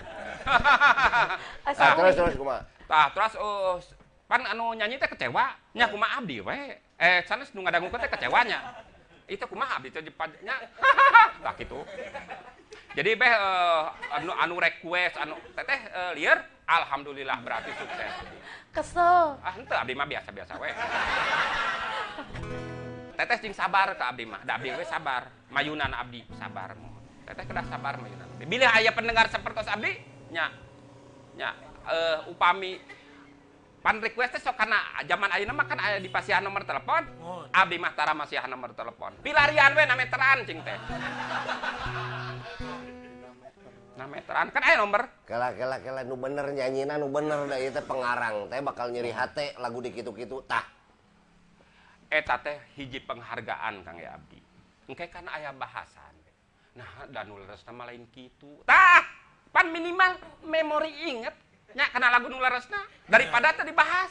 Terus kumaha? Tah, terus pan anu nyanyi teh kecewa, nya kumaha abdi we. Sanes nu ngadangukeun teh kecewanya. Itu kumaha abdi teh nya. Tah kitu. Jadi beh anu request anu teteh lieur alhamdulillah berarti sukses. Kesel. Henteu abdi mah biasa-biasa we. Teteh cing sabar ka abdi mah. Da abdi we sabar. Mayunan abdi sabar mohon. Teteh kedah sabar mayunan. Bila aya pendengar sapertos abdi nya upami pan request teh sok kana zaman ayeuna mah kan aya dipasihan nomor telepon. Abdi mah tara masihan nomor telepon. Pilarian we na meteran cing teh. Nah meteran kan aya nomor. Kela nu bener nyanyina nu bener da ieu teh pengarang teh bakal nyeri hate lagu di kitu-kitu tah. Eta teh hiji penghargaan Kang ya abdi. Engke kan aya bahasan. Nah dan nuleresna mah lain kitu. Tah, pan minimal memori inget nya kana lagu nuleresna daripada teh dibahas.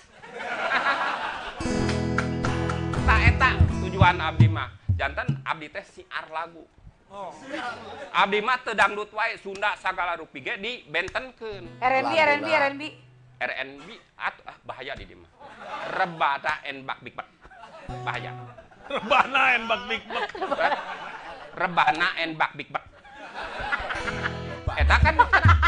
Tah eta tujuan abdi mah. Janten abdi teh siar lagu. Abdi mah teu dangdut wae Sunda sagala rupi ge dibentenkeun. R&B. RNB bahaya di dieu mah. Rebana and bak big bak. Bahaya. Rebana and bak big bak. Rebana and bak big bak. Eta kan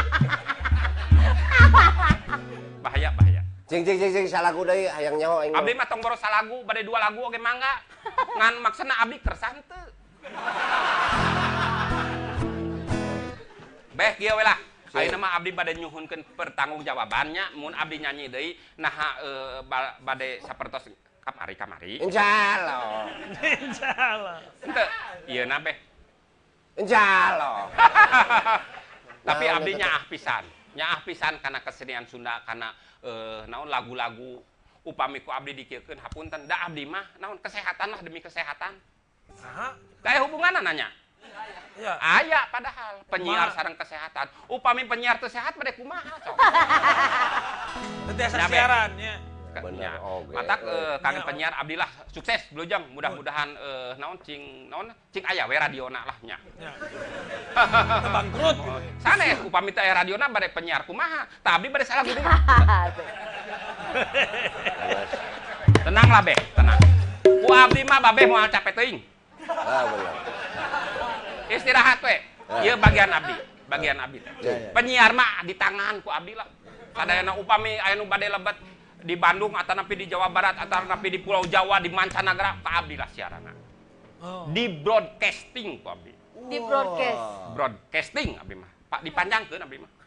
bahaya. Cing salagu deui hayang nyaho aing. Abdi mah tong boros salagu bade 2 lagu oge mangga. Ngan maksana abdi kersan teu. Beh kieu we lah. Ayeuna mah abdi bade nyuhunkeun pertanggungjawabannya mun abdi nyanyi deui naha bade sapertos kamari. Insyaallah. Henteu ieu na beh. Insyaallah. Tapi abdi nyaah pisan kana kesenian Sunda kana naon lagu-lagu upami ku abdi dikieukeun hapunten da abdi mah naon kesehatan lah demi kesehatan. Saha? Kayak hubunganna nanya. Ya. Aya padahal penyiar sareng kesehatan. Upami penyiar teu sehat bade kumaha sok. Tetiasa siaran nya. Bener, oge. Matak kangen penyiar abdi lah sukses Blujeng. Mudah-mudahan naon cing aya we radiona lah nya. Ya. Bangkrut. Sanes upami teh aya radiona bade penyiar kumaha? Tah abdi bade salah gede. Tenang lah beh, tenang. Ku abdi mah babeh moal capek teuing. Bener. Istirahat we. Ieu bagian abdi teh. Penyiar mah di tangan ku abdi lah. Sadayana upami aya nu bade lebet di Bandung atau napi di Jawa Barat atau napi di Pulau Jawa di mancanagara ka abdi lah siaranna. Di broadcasting ku abdi. Di broadcast. Broadcasting abdi mah. Pak dipanjangkeun abdi mah.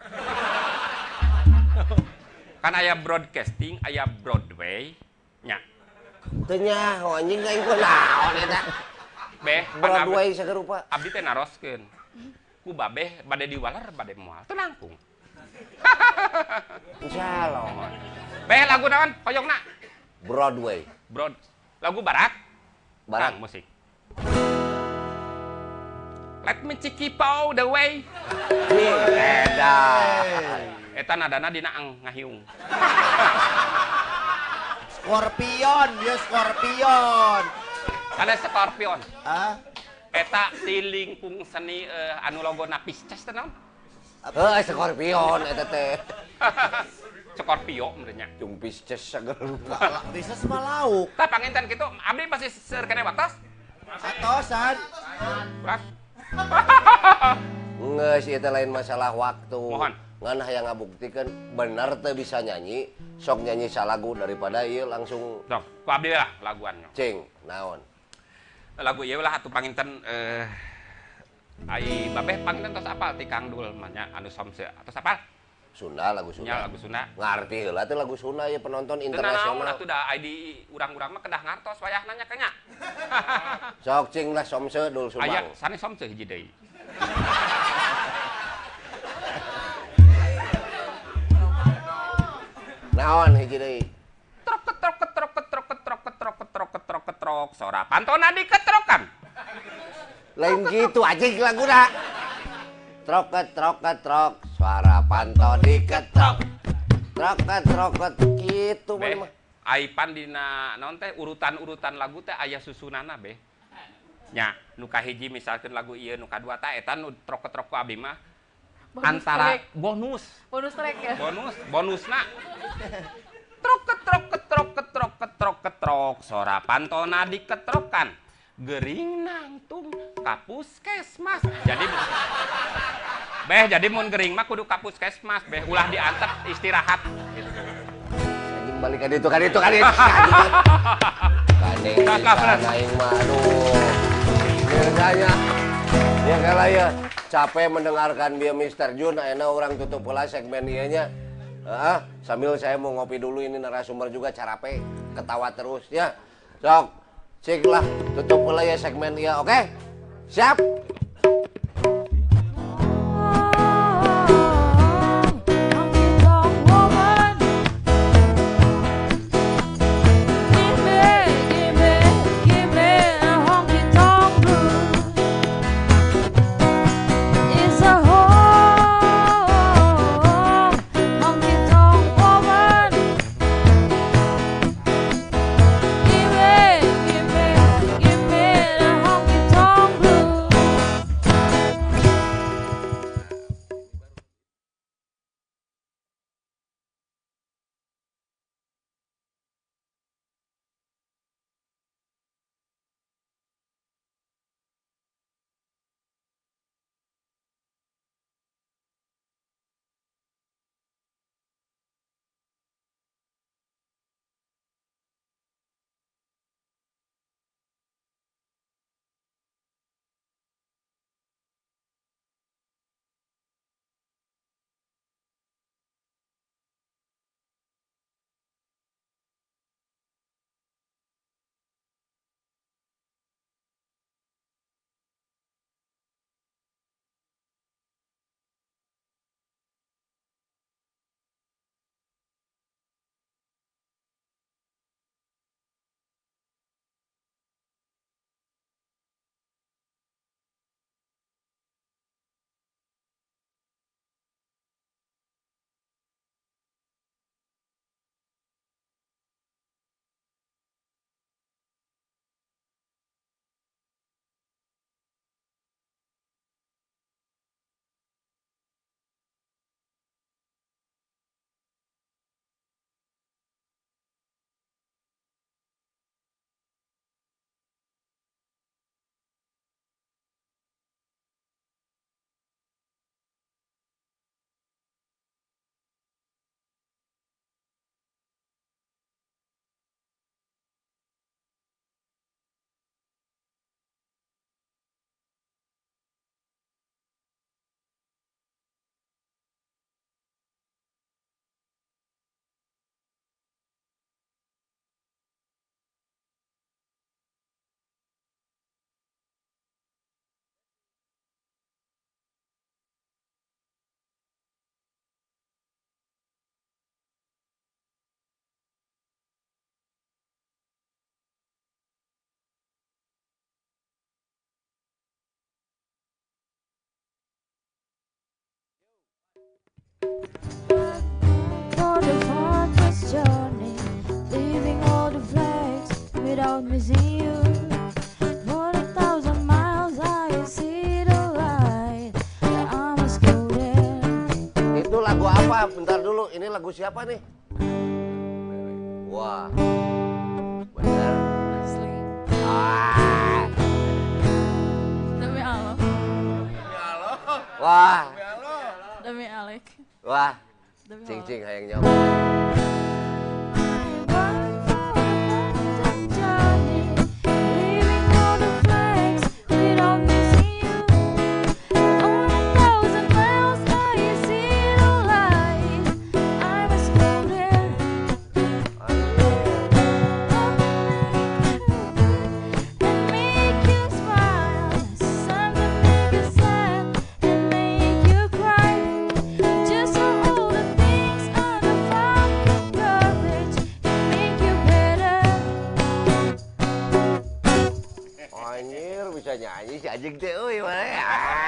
Kan aya broadcasting, aya Broadway nya. Teu nyaho anjing aing kunaon eta. Beh, Broadway sagerupa. abdi teh naroskeun. Ku babeh bade diwaler bade moal teu langkung. Insyaallah. Beh lagu naon hoyongna? Broadway. Lagu barat. Barat Kang, musik. Let me take you all the way. Eta nadana dina ngahiung. Scorpion, ya Scorpion. Kana Scorpion. Ah, Eta ti lingkung seni anu logona Pisces teh naon? Scorpion eta teh. Scorpio menurutnya. Cung Pisces sagerupa. bisa sama lauk. Tah panginten kitu, abdi masih seur keneh waktos. Atosan. Urat. Ngeus eta lain masalah waktu. Mohon. Ngan hayang ngabuktikeun bener teu bisa nyanyi, sok nyanyi salagu daripada ieu langsung Sok, ku abdi lah laguannya. cing naon. Lagu ieu lah atuh panginten ai babeh panginten tos apal ti Kang Dul mah nya anu somse. Tos apal? Sunda lagu Nya Sunda. lagu Sunda. Ngarti heula teh lagu Sunda ya penonton Teu naon internasional. atuh da ai di urang-urang mah kedah ngartos wayahna nya kanya. Sok cing lah somse Dul Aya Subang. sane somse hiji deui. Naon hiji deui? Trok ketrok ketrok ketrok ketrok ketrok ketrok ketrok ketrok sora pantona diketrokan. Lain gitu anjing laguna. Trok ketrok suara panto diketrok. Trok gitu Beh, mah. aipan dina naon teh urutan-urutan lagu teh aya susunana beh. Nya, nu kahiji misalkeun lagu ieu nu kadua teh eta nu trok-trok ku abdi mah antara track. bonus. Bonus track ya. Bonusna. Trok ketrok ketrok ketrok ketrok ketrok sora pantona diketrokan. Gering nangtung ka puskesmas. Jadi mun gering mah kudu ka puskesmas beh ulah diantep istirahat gitu. Anjing balik ka ditu. Kadeng aing mah aduh. Biasanya ya kala ya capek mendengarkan dia Mr. Jun ayeuna orang tutup heula segmen ieu nya. Sambil saya mau ngopi dulu ini narasumber juga carape ketawa terus ya. Sok cik lah tutup heula ya segmen ieu oke? Siap? without missing you. 40,000 miles I see the light. I must go there. Itu lagu apa? Bentar dulu, ini lagu siapa nih? Wah, bener. Asli. Ah. Demi Allah. Wah, Demi Alek. wah, Demi cing Allah. cing hayang nyawa. Anjir, bisa nyanyi si anjing teh, euy mana ya?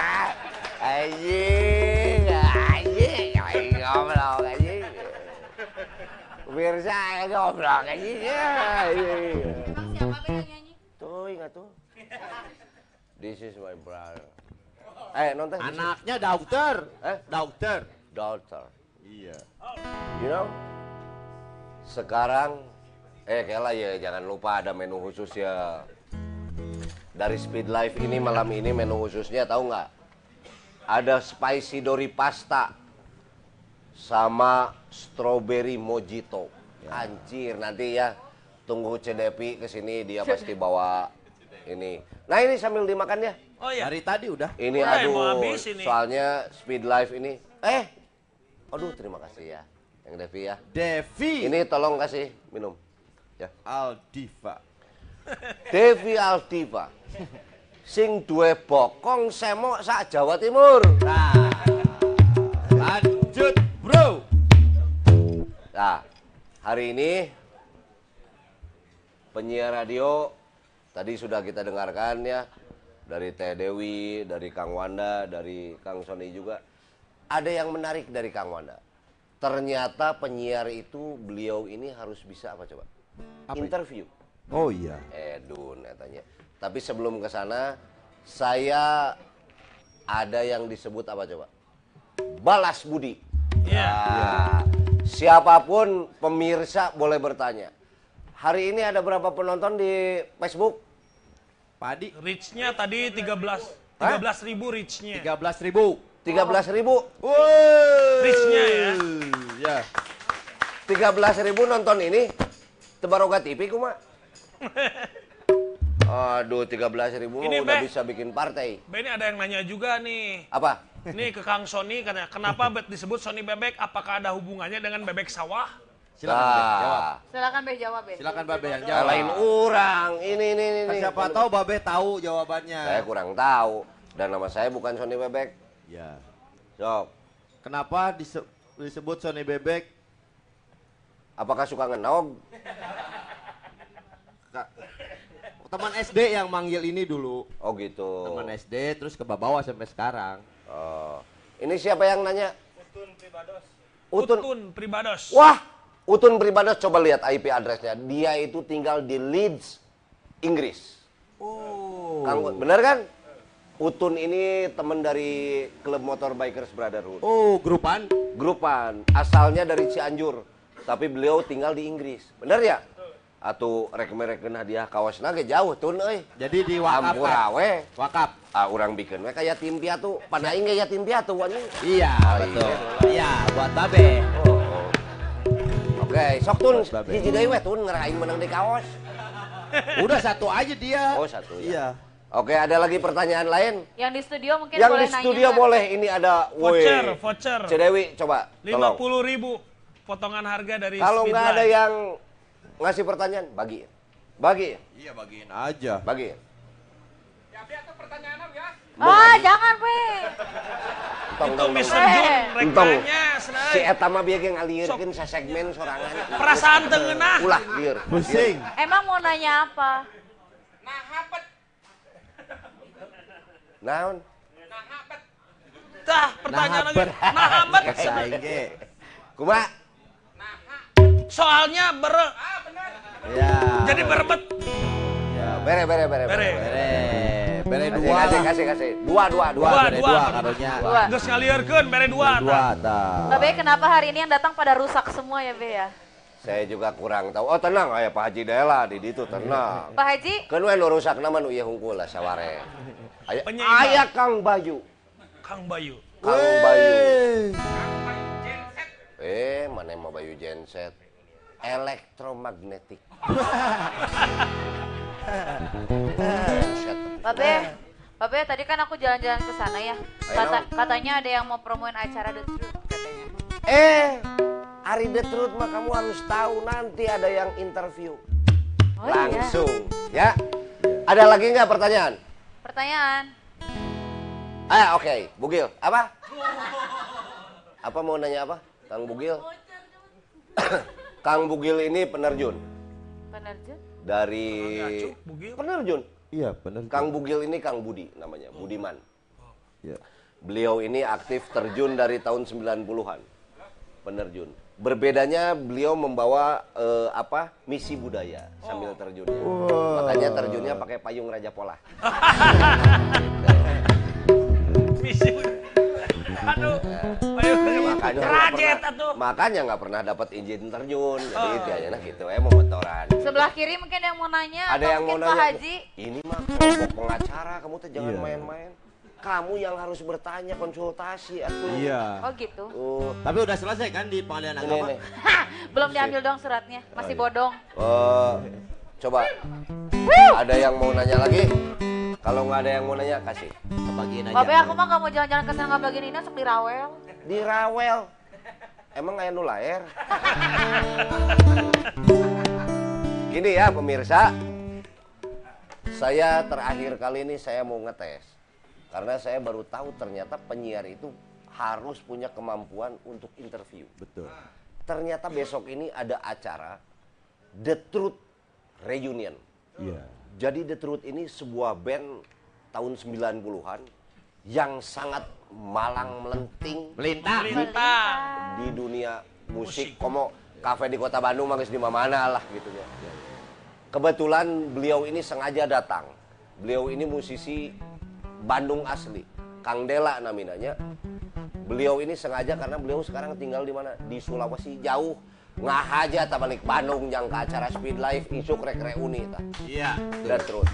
Anjing, anjing, ngobrol anjing. Pemirsa ngobrol anjing ya. Emang siapa Be yang nyanyi? Tuh, ingat tuh. This is my brother. Nonton. Anaknya dokter. Dokter. Daughter. Iya. You know? Sekarang, kela ya, jangan lupa ada menu khusus ya. Dari Speed Life ini malam ini menu khususnya tahu nggak? Ada spicy dori pasta sama strawberry mojito. Anjir, nanti ya tunggu Cedepi kesini dia pasti bawa ini. Nah ini sambil dimakan ya. Oh iya. Dari tadi udah. Ini Udah, mau aduh, habis ini. soalnya Speed Life ini. Aduh terima kasih ya, yang Devi ya. Devi Ini tolong kasih minum. Ya. Aldiva. Devi Aldiva. Sing duwe bokong semok sak Jawa Timur. Nah, lanjut bro. Nah, hari ini penyiar radio tadi sudah kita dengarkan ya dari Teh Dewi, dari Kang Wanda, dari Kang Sony juga. Ada yang menarik dari Kang Wanda. Ternyata penyiar itu beliau ini harus bisa apa coba? Interview. Oh iya. Edun katanya. Tapi sebelum ke sana, saya ada yang disebut apa coba? Balas budi. Iya. Nah, siapapun pemirsa boleh bertanya. Hari ini ada berapa penonton di Facebook? Padi Reach-nya tadi 13 ribu reach-nya. 13.000. 13.000. Woi. Reach-nya ya. Ya. 13.000 nonton ini. Tebaroga TV kuma. Aduh, 13.000 Ini, udah Be. bisa bikin partai. Be, ini ada yang nanya juga nih. Apa? Nih ke Kang Sony katanya, kenapa disebut Sony Bebek? Apakah ada hubungannya dengan bebek sawah? Silakan Be, jawab. Silakan Be jawab Be. Silakan Babe yang jawab. Lain orang. Ini. Siapa tahu Babe tahu jawabannya. Saya kurang tahu. Dan nama saya bukan Sony Bebek. Ya. Sok. Kenapa disebut Sony Bebek? Apakah suka ngenog? Teman SD yang manggil ini dulu. Oh gitu. Teman SD terus ke bawah sampai sekarang. Oh. Ini siapa yang nanya? Utun Pribados. Wah, Utun Pribados, coba lihat IP addressnya. Dia itu tinggal di Leeds, Inggris. Oh. Bener kan? Utun ini teman dari klub motor Bikers Brotherhood. Oh, grupan. Grupan, asalnya dari Cianjur, tapi beliau tinggal di Inggris. Bener ya? Atau rek-mereken hadiah kaosna ge jauh tun euy. Jadi di wakaf. Ampurawe. Wakaf. Urang bikin we kayak tim piatu, panaing ge yatim piatu anjing. Iya, Oh, betul. iya. Iya, buat Babe. Oke, sok tun Buat Babe. hiji deui we tun ngeraing menang di kaos. Udah satu aja dia. Oh, satu ya. Iya. Oke, ada lagi pertanyaan lain? Yang di studio mungkin Yang boleh di nanya. studio nggak? boleh, ini ada Voucher. Cedewi, coba tolong. 50.000 potongan harga dari Kalau Speed nggak ada Life. yang ngasih pertanyaan, bagi. Bagi. Iya, bagiin aja. Bagi. Ya, biar tuh pertanyaan ya. Ah, jangan Be. Itu Mr. Eh. Jun, Entong. rekranya Si eta mah bieu ge ngalieurkeun sa segmen sorangan. perasaan tengenah. Ulah lieur. Pusing. Emang mau nanya apa? Nah, hapet. Naon? Nah, hapet. Tah, pertanyaan lagi. Nah, amat. Saing ge. Kumaha? Nah, Soalnya bener. Ya. Jadi berebet. Ya, bere. Bere dua. Kasih. Dua. Bere dua karunya. Dua. Geus ngalieurkeun bere dua. Dua tah. Mbak Be, kenapa hari ini yang datang pada rusak semua ya Be ya? Saya juga kurang tahu. Oh tenang, aya Pak Haji Dela di ditu tenang. Pak Haji, Keun we nu rusakna mah nu ieu hungkul lah saware. Penyeimbang. Aya Kang Bayu. Kang Bayu. Kang Bayu. Mana mah Bayu genset. Elektromagnetik. Genset. Mbak Be, tadi kan aku jalan-jalan ke sana ya. Ayo. Katanya ada yang mau promoin acara The Truth katanya. Ari The Truth mah kamu harus tahu nanti ada yang interview. Oh Langsung, ya. Ada lagi nggak pertanyaan? Pertanyaan. Oke. Bugil, apa? Apa mau nanya apa? Kang Bugil? Kang Bugil ini penerjun. Penerjun? Dari Bugil. penerjun. Iya benar. Kang Bugil ini Kang Budi namanya, Budiman. Ya. Beliau ini aktif terjun dari tahun 90-an. Penerjun. Berbedanya beliau membawa misi budaya sambil terjunnya. Makanya terjunnya pakai payung Raja Polah. Misi. Aduh. Ayo Makanya nggak pernah dapat izin terjun. Jadi dianya gitu motoran. Sebelah kiri mungkin yang mau nanya. Ada atau yang mau mungkin Pak nanya. Haji. Ini mah kelompok pengacara, kamu tuh jangan Iya. main-main. Kamu yang harus bertanya, konsultasi atuh. Iya. Oh gitu. Oh, Tapi udah selesai kan di pengadilan ini agama? nih. Belum diambil dong suratnya, masih bodong. Coba. Ada yang mau nanya lagi? Kalau nggak ada yang mau nanya, kasih. Kebagian aja. Mbak Be, aku mah gak mau jalan-jalan ke sana nggak bagian ini, sok dirawel. Di Rawel. Emang kayak nu laer? Gini ya pemirsa. Saya terakhir kali ini saya mau ngetes. Karena saya baru tahu ternyata penyiar itu harus punya kemampuan untuk interview. Betul. Ternyata besok ini ada acara The Truth Reunion. Iya. Jadi The Truth ini sebuah band tahun 90-an yang sangat malang melenting Melintang. di dunia musik. Komo kafe di kota Bandung mangis di mana lah gitu ya. Kebetulan beliau ini sengaja datang. Beliau ini musisi Bandung asli, Kang Dela namanya. Beliau ini sengaja karena beliau sekarang tinggal di mana? Di Sulawesi jauh. Ngah aja tak balik Bandung yang ke acara Speed Live isuk rek reuni ta. Iya. Dan terus.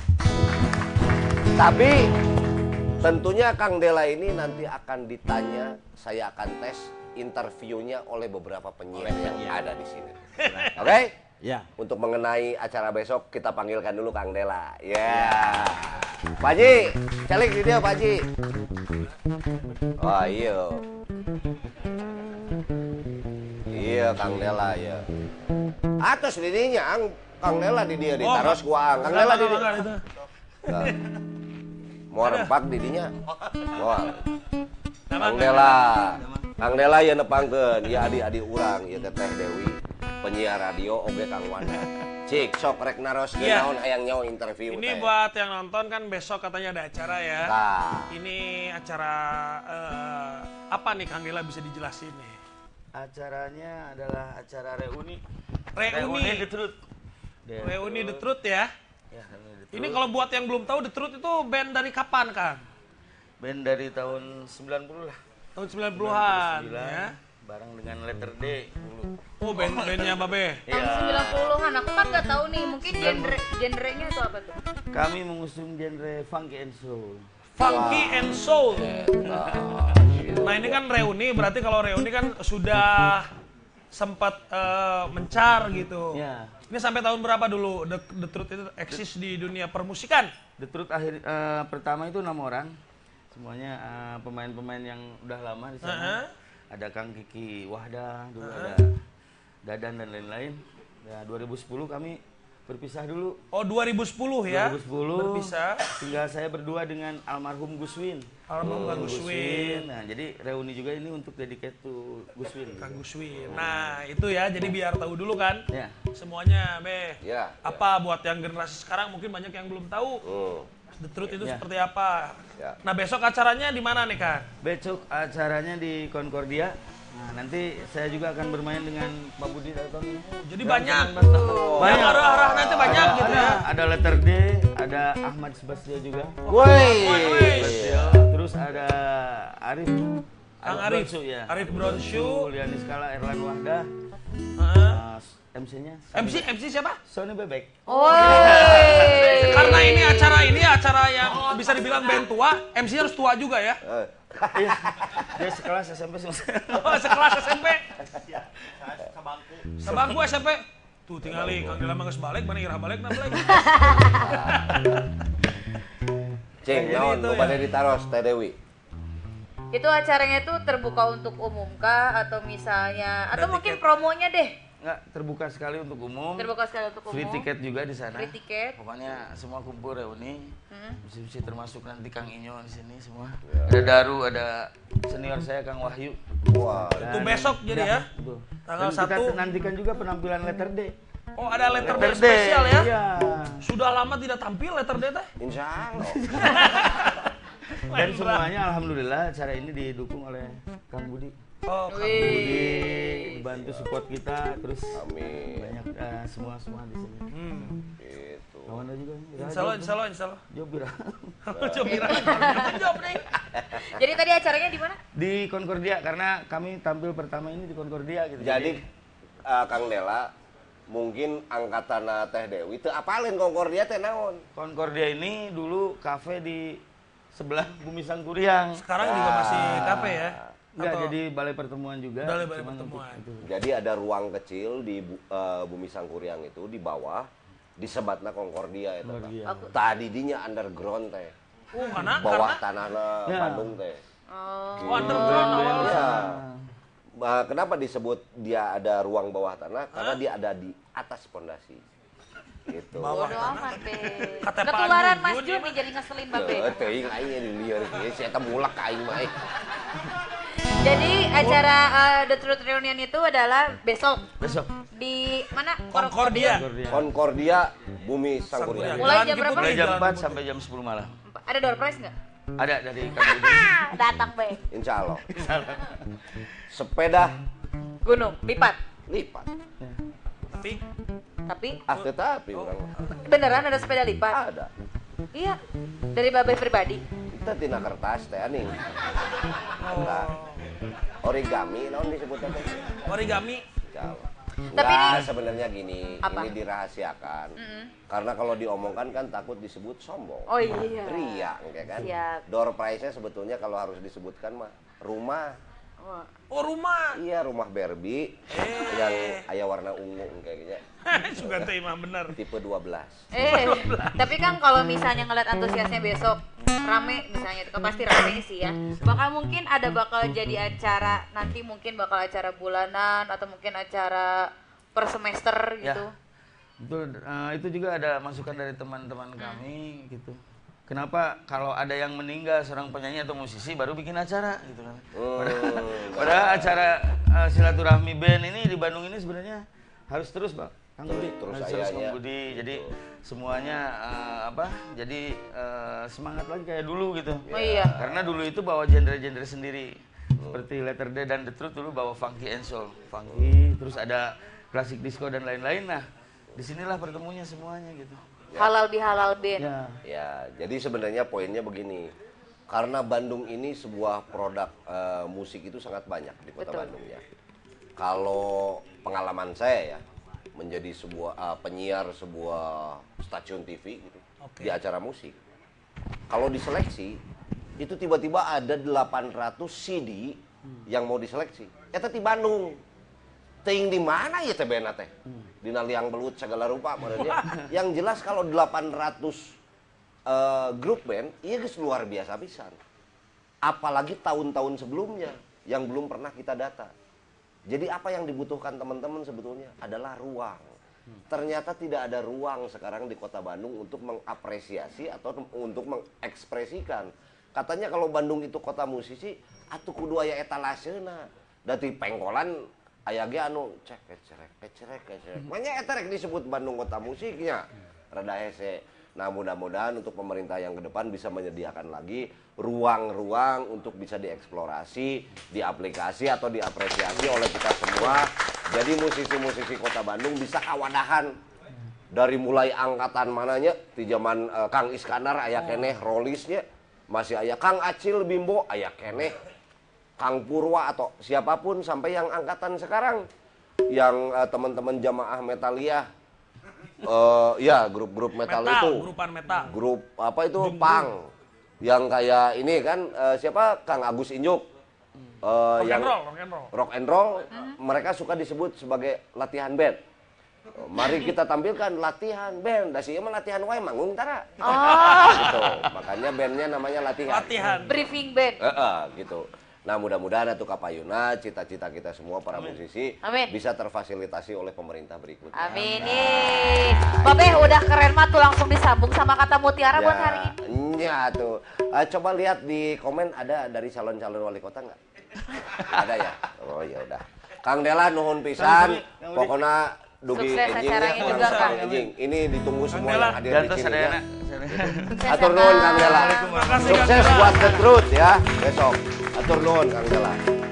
Tapi tentunya Kang Dela ini nanti akan ditanya, saya akan tes interviewnya oleh beberapa penyiar yang ada di sini. Oke? Ya. Untuk mengenai acara besok kita panggilkan dulu Kang Dela. Ya. Pak Haji, celik video Pak Haji. Oh iya. Iya Kang Dela ya. Atas didinya Kang Dela di dia ditaros kuang. Kang Dela di dia. Mau rempak didinya. Wah. Kang Dela ya nepangkeun, ya adik-adik urang, ya Teteh Dewi, penyiar radio oge Kang Wanda. Cik sok rek naros naon hayang nyawa interview Ini teh. buat yang nonton kan besok katanya ada acara ya. Nah. Ini acara apa nih Kang Dela bisa dijelasin nih? Acaranya adalah acara reuni. Reuni The Truth. Reuni The Truth ya. Ya, Reuni The Truth. Ini kalau buat yang belum tahu The Truth itu band dari kapan Kang? Band dari tahun 90 lah. Tahun 90-an ya. Bareng dengan Letter D dulu. Oh band-bandnya Babe. Tahun 90-an, aku kan gak tahu nih, mungkin genrenya itu apa tuh? Kami mengusung genre funky and soul. Funky and Soul. Nah ini kan reuni, berarti kalau reuni kan sudah sempat mencar gitu. Ya. Ini sampai tahun berapa dulu The Truth itu eksis di dunia permusikan? The Truth pertama itu 6 orang. Semuanya pemain-pemain yang udah lama di sana. Ada Kang Kiki Wahdah, dulu ada Dadan dan lain-lain. Ya, 2010 kami berpisah dulu. Oh 2010 ya? 2010 berpisah. Tinggal saya berdua dengan almarhum Gus Win. Almarhum Gus Win. Nah, jadi reuni juga ini untuk dedicate to Gus Win. Kang Gus Win. Nah itu ya, jadi biar tahu dulu kan Ya. semuanya Be. Ya, Apa buat yang generasi sekarang mungkin banyak yang belum tahu The Truth itu seperti apa. Ya. Nah besok acaranya di mana nih Kang? Besok acaranya di Concordia. Nah, nanti saya juga akan bermain dengan Pak Budi Dalton. Jadi banyak. Banyak. Yang arah-arahnya itu banyak gitu ya. Ada letter D, ada Ahmad Sebastio juga. Woi. Terus ada Arif. Kang Arif. Bronsu, ya. Arif Bronshu. Liani Skala, Erlan Wahdah. MC-nya. MC siapa? Sony Bebek. Karena ini acara yang bisa dibilang band tua, MC harus tua juga ya. Iya. Dia sekelas SMP semua. Oh, sekelas SMP. Sebangku SMP. Tuh tingali Kang Dela mah geus balik, mana irah balik na balik. Cing, naon itu nu bade ditaros Teh Dewi? Itu acaranya tuh terbuka untuk umum kah atau misalnya atau mungkin promonya deh? Enggak, terbuka sekali untuk umum. Terbuka sekali untuk umum. Free tiket juga di sana. Free tiket. Pokoknya semua kumpul reuni. Mesti termasuk nanti Kang Inyo di sini semua. Ada Daru, ada senior saya Kang Wahyu. Wah, Itu besok jadi ya. Betul. Tanggal Dan kita 1. nantikan juga penampilan letter D. Oh, ada letter D Letter D, spesial ya. iya. Sudah lama tidak tampil letter D teh. insya Allah. Dan semuanya alhamdulillah acara ini didukung oleh Kang Budi. Oh, Kang Budi dibantu support kita terus Amin. banyak semua di sini. Gitu. Kawan juga. Insya Allah. Jobira. Jobira. Job nih. Jadi tadi acaranya di mana? Di Concordia karena kami tampil pertama ini di Concordia gitu. Jadi Kang Dela mungkin angkatan Teh Dewi teu apalin Concordia teh naon? Concordia ini dulu kafe di sebelah Bumi Sangkuriang. Sekarang juga masih kafe ya. Enggak, Atau- jadi balai pertemuan juga. Balai cuman pertemuan. untuk itu. Jadi ada ruang kecil di Bumi Sangkuriang itu di bawah disebatna Concordia eta. Concordia. Tadi dinya underground teh. Karena Bawah tanahna Ya. Bandung teh. oh, underground awalnya. Ya. Kenapa disebut dia ada ruang bawah tanah? Karena dia ada di atas pondasi. Gitu. Bawah Bodo tanah. amat be. Kata Pak Ketularan Mas Jun, Jun nih jadi ngeselin babe. Teuing aing di lieur ge, si eta mulak ka aing mah. Jadi acara The Truth Reunion itu adalah besok Besok di mana? Concordia. Concordia. Concordia Bumi Sangkuriang. Mulai Jalan jam Kipul berapa? Mulai nih, jam Jalan 4 Kipul. sampai jam 10 malam. Ada door prize nggak? Ada dari Kang Budi. Datang be. Insya Allah. Sepeda Gunung lipat. lipat. Tapi Tetapi orang Beneran ada sepeda lipat? ada. Iya. Dari babe pribadi. Kita tina kertas teh aning. Eta origami naon disebutnya teh? origami. Insya Allah. Tapi Enggak, ini- sebenarnya gini, Apa? ini dirahasiakan. Karena kalau diomongkan kan takut disebut sombong. Oh iya. Ria, kayak kan? Siap. Door prize-nya sebetulnya kalau harus disebutkan mah rumah. Wah. Oh, rumah. Iya, rumah Barbie yang aya warna ungu kayaknya. Juga teh mah bener. Tipe 12. Tapi kan kalau misalnya ngeliat antusiasnya besok rame misalnya itu kan pasti rame sih ya. Bakal mungkin bakal jadi acara nanti mungkin bakal acara bulanan atau mungkin acara per semester gitu. Betul, itu juga ada masukan dari teman-teman kami gitu. Kenapa kalau ada yang meninggal seorang penyanyi atau musisi baru bikin acara gitu kan. Padahal acara silaturahmi band ini di Bandung ini sebenarnya harus terus, Bang. Kang Budi, Terus harus terus ayahnya. Kang Budi. Jadi semuanya jadi semangat lagi kayak dulu gitu. Oh iya. Karena dulu itu bawa genre-genre sendiri. Seperti Letter D dan The Truth dulu bawa funky and soul. Funky, terus ada klasik disco dan lain-lain. Nah, disinilah pertemunya semuanya gitu. Halal bihalal band. Ya. Ya, jadi sebenarnya poinnya begini. Karena Bandung ini sebuah produk musik itu sangat banyak di kota Betul. Bandung ya. Kalau pengalaman saya ya, menjadi sebuah penyiar sebuah stasiun TV gitu di acara musik. Kalau diseleksi itu tiba-tiba ada 800 CD yang mau diseleksi. Eta di Bandung. Ting di mana ya teh bena teh? Dina liang belut segala rupa maksudnya. Yang jelas kalau 800 grup band, iya geus luar biasa pisan. Apalagi tahun-tahun sebelumnya yang belum pernah kita data. Jadi apa yang dibutuhkan teman-teman sebetulnya adalah ruang. Ternyata tidak ada ruang sekarang di kota Bandung untuk mengapresiasi atau untuk mengekspresikan. Katanya kalau Bandung itu kota musisi, atuh kudu aya etalaseuna. Dari pengkolan aya ge anu cek kecerek. Makanya eta rek disebut Bandung kota musiknya. Rada hese. Nah, mudah-mudahan untuk pemerintah yang ke depan bisa menyediakan lagi ruang-ruang untuk bisa dieksplorasi, diaplikasi atau diapresiasi oleh kita semua. Jadi musisi-musisi Kota Bandung bisa kawadahan dari mulai angkatan mananya di zaman Kang Iskandar aya keneh Rolisnya, masih aya Kang Acil Bimbo aya keneh, Kang Purwa atau siapapun sampai yang angkatan sekarang yang teman-teman jamaah Metalliah. Ya grup-grup metal itu, grupan metal, grup apa itu punk, yang kayak ini kan siapa Kang Agus Injuk, yang rock and roll, mereka suka disebut sebagai latihan band. Mari kita tampilkan latihan band, dasi mah latihan wae manggung tara. Gitu. Makanya bandnya namanya latihan. Briefing band. Gitu. Nah, mudah-mudahan atuh kapayuna cita-cita kita semua para musisi bisa terfasilitasi oleh pemerintah berikutnya. Amin. Babe udah keren mah tuh langsung disambung sama kata mutiara buat hari ini. Ya tuh. Coba lihat di komen ada dari calon-calon wali kota nggak? Ada ya? Oh ya udah. Kang Dela nuhun pisan. Pokoknya dugi enjing. Ini ditunggu semua yang hadir di sini ya. Atur nuhun Kang Dela. Sukses buat The Truth ya besok. Atur nuhun Kang Dela.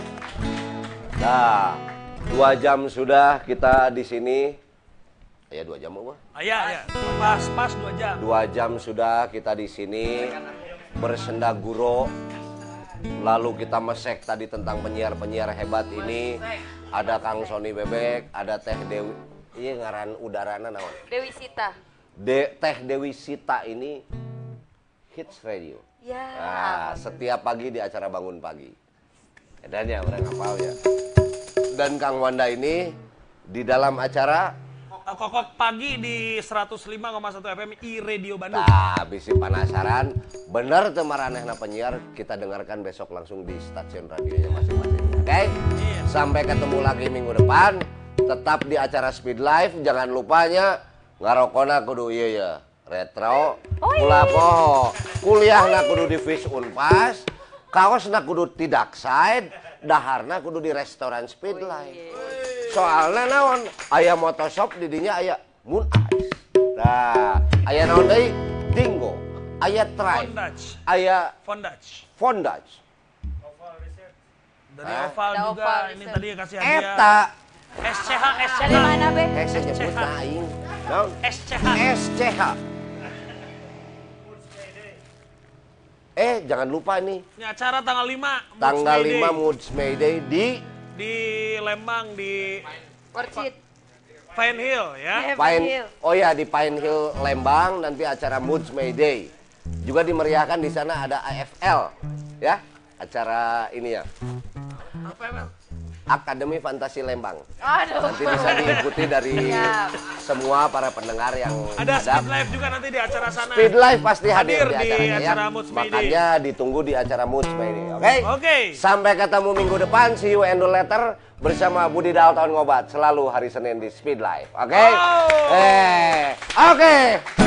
Nah, 2 jam sudah kita di sini. Ya 2 jam apa? Ya. Pas 2 jam. 2 jam sudah kita di sini bersenda guro. Lalu kita mesek tadi tentang penyiar-penyiar hebat ini. Ada Kang Sony Bebek, ada Teh Dewi. Iya ngaran udarana naon? Dewi Sita. Teh Dewi Sita ini Hits Radio. Ya. Nah, setiap pagi di acara Bangun Pagi. Dan ya orang hafal ya. Dan Kang Wanda ini di dalam acara Kokok Pagi di 105,1 FM iRadio Bandung. Nah, bisi penasaran, bener tuh maranehna penyiar, kita dengarkan besok langsung di stasiun radionya masing-masing. Oke? Sampai ketemu lagi minggu depan, tetap di acara Speed Live, jangan lupanya ngarokona kudu ieu ya. Retro, kulapo, kuliahna kudu di Fish Unpas, kaosna kudu tidak side, daharna kudu di restoran Speed Live. Soalnya naon, aya motoshop di dinya aya Moon Ice. Nah, aya naon deui? Dingo, aya Tribe, aya Fondage. Dari Oval juga, ini tadi kasih hadiah. Eta SCH. Dari mana, Be? SCH nyebut aing. Naon? SCH. Jangan lupa nih. Ini acara tanggal 5. Tanggal 5 Moods Mayday di Lembang di Orchid. Pine Hill ya. Oh ya di Pine Hill Lembang nanti acara Moods Mayday. Juga dimeriahkan di sana ada AFL ya. Acara ini ya. Akademi Fantasi Lembang. Nanti bisa diikuti dari semua para pendengar yang ada. Speed Live juga nanti di acara sana. Speed Live pasti hadir di acaranya acara ya. Makanya ditunggu di acara Moods Mayday. Oke? Sampai ketemu minggu depan. See you and the letter bersama Budi Dalton Ngobat selalu hari Senin di Speed Live. Oke? Oke.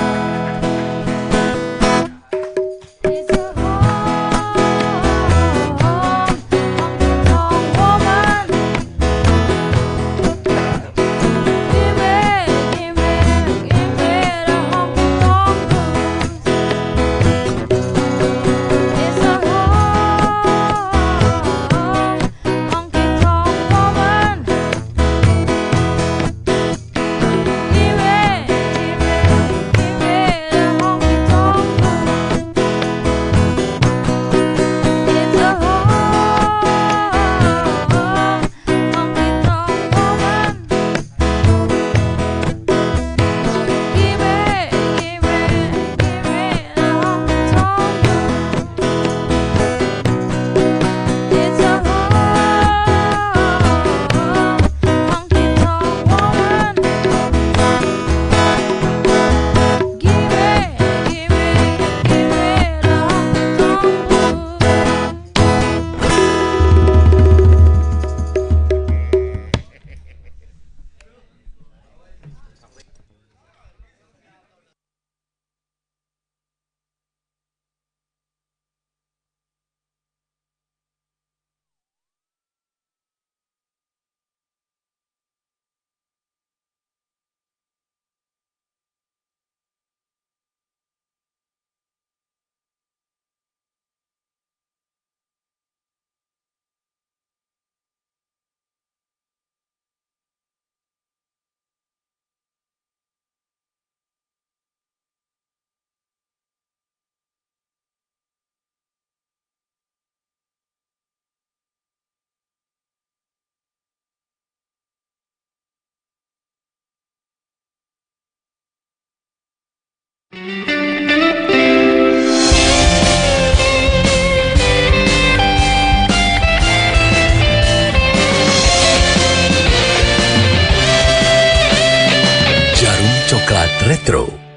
Electro.